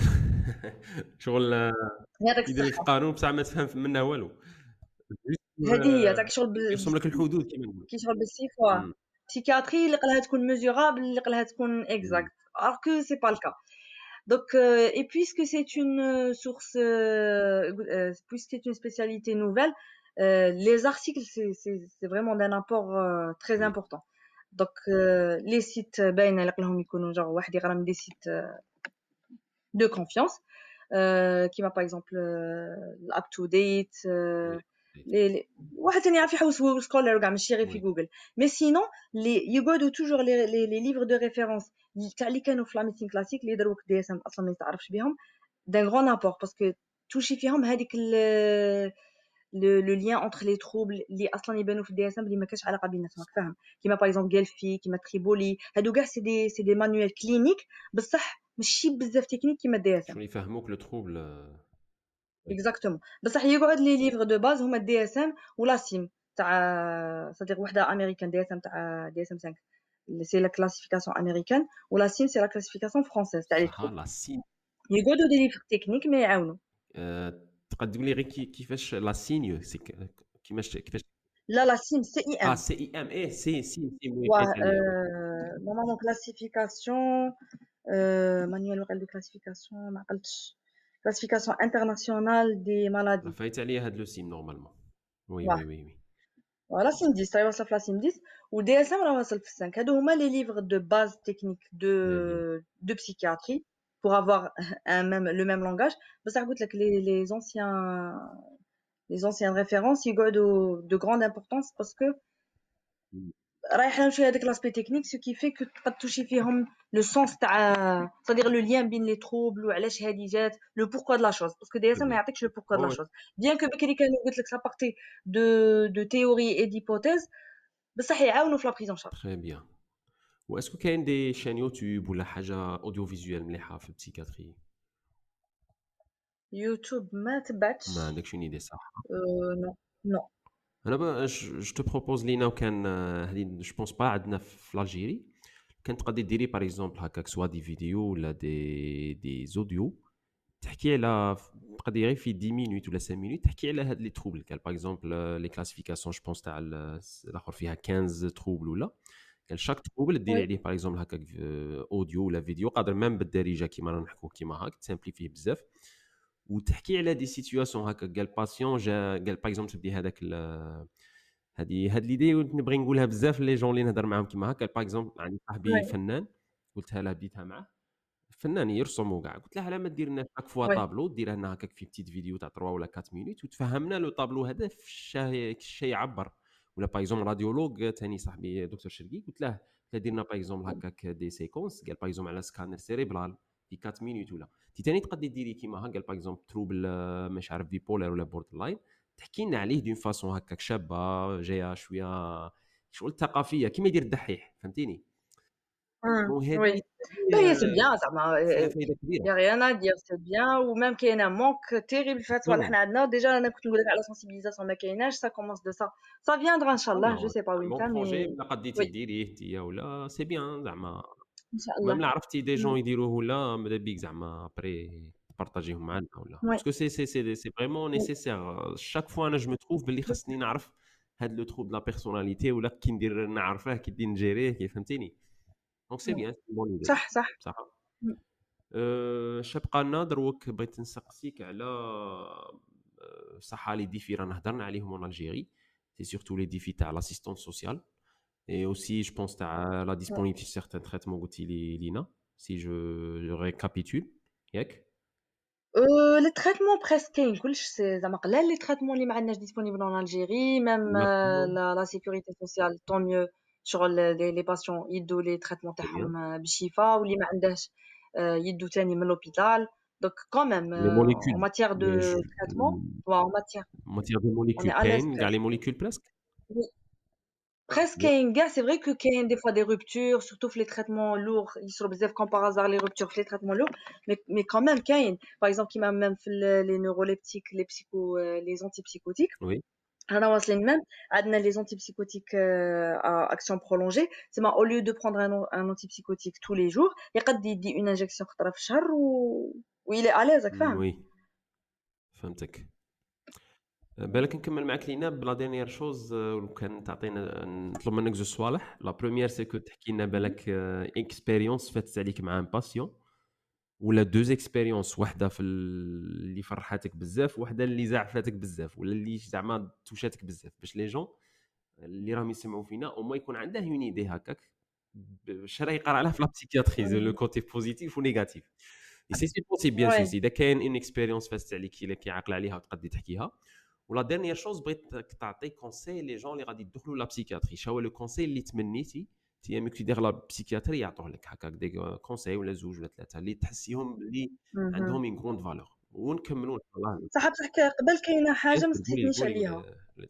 شغل يدير لك قانون بصح ما تفهم منه والو. هذه هي تاع شغل يرسم لك الحدود كيما نقول كي شغل بالسيفوا بسيكياتري اللي قالها تكون ميزورابل اللي قالها تكون اكزاكت alors que c'est pas le cas. Donc, euh, et puisque c'est une euh, source, euh, euh, puisque c'est une spécialité nouvelle, euh, les articles, c'est c'est c'est vraiment d'un apport euh, très Oui. important. Donc, euh, les sites باينة اللي راهم يكونوا genre واحد يقرا من des sites euh, de confiance, euh, qui m'a par exemple euh, up to date, euh, Oui. les les واحد ثاني يعرف يحوس سكولر وكاع ماشي غير في Oui. جوجل. Mais sinon les يقعدوا toujours les les les livres de référence تاع اللي كانوا في لا ميديسين كلاسيك اللي دروك دي اس ام اصلا ما يتعرفش بهم d'un grand apport parce que توشي فيهم هذيك ال le, le lien entre les troubles اللي اصلا يبانوا في الدي اس ام اللي ما كانش علاقه بيناتهم راك فاهم كيما باغ اكزومبل جالفي كيما تريبولي هادو كاع سي دي سي دي مانويل كلينيك بصح ماشي بزاف تكنيك كيما الدي اس ام شنو يفهموك لو تروبل. اكزاكتومون بصح يقعد لي ليفر دو باز هما الدي اس ام ولا سيم تاع صديق وحده امريكان دي اس ام تاع دي اس ام خمسة سي لا كلاسيفيكاسيون امريكان ولا سيم سي لا كلاسيفيكاسيون فرونسيز تاع لي صح تروبل لا سين. يقعدوا دي ليفر تكنيك ما يعاونوا. أه تقدم لي غير كي- كيفاش لا سينيو سي ك- كيفاش كيفاش لا لا سيم سي اي اه ام سي اي ام ايه سي سي سي وي و حيت عليا وي. نورمالمون كلاسيفيكاسيون Euh, manuel local de classification ما عقلتش classification internationale des لا maladies فايت عليا هاد لو سين نورمالمون. وي واه وي وي وي. فوالا سيم عشرة راهي واصله في لا سيم عشرة ودي اس ام راه واصل في خمسة هادو هما لي ليفر دو باز تكنيك دو Très bien. دو psychiatrie pour avoir un même le même langage بصح قلت لك les les anciens les anciennes références يقعدوا de grande importance parce que Mm. رايح نمشي هذاك لاسبي تكنيك سو كي في كو تقد توشي فيهم لو سونس تاع صدير لو لين بين لي تروبل وعلاش هادي جات لو بوركوا د لا شوز باسكو دي اس Très ام ما bien. يعطيكش لو بوركوا د لا Ouais, شوز بيان كو بكري كانوا قلت لك سا بارتي دو دو تيوري اي ديبوتيز بصح يعاونوا في لا بريزون شارج. très bien. واسكو كاين دي شان يوتيوب ولا حاجه اوديو فيزوال مليحه في البسيكاتري؟ يوتيوب ما تبعتش. ما عندكش نيدي صح؟ أه نو نو. انا با جو تو بروبوز لينا وكان هذه جو بونس با عندنا في الجيري كانت تقدري ديري باغ اكزومبل هكاك سوا دي فيديو ولا دي دي زوديو تحكي على تقدري غير في عشرة مينوت ولا خمسة مينوت تحكي على هاد لي تروبل قال باغ اكزومبل لي كلاسيفيكاسيون جو بونس تاع الاخر فيها خمسطاش تروبل ولا قال شاك تروبل ديري وي عليه باغ اكزومبل هكاك اوديو ولا فيديو قادر ميم بالدارجه كيما رانا نحكوا كيما هاك تسامبليفيه بزاف وتحكي على دي سيتوياسيون هكا قال باسيون جا قال باغ اكزومبل تبدي هذاك هذه هاد ليدي نبغي نقولها بزاف لي جون اللي نهضر معاهم كيما هكا باغ اكزومبل عندي صاحبي وي فنان قلتها له بديتها معاه فنان يرسم وكاع قلت له على ما دير لنا شاك فوا وي طابلو ديرها لنا هكاك في بتيت فيديو تاع ثلاثة ولا أربعة مينوت وتفهمنا لو طابلو هذا في الشيء الشيء يعبر ولا باغ اكزومبل راديولوج ثاني صاحبي دكتور شرقي قلت له قلت له دير لنا باغ اكزومبل هكاك دي سيكونس قال باغ اكزومبل على سكانر سيريبرال في أربعة مينوت ولا تي ثاني تقدري ديري كيما هكا قال باغ اكزومبل تروبل مش عارف بيبولار ولا بوردر لاين تحكي لنا عليه دون فاسون هكاك شابه جايه شويه شغل ثقافيه كيما يدير الدحيح فهمتيني. وي وهذه لا هي سي بيان زعما فيها فايده كبيره. يا rien à dire سي بيان وميم كاينه مونك تيريبل في هاد الصوالح طبعا حنا عندنا ديجا انا كنت نقول لك على سونسيبيليزاسيون ما كايناش سا كومونس دو سا سا فياندرا ان شاء الله جو طبعا سي با وين بون كان بروجي مي ولا قديتي وي ديريه انت ولا سي بيان زعما ان شاء ميم الله. لا عرفتي دي مم. جون يديروه ولا ماذا بيك زعما ابري بارطاجيهم معنا ولا وي باسكو سي سي سي سي فريمون وي نيسيسير شاك فوا انا جو مو تروف باللي خاصني نعرف هاد لو تروب لا بيرسوناليتي ولا كي ندير نعرفه كي ندير نجيريه كي فهمتيني دونك سي بيان سي بون ايدي صح صح. صح. مم. أه شبقى لنا دروك بغيت نسقسيك على أه، صح لي ديفي رانا هضرنا عليهم اون الجيري سي سورتو لي ديفي تاع لاسيستون سوسيال et aussi je pense à la disponibilité de certains traitements قلتي لي لينا si je, je récapitule ياك أه لي تريتمون بريسك كاين كلش سي زعما قلال لي تريتمون اللي ما عندناش ديسپونيبل اون الجيري ميم maximum لا لا سيكوريتي سوسيال طون ميو شغل لي لي باسيون يدو لي تريتمون très bien تاعهم بالشفاء واللي ما عندهش أه يدو تاني من لوبيتال دونك كون ميم les en molécules matière de les, je, traitement ou en matière en matière de on est molécules à l'aise كاين كاع les presque. molécules presque Oui. Presque bien كاين كاع سي فري كو كاين دي فوا دي ruptures surtout في les traitements lourds يصروا بزاف comme par hasard les ruptures في les traitements lourds mais mais quand même كاين par exemple كيما même في ال- les neuroleptiques les psycho les antipsychotiques oui رانا واصلين même عندنا les antipsychotiques euh, à action prolongée c'est au lieu de prendre un, un antipsychotique tous les jours يقد يدي une injection خطره في الشهر و و il est à l'aise راك Mm, فاهم. oui فهمتك. بالك نكمل معاك لينا بلا دينيير شوز وكان تعطينا نطلب منك زوج صوالح لا بروميير سي كو تحكي لنا بالك اكسبيريونس فاتت عليك مع ان باسيون ولا دوز اكسبيريونس، واحده في اللي فرحاتك بزاف، واحده اللي زعفاتك بزاف، ولا اللي زعما توشاتك بزاف، باش لي جون اللي راهم يسمعوا فينا او ما يكون عندها اون ايدي هكاك باش راه يقرا عليها في لا بسيكياتري لو كوتي بوزيتيف ونيجاتيف. سي سي بوسيبل بيان سور Ouais. اذا كاين اون اكسبيريونس فاست عليك الا كيعقل عليها وتقدي تحكيها. ولا ديرنيير شوز بغيت تعطي كونساي لي جون اللي غادي يدخلوا لا بسيكياتري، شنو هو لو كونساي اللي تمنيتي تي امك تدير لا بسيكياتري يعطوه لك هكاك دي كونساي ولا زوج ولا ثلاثه اللي تحسيهم اللي Mhm. عندهم اون كروند فالور ونكملوا ان شاء الله. صح بصح قبل كاينه حاجه ما قولي سقسيتنيش قولي عليها،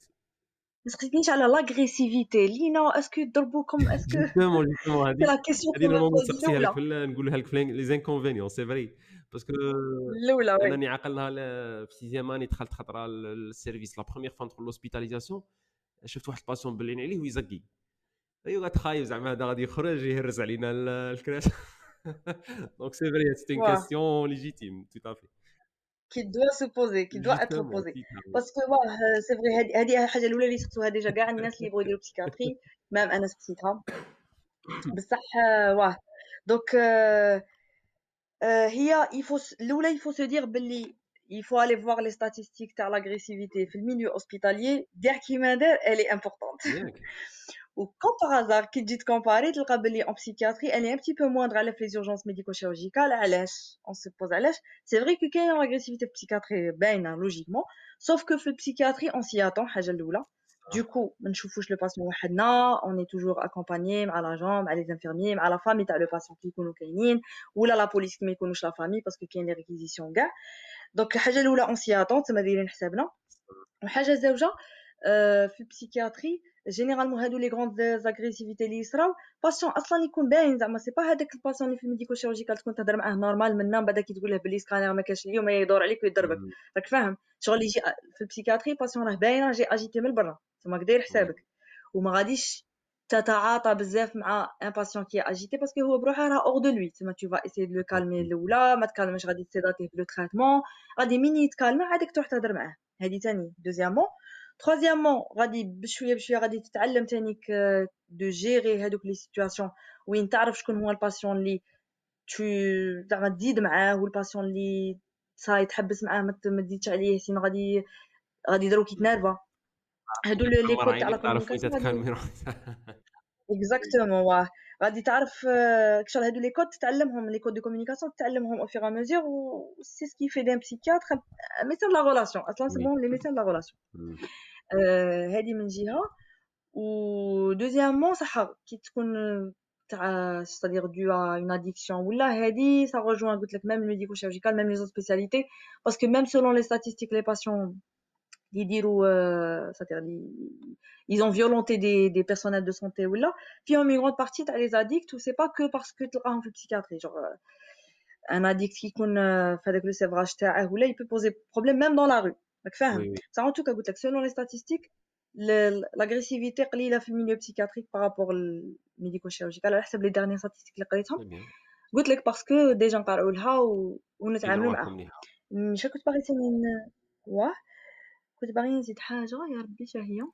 ما سقسيتنيش على لاغريسيفيتي لينا اسكو يضربوكم اسكو جوستومون جوستومون سي هذه لا كيسيون هذه كون نورمالمون نبوز نسقسيها لك الاولى في ال- نقولها لك في لي زانكونفينيون سي فري باسكو الاولى وي. انني عقلها ل- في سيزيام اني دخلت خطره للسيرفيس لا بروميير فوا ندخل لوسبيتاليزاسيون، شفت واحد الباسيون بلين عليه ويزقي، ايوا قاعد خايف زعما هذا غادي يخرج يهرس علينا ال- الكراش. دونك سي فري سيت اون واه كيستيون ليجيتيم تو افي. qui doit se poser qui doit être جوستومون posée باسكو واه سي فري هذه هذه الحاجه الاولى اللي سقسوها ديجا كاع الناس اللي بغاو يديروا بسيكاتري، مام انا سقسيتها بصح آه، واه دونك آه، آه، هي يفو الاولى يفو سو دير باللي يفو aller voir les statistiques تاع l'agressivité في الميليو اوسبيتاليي دير كيما دار elle est importante. ياك Ou comme par hasard كي تجي تكومباري تلقى بلي en psychiatrie elle est un petit peu moindre على في les urgences médico-chirurgicales. علاش on se pose علاش c'est vrai que كاين l'agressivité في psychiatrie باينه logiquement sauf que في psychiatrie on s'y attend حاجه الاولى. Du coup ما نشوفوش le patient وحدنا on est toujours accompagné مع l'agent مع les infirmiers مع la famille تاع le patient كي يكونوا كاينين ولا la police كي ما يكونوش la famille parce que كاين les réquisitions كاع. دونك الحاجه الاولى on s'y attend تما دايرين حسابنا. وحاجه زوجه آه، في البسيكياتري جينيرالمون هادو لي غروند زاغريسيفيتي اللي يصراو باسيون اصلا يكون باين زعما سي با هذاك الباسيون اللي في الميديكو شيرورجيكال تكون تهضر معاه نورمال من بعد كي تقول له بلي سكانير ما كاش اليوم يدور عليك ويضربك راك فاهم شغل يجي في البسيكياتري باسيون راه باين راه جاي اجيتي من برا تما داير حسابك وما غاديش تتعاطى بزاف مع ان باسيون كي اجيتي باسكو هو بروحه راه اور دو لوي تما تو فا اسي دو لو كالمي الاولى ما تكلمش غادي تسيداتيه بلو تريتمون غادي مين يتكالما عادك تروح تهضر معاه هذه ثاني دوزيامون. troisièmement غادي بشويه بشويه غادي تتعلم تانيك دو جيري هذوك لي سيتوياسيون وين تعرف شكون هو الباسيون اللي تو زعما تزيد معاه والباسيون اللي صاي تحبس معاه ما تزيدش عليه سين غادي غادي يديروك يتنرفا هادو لي كود تاع لا تعرف وين كومونيكاسيون غادي تتكلم. اكزاكتومون واه غادي تعرف آه، كشغل هادو لي كود تتعلمهم لي كود دو كومونيكاسيون تتعلمهم او فيغ ا ميزور و سي سكي في دان بسيكياتر ميسيون لا ريلاسيون اصلا سي بون لي ميسيون لا ريلاسيون هادي من جهه. و دوزيامون صح كي تكون تاع c'est-à-dire dû à une addiction ولا هادي ça rejoint قلت لك même le médico-chirurgical même les autres spécialités parce que même selon les statistiques les patients اللي يديروا euh, c'est-à-dire li- ils ont violenté des des personnels de santé ولا فيهم une grande partie تاع les addicts و c'est pas que parce que تلقاهم في البسيكاتري genre euh, un addict qui يكون euh, في هذاك لو سيفراج تاعه ولا il peut poser problème même dans la rue راك فاهم ça en tout cas قلت لك selon les statistiques l'agressivité قليله في الميليو بسيكاتريك بارابور الميديكو شيرورجيكال على حسب لي ديرني ستاتستيك اللي قريتهم قلت لك باسكو ديجا نقراو لها و... ونتعاملوا معها. مش كنت باغي ثاني واه كنت باغي نزيد حاجه يا ربي شنو هي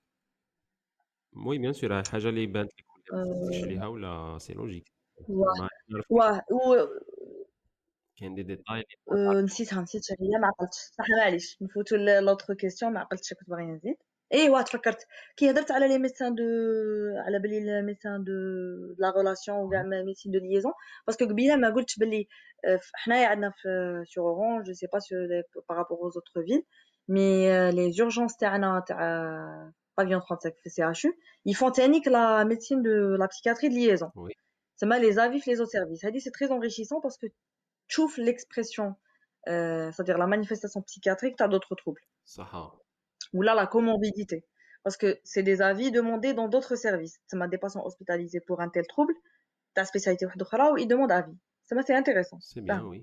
وي بيان سور حاجه اللي بانت لك ما تفكرش عليها ولا سي لوجيك واه واه و... كاين دي ديتاي أه نسيتها نسيت شنو هي ما عقلتش صح معليش نفوتوا لوطخ كيسيون ما عقلتش كنت باغي نزيد ايوا تفكرت كي هضرت على لي ميدسان دو على بلي لي ميدسان دو لا ريلاسيون وكاع ميدسين دو ليزون باسكو قبيله ما قلتش بلي حنايا عندنا في سور اورانج جو سي با سور بارابور aux autres villes مي لي urgences تاعنا تاع بافيون خمسة وثلاثين في سي اش يو يفون تانيك لا ميدسين دو لا بسيكاتري دو ليزون تسمى لي زافي في لي زوت سيرفيس هذه سي تري انريشيسون باسكو تشوف l'expression euh, c'est-à-dire la manifestation psychiatrique t'as d'autres troubles صح ou là la comorbidité parce que c'est des avis demandés dans d'autres services ça m'a des patients hospitalisés pour un tel trouble ta spécialité واحده اخرى ils demandent avis ça m'a c'est intéressant c'est bien oui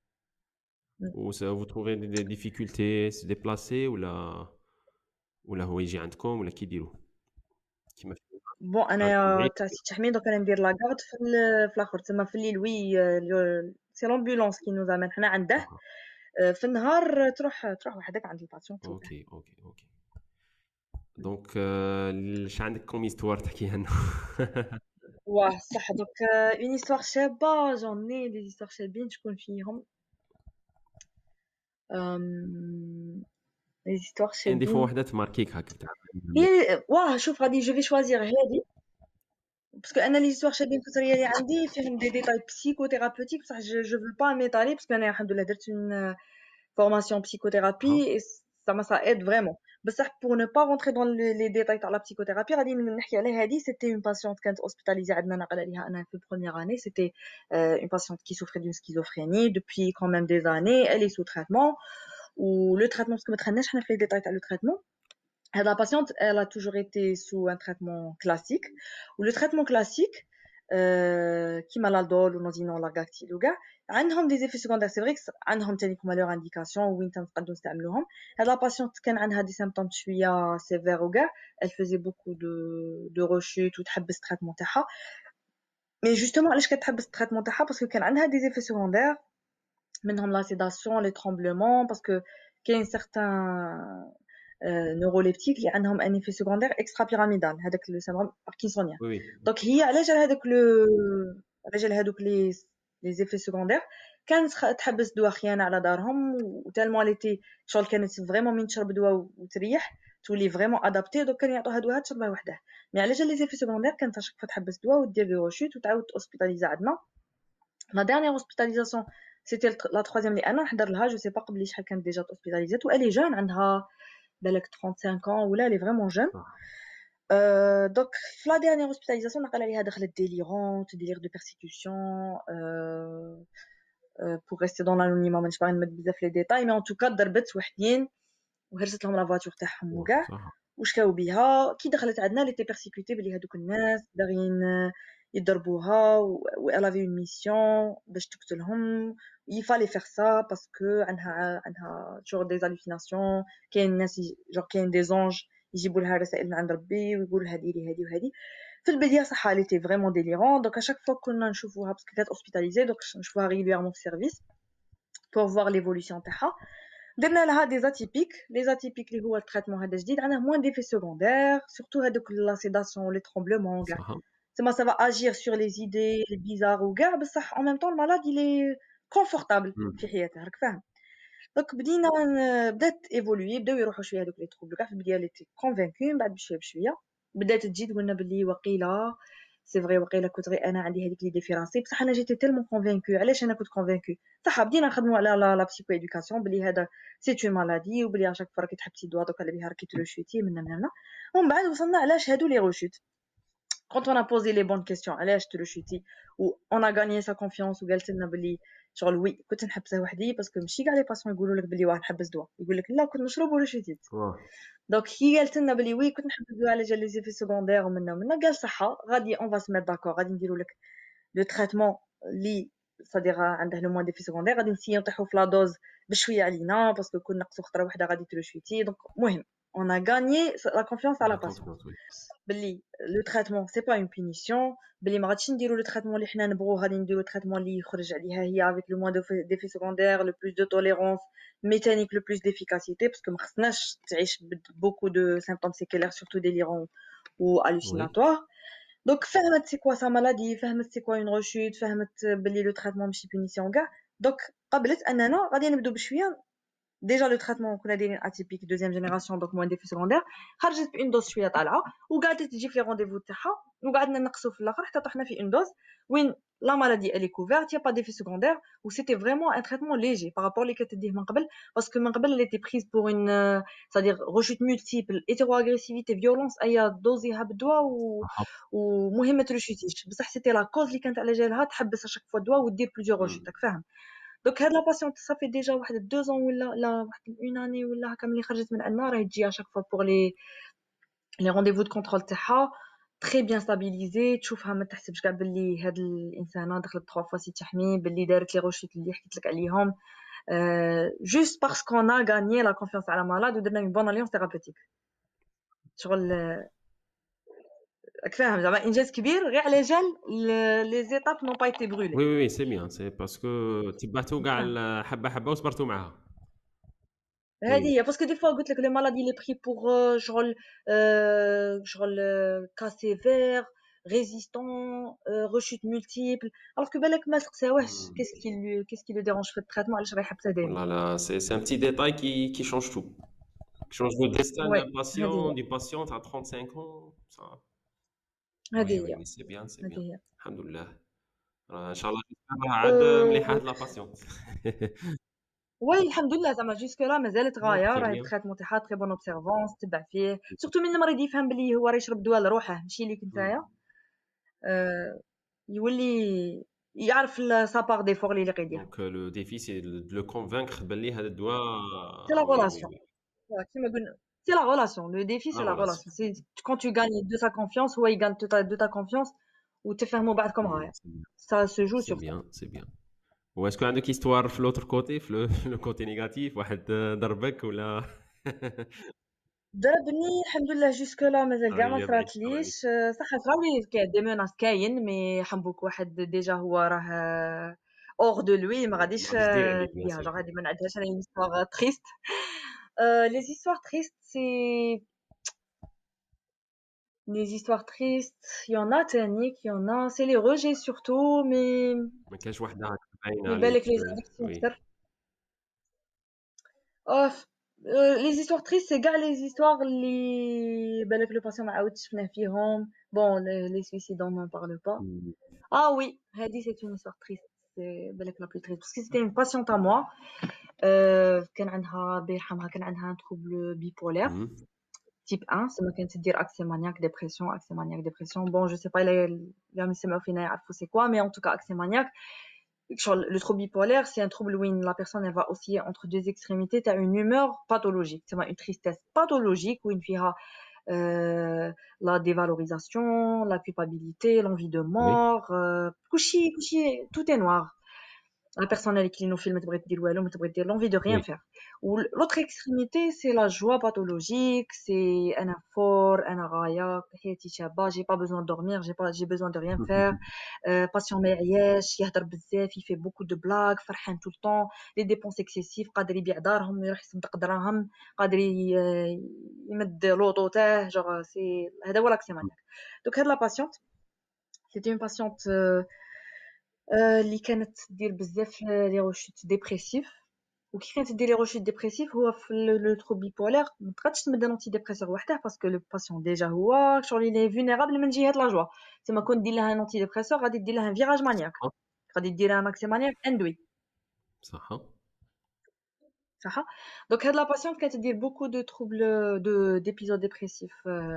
ou ça vous trouvez des difficultés se déplacer ou la ولا هو يجي عندكم ولا كيديروا كيما بون انا تاع سي تحميد دوك انا ندير لاكارد في في الاخر تما في الليل وي سي لامبولانس كي نوز امن حنا عنده في النهار تروح تروح وحدك عند الباسيون تشوفه اوكي اوكي اوكي دونك اش عندك كوم هيستوار تحكيها لنا واه صح. دوك اون histoire شابه جوني دي histoire شابين شكون فيهم أم... لي histoire كاين دي فوا شابين وحده تماركيك هكا تاع هي واه شوف غادي جو في شوازير هادي باسكو انا لي histoire شابين الكثريه اللي عندي فيهم دي ديتاي بسيكوثيرابوتيك بصح جو جو فو با ميطالي باسكو انا الحمد لله درت اون formation psychothérapie et ça m'a ça aide vraiment. بصح pour ne pas rentrer dans les, les détails تاع la psychothérapie غادي نحكي على هذه. c'était une patiente كانت hospitalisée عندنا نقل عليها انا في première année. c'était euh, une patiente qui souffrait d'une schizophrénie depuis quand même des années. elle est sous traitement ou le traitement parce que ما دخلناش حنا في les détails تاع le traitement. La patiente, elle a toujours été sous un traitement classique. Ou le traitement classique, euh, qui malaldol ou non largactil ou gars, عندهم des effets secondaires. C'est vrai que عندهم تاني كما leur indication وين تنقدروا نستعملوهم. هاد la patiente كان عندها des symptômes شوية sévères ou gars, elle faisait beaucoup de de rechutes ou تحبس traitement تاعها. Mais justement علاش كتحبس traitement تاعها parce que كان عندها des effets secondaires منهم la sédation, les tremblements parce que كاين certains نيوروليبتيك اللي عندهم ان ايفي سكوندير اكسترا بيراميدال هذاك لو سيندروم باركنسونيان. وي دونك هي على جال هذوك لو على جال هذوك لي لي زيفي سكوندير كانت تحبس دواء خيانه على دارهم وتالمون ليتي شغل كانت فريمون من تشرب دواء وتريح تولي فريمون ادابتي. دونك كانوا يعطوها دواء تشربها وحدها. مي على جال لي زيفي سكوندير كانت اشك تحبس دواء ودير لي روشوت وتعاود اوسبيتاليزا. عندنا لا ديرنيير اوسبيتاليزاسيون سيتي لا تروازيام اللي انا نحضر لها. جو سي با قبل شحال كانت ديجا اوسبيتاليزات والي جون عندها بالك trente-cinq ans ولا elle est vraiment jeune. Euh, donc la dernière hospitalisation نقل عليها دخلت délirante, délire de persécution. euh, euh, pour rester dans l'anonymat مانيش باغي نمد بزاف لي ديتاي مي en tout cas ضربت وحدين وهرست لهم لا فواتور تاعهم وكاع وشكاو بها. كي دخلت عندنا لي تي بيرسيكوتي بلي هذوك الناس باغيين يضربوها و elle avait une mission باش تقتلهم. il fallait faire ça parce que عندها عندها genre des hallucinations. كاين ناس genre كاين des anges يجيبوا لها رسائل من عند ربي ويقولوا لها ديري هذه وهذه. في البدايه صح elle était vraiment délirante. donc à chaque fois كنا نشوفوها parce que كانت hospitalisée donc نشوفوها régulièrement في service pour voir l'évolution تاعها. درنا لها دي اتيبيك. لي اتيبيك اللي هو التريتمون هذا جديد عندنا موان ديفي سيكوندير سورتو هذوك لا سيداسيون لي ترومبلمون كاع تما سا فا اجير سور لي زيدي لي بيزار وكاع بصح ان ميم طون المالاد لي كونفورتابل في حياته راك فاهم. دونك بدينا بدات ايفولوي بداو يروحوا شويه هذوك لي تروبل كاع في البدايه لي تي كونفانكو من بعد بشويه بشويه بدات تجي تقولنا باللي وقيله سي فري وقيله كنت غير انا عندي هذيك لي ديفيرانسي بصح انا جيتي تيلمون كونفانكو. علاش انا كنت كونفانكو صح بدينا نخدموا على لا لا بسيكو ادوكاسيون بلي هذا سي تو مالادي وبلي اشاك فرا كي تحبسي دوا دوك على بها راكي تروشوتي من هنا ومن بعد وصلنا علاش هادو لي روشوت. quand on a posé les bonnes questions علاش تروشوتي و on a gagné sa confiance وقالت لنا بلي شغل وي كنت نحبسها وحدي باسكو ماشي كاع لي باسيون يقولوا لك بلي واه نحبس دواء يقول لك لا كنت نشرب ولا شتيت. دونك هي قالت لنا بلي وي كنت نحبس دواء على جال لي زيفي سكوندير ومنا ومنا. قال صحه غادي اون فا سميت داكور غادي نديروا لك لو تريتمون لي صديق عنده لو موان ديفي سكوندير غادي نسيو نطيحوا في لا دوز بشويه علينا باسكو كنا نقصوا خطره واحده غادي تروشوتي. دونك المهم on a gagné la confiance à la patiente بلي لو تريتمون سي با اون بونيسيون بلي ما غاديش نديروا لو تريتمون اللي حنا نبغوا غادي نديروا تريتمون اللي يخرج عليها هي افيك لو موان ديفي سكوندير لو بلوس دو توليرونس ميتانيك لو بلوس ديفيكاسيتي باسكو ما خصناش تعيش بوكو دو سيمبتوم سيكولير سورتو ديليرون و hallucinatoire. دونك فهمت سي كوا سا مالادي فهمت سي كوا اون روشوت فهمت بلي لو تريتمون ماشي بونيسيون كاع. دونك قبلت اننا غادي نبداو بشويه déjà le traitement qu'on a dit atypique deuxième génération donc moins d'effets secondaires خرجت بإن دوز شويه طالعه وقعدت تجي في لي رونديفو تاعها وقعدنا نقصوا في الاخر حتى طحنا في إن دوز وين لا مالادي elle est couverte y a pas d'effet secondaire ou c'était vraiment un traitement léger par rapport اللي كتديه من قبل parce que من قبل elle était prise pour une c'est-à-dire rechute multiple hétéroagressivité violence اي دوزيها بالدواء و ومهم ما ترشيتيش بصح c'était la cause اللي كانت على جالها تحبس اشاك فوا الدواء ودير بليزيور روشيت راك فاهم. دونك هاد لا باسيونط صافي ديجا واحد deux ans ولا لا واحد اون اني ولا هكا ملي خرجت من عندنا راهي تجي اشاك فوا بور لي لي رونديفو دو كونترول تاعها تري بيان ستابيليزي تشوفها ما تحسبش كاع باللي هاد الانسانه دخلت ثلاث فوا سي تحمي باللي دارت لي روشيت اللي حكيت لك عليهم جوست باسكو انا غانيي لا كونفيونس على مالاد ودرنا اون بون اليونس ثيرابوتيك شغل راك فاهم زعما انجاز كبير غير على جال لي زيتاب نون با ايتي برولي. وي وي سي بيان سي باسكو تبعتو كاع حبه حبه وصبرتو معاها هذه هي باسكو دي فوا قلت لك لي مالادي لي بري بور شغل شغل كا سيفير résistant, euh, rechute multiple. Alors que بالك ما سقساوهش qu'est-ce qui lui qu'est-ce qui le dérange في الtraitement علاش راه يحبسها دائما. Voilà, c'est c'est un petit détail qui, qui change tout. Qui change le destin Ouais, d'un patient, هذه هي d'une patiente à trente-cinq ans. Ça... هذه Oui, oui, هي oui, c'est bien, c'est هذه bien. هي. Alhamdoulilah. ان شاء الله راه عاد مليحه أه... هاد لا باسيونت. وي الحمد لله زعما جوسك لا مازالت غايه تري راهي بيان. التريتمون تاعها تري بون اوبسيرفونس تبع فيه سورتو من المريض يفهم بلي هو راه يشرب دواء لروحه ماشي ليك نتايا أه... يولي يعرف سا بار ديفور اللي يقدر يدير. Donc euh, le défi c'est de le convaincre باللي هذا الدواء. سي لا Oui, oui, غولاسيون oui. كيما قلنا سي لا غولاسيون لو ديفي La سي لا relation. غولاسيون سي كون tu gagnes de sa confiance هو يغان de ta, de ta confiance وتفهموا بعضكم Hmm, غايه c'est bien, ça se joue c'est sur ça. bien, c'est bien. Ou est-ce que عندك histoire في l'autre côté في le, le côté négatif واحد ضربك ولا؟ ضربني الحمد لله جوسك لا مازال كاع راهي ما جاب عليك الطريق. صراتليش صح صراولي كاين دي ميناس كاين مي حنبوك واحد ديجا هو راه اور دو لوي ما غاديش ما غاديش دير عليك بيان فيها سور. جا غادي ما نعدهاش انا هيستوار تريست. لي هيستوار تريست سي les histoires tristes il y en a تانيك il y en a c'est les rejets surtout mais ما كانش وحده هكا باينه mais بالك عليك. les addictions وي. كتر. Oh, euh, les histoires tristes c'est كاع les histoires اللي بالك le patient ما عاودش شفناه فيهم bon les, les suicides on n'en parle pas. Hmm. Ah oui, Hadi, c'est une histoire triste. C'est بالك la plus triste. Parce que c'était une patiente à moi. Euh, كان عندها الله يرحمها كان عندها un trouble bipolaire Hmm. type un. C'est ما كانت تدير accès maniaque dépression accès maniaque dépression. Bon, je sais pas les les اللي سمعوا فينا يعرفوا c'est quoi, mais en tout cas accès maniaque. Le trouble bipolaire, c'est un trouble où la personne elle va osciller entre deux extrémités. Tu as une humeur pathologique, c'est une tristesse pathologique où une fille a euh, la dévalorisation, la culpabilité, l'envie de Oui. mort, euh, couchi, couchi, tout est noir. La personne avec qui nous filme, l'envie de rien Oui. faire. Ou l'autre extrémité, c'est la joie pathologique, c'est un effort, un araya, j'ai pas besoin de dormir, j'ai pas, j'ai besoin de rien faire. Euh, patient ميعياش يهدر بزاف il fait beaucoup de blagues فرحان tout le temps les dépenses excessives قادر يبيع دارهم ويروح يصدق دراهم قادر يمد لوطو تاعه genre c'est هذا هو l'accès maniaque. Donc هاد la patiente c'était une patiente euh, اللي كانت دير بزاف لي روشيت ديبريسيف وكي كانت دير لي روشيت ديبريسيف هو في لو ترو بيبولار ما تقدش تمد انتي ديبريسور وحده باسكو لو باسيون ديجا هو شغل لي فولنيرابل من جهه لا جوا تما كون دير لها انتي ديبريسور غادي دير لها فيراج مانياك غادي دير لها ماكسي مانياك اندوي صح. صح. دونك هاد لا باسيون كانت دير بوكو دو تروبل دو ديبيزود ديبريسيف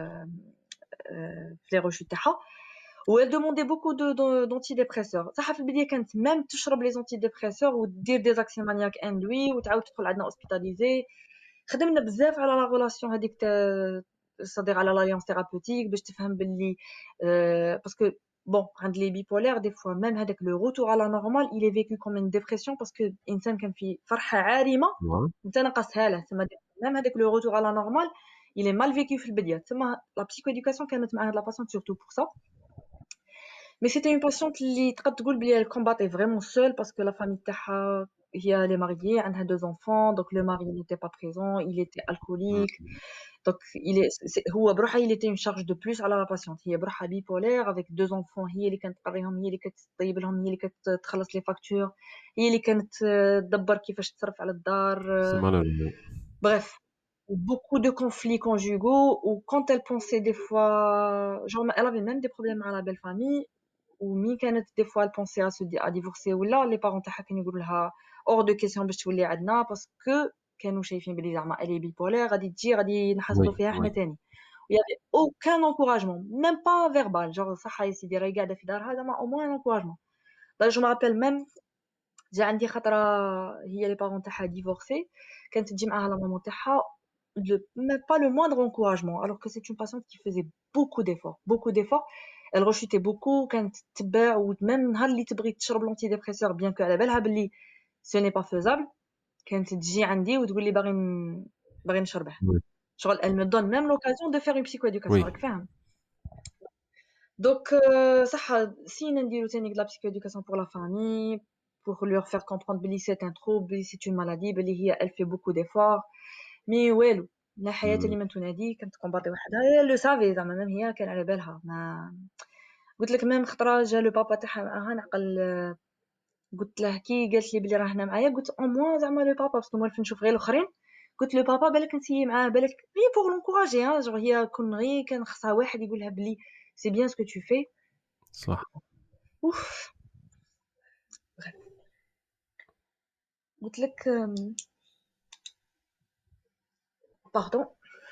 في لي روشيت تاعها و elle demandait beaucoup de d'antidépresseurs صح في البدايه كانت ميم تشرب لي زونتيديبريسور ودير دي زاكسي مانياك اندوي وتعاود تدخل عندنا اوسبيتاليزي. خدمنا بزاف على لا ريلاسيون هذيك صديق على لاليونس ثيرابوتيك باش تفهم باللي باسكو bon عند لي بيبولار دي فوا ميم هذاك لو روتور على نورمال il est vécu comme une dépression باسكو الانسان كان في فرحه عارمه انت نقصها له تما ميم هذاك لو روتور على نورمال il est mal vécu في البدايه تما لا بسيكويديكاسيون كانت مع هاد لا باسيون surtout pour ça. Mais c'était une patiente اللي تقد تقول بلي elle combattait vraiment seule parce que la famille تاعها هي elle est mariée عندها deux enfants donc le mari n'était pas présent il était alcoolique donc il est هو بروحه il était une charge de plus على la patiente هي بروحها bipolaire avec deux enfants هي اللي كانت تقريهم هي اللي كتطيب لهم هي اللي كتخلص لي فاكتور هي اللي كانت تدبر كيفاش تصرف على الدار. Bref, beaucoup de conflits conjugaux ou quand elle pensait des fois genre elle avait même des problèmes à la belle famille ومين كانت دي فوا البونسي ا سو ا ديفورسي ولا لي بارون تاعها كانوا يقولوا لها اور دو كيسيون باش تولي عندنا باسكو كانوا شايفين بلي زعما الي بيبولار غادي تجي غادي نحصلوا فيها حنا تاني ويا اوكان انكوراجمون ميم با فيربال جور صح يا سيدي راهي قاعده في دارها زعما او موان انكوراجمون. دا جو مابيل ميم جا عندي خطره هي لي بارون تاعها ديفورسي كانت تجي معاها لا مامون تاعها même pas le moindre encouragement alors que c'est une patiente qui faisait beaucoup d'efforts beaucoup d'efforts elle rechutait beaucoup كانت تتبع وميم نهار اللي تبغي تشرب لونتيديبريسور بيان كو على بالها بلي ce n'est pas faisable كانت تجي عندي وتقول لي باغي باغي نشربه شغل elle me donne même l'occasion de faire une psychoéducation راك فاهم. donc صح سينا نديرو تاني de la psychoéducation pour la famille pour leur faire comprendre بلي c'est un trouble بلي c'est une maladie بلي هي elle fait beaucoup d'efforts مي والو لا حياة لمن تنادي كانت كومباطي وحدها هي لو سافي زعما ميم هي كان على بالها ما قلت لك ميم خطره جا لو بابا تاعها معاها نعقل. قلت له كي قالت لي بلي راه هنا معايا قلت او موا زعما لو بابا باسكو موالف نشوف غير الاخرين. قلت له بابا بالك نسيي معاه بالك غير بوغ لونكوراجي ها جو هي كون غير كان خصها واحد يقول لها بلي سي بيان سكو تو في. صح. اوف. قلت لك باردون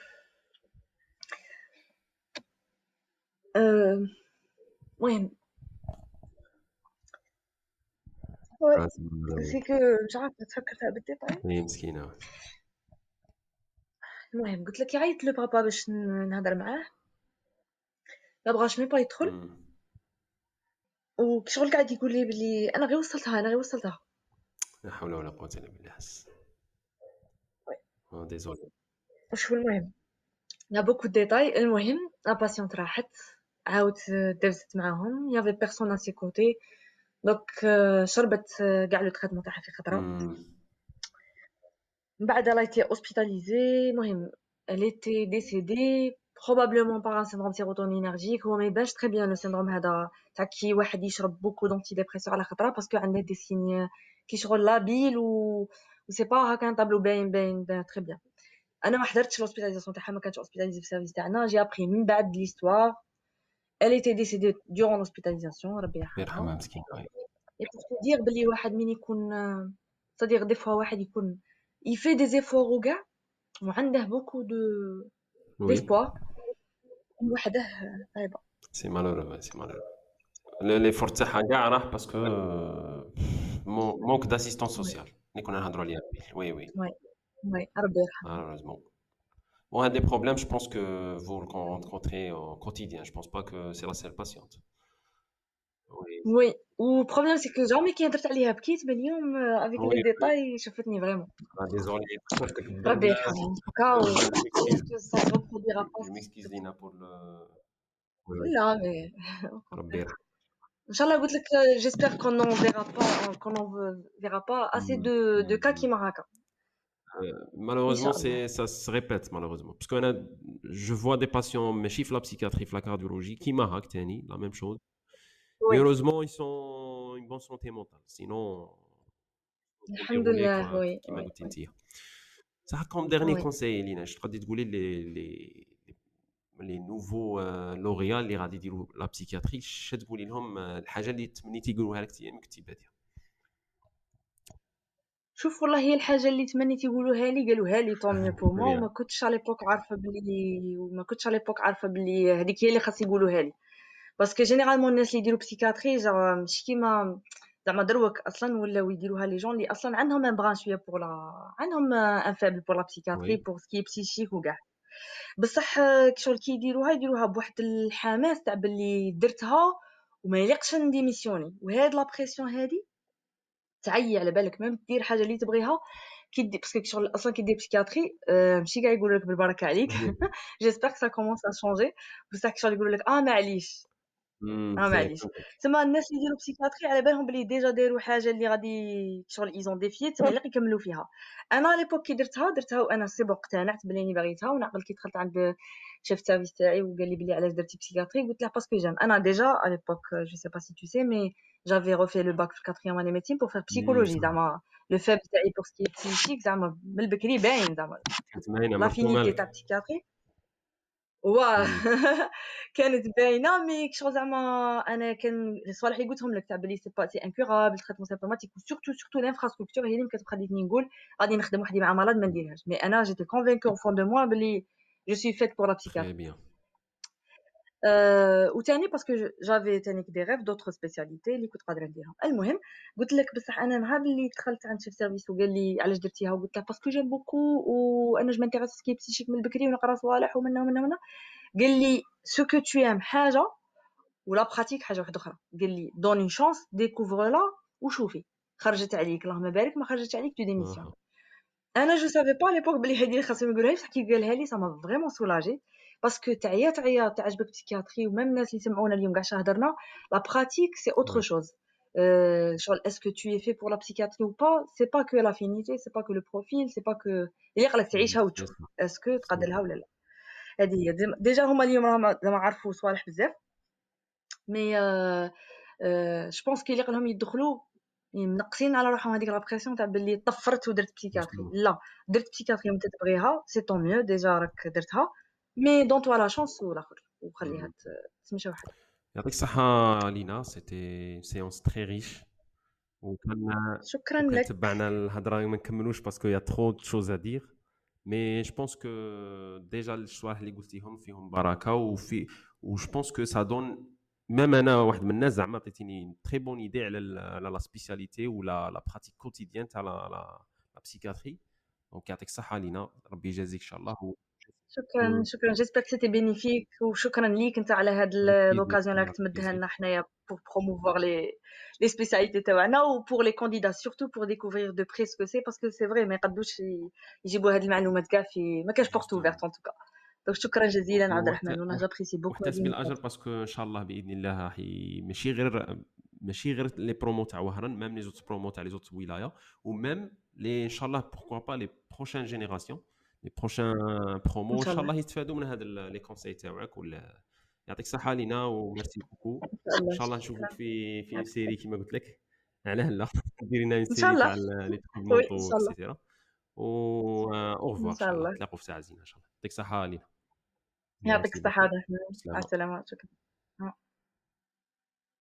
المهم سي كو مش عارفه تفكر فيها بالديتاي. هي مسكينه. المهم قلت لك يعيط لو بابا باش نهضر معاه ما بغاش مي با يدخل وكشغل قاعد يقول لي بلي انا غير وصلتها انا غير وصلتها. لا حول ولا قوه الا بالله. اه ديزولي. وشو المهم يا بوكو ديتاي. المهم لا باسيونت راحت عاود دازت معاهم يافي بيرسون ا سي كوتي دونك شربت كاع لو تريتمون تاعها في خطره. من بعد لا ايتي اوسبيتاليزي. المهم elle était décédée probablement par un syndrome sérotoninergique. هو ما يبانش très bien le syndrome هذا تاع كي واحد يشرب beaucoup d'antidépresseurs على خطره باسكو عنده دي سيني كي شغل لابيل و سي با هكا ان طابلو باين باين très bien. انا ما حضرتش لوسبيتاليزاسيون تاعها ما كانتش اوسبيتاليزي في السيرفيس تاعنا. جي ابري من بعد ليستوار elle était décédée durant l'hospitalisation ربي يرحمها. مسكينه. et pour te dire بلي واحد من يكون c'est-à-dire des fois واحد يكون il fait des efforts وكاع وعنده beaucoup de d'espoir وحده عيبه. سي مالورو سي مالورو. لي فور تاعها كاع راح باسكو مونك داسيستون سوسيال اللي كنا نهضروا عليها. وي وي وي وي ربي يرحمها. malheureusement. Bon, un des problèmes, je pense que vous le rencontrez au quotidien. Je pense pas que c'est la seule patiente. Oui. وي والبروبليم سي كو جامي كي هضرت عليها بكيت باليوم افيك لي ديتاي شفتني فريمون. ديزولي شفتك ربي يرحمها هكا و je m'excuse Lina pour le. لا مي ربي يرحمها. ان شاء الله قلت لك j'espère qu'on n'en verra pas qu'on n'en verra pas assez de de cas qui maraka. Malheureusement, c'est, ça se répète, malheureusement. Parce que je vois des patients, mais chiffre la psychiatrie, la cardiologie, qui marquent, la même chose. Oui. Mais heureusement, ils sont en une bonne santé mentale. Sinon, alhamdoulilah, oui. Qui m'a dit. Ça, comme dernier oui. conseil, Lina, je te dis de les, les, les nouveaux euh, lauréats, les radis de la psychiatrie, je te dis لهم الحاجة اللي تمنيتي يقولوها لك أيام كتيباتها. شوف والله هي الحاجه اللي تمنيت يقولوها لي قالوها لي طون ميو بو مو. وما كنتش على ليبوك عارفه بلي وما كنتش على ليبوك عارفه بلي هذيك هي اللي خاص يقولوها لي باسكو جينيرالمون الناس اللي يديروا بسيكاتري زعما مش كيما زعما دروك اصلا ولاو يديروها لي جون اللي اصلا عندهم ان بران شويه بور لا عندهم ان فابل بور لا بسيكاتري بور سكي بسيشيك وكاع. بصح كشغل كي يديروها يديروها بواحد الحماس تاع بلي درتها وما يليقش نديميسيوني. وهاد لا بريسيون هادي تعيي على بالك ميم دير حاجه اللي تبغيها كي دير باسكو شغل اصلا كي دير بسيكاتري أه ماشي كاع يقولوا لك بالبركه عليك. جيسبر كو سا كومونس ا شونجي بصح شغل يقولوا لك اه معليش اه معليش تما الناس اللي يديروا بسيكاتري على بالهم بلي ديجا داروا حاجه اللي غادي شغل ايزون ديفي تما اللي يكملوا فيها. انا على ليبوك كي درتها درتها وانا سي بون اقتنعت بلي اني باغيتها. ونعقل كي دخلت عند شيف سيرفيس تاعي وقال لي بلي علاش درتي بسيكاتري قلت له باسكو جام انا ديجا على ليبوك جو سي با سي تو سي مي j'avais refait le bac في quatrième année médecine pour faire psychologie زعما لو فاب تاعي pour ce qui est psychique زعما من البكري باين زعما لافينيتي تاع بسيكاتري واه كانت باينه مي كشغل زعما انا كان الصوالح اللي قلتهم لك تاع بلي سي با سي انكورابل تريتمون سيمبتوماتيك وسورتو سورتو لانفراستركتور هي اللي كتخليني نقول غادي نخدم وحدي مع مرض ما نديرهاش. مي انا جيتي كونفينكو au fond de moi بلي je suis faite pour la psychiatrie. أه وثاني باسكو جافي ثاني دي ريف دوطر سبيسياليتي اللي كنت قادره نديرهم. المهم قلت لك بصح انا نهار اللي دخلت عند شيف سيرفيس وقال لي علاش درتيها وقلت له باسكو جيم بوكو وانا جو مانتيريس سكي بسيشيك من البكري ونقرا صوالح ومنا ومنا ومنا. قال لي سو كو تو ام حاجه ولا براتيك حاجه واحده اخرى. قال لي دون اون شانس ديكوفر لا وشوفي خرجت عليك اللهم بارك ما خرجت عليك تو ديميسيون. انا جو سافي با ليبوك بلي هذه خاصهم يقولوها لي. كي قالها لي سما فريمون سولاجي باسكو تعيا تعيا تعجبك بسيكياتري وميم الناس اللي سمعونا اليوم كاع هضرنا لا براتيك سي اوتر شوز. شغل اسكو تو اي في بور لا بسيكياتري ou pas c'est pas que l'affinité c'est pas que le profil c'est pas que اللي يقلك تعيشها وتشوف اسكو تقدرها ولا لا. هذه هي ديجا هما اليوم راهم زعما عرفوا صوالح بزاف مي جو بونس كيليق لهم يدخلوا منقصين على روحهم هذيك لا بريسيون تاع باللي طفرت ودرت بسيكاتري. لا، درت بسيكاتري وانت تبغيها سي طون ميو، ديجا راك درتها، مي دون توا لا شانس والاخر وخليها تمشي وحدها. يعطيك الصحة لينا، سيتي سيونس تري ريش، وكان شكرا وكان لك. تبعنا الهضره ما نكملوش باسكو يا ترو دو شوز ا دير، مي جو بونس كو ديجا الشواح اللي قلتيهم فيهم بركه، وفي وجو بونس كو سا دون ميم انا واحد من الناس زعما عطيتيني تري بون ايدي على على لا سبيسياليتي ولا لا براتيك كوتيديان تاع لا لا بسيكاتري. دونك يعطيك الصحه لينا، ربي يجازيك ان شاء الله. شكرا شكرا، جيسبر سيتي بينيفيك، وشكرا ليك انت على هاد لوكازيون اللي راك تمدها لنا حنايا بور بروموفوار لي لي سبيسياليتي تاعنا، وبور لي كانديدا سورتو بور ديكوفرير دو بري سكو سي، باسكو سي فري ما يقدوش يجيبوا هاد المعلومات كاع في ما كاش بورت اوفيرت ان توكا. دونك شكرا جزيلا عبد الرحمن، وانا جابريسي بوكو. واحتسب الاجر باسكو ان شاء الله باذن الله حي ماشي غير ماشي غير لي برومو تاع وهران، ميم لي زوت برومو تاع لي زوت ولايا، وميم لي ان شاء الله بوركوا با لي بروشين جينيراسيون لي بروشين برومو ان شاء الله يستفادوا من هاد لي كونساي تاعك. ولا يعطيك الصحه لينا وميرسي بوكو. ان شاء الله نشوفك في في سيري كما قلت لك، علاه لا ديري لنا سيري تاع لي تروبمونطو اكسيتيرا، و او ريفوار ان شاء الله نتلاقوا في ساعه زينه ان شاء الله. يعطيك الصحه لينا. يعطيك الصحه. مع السلامه. شكرا.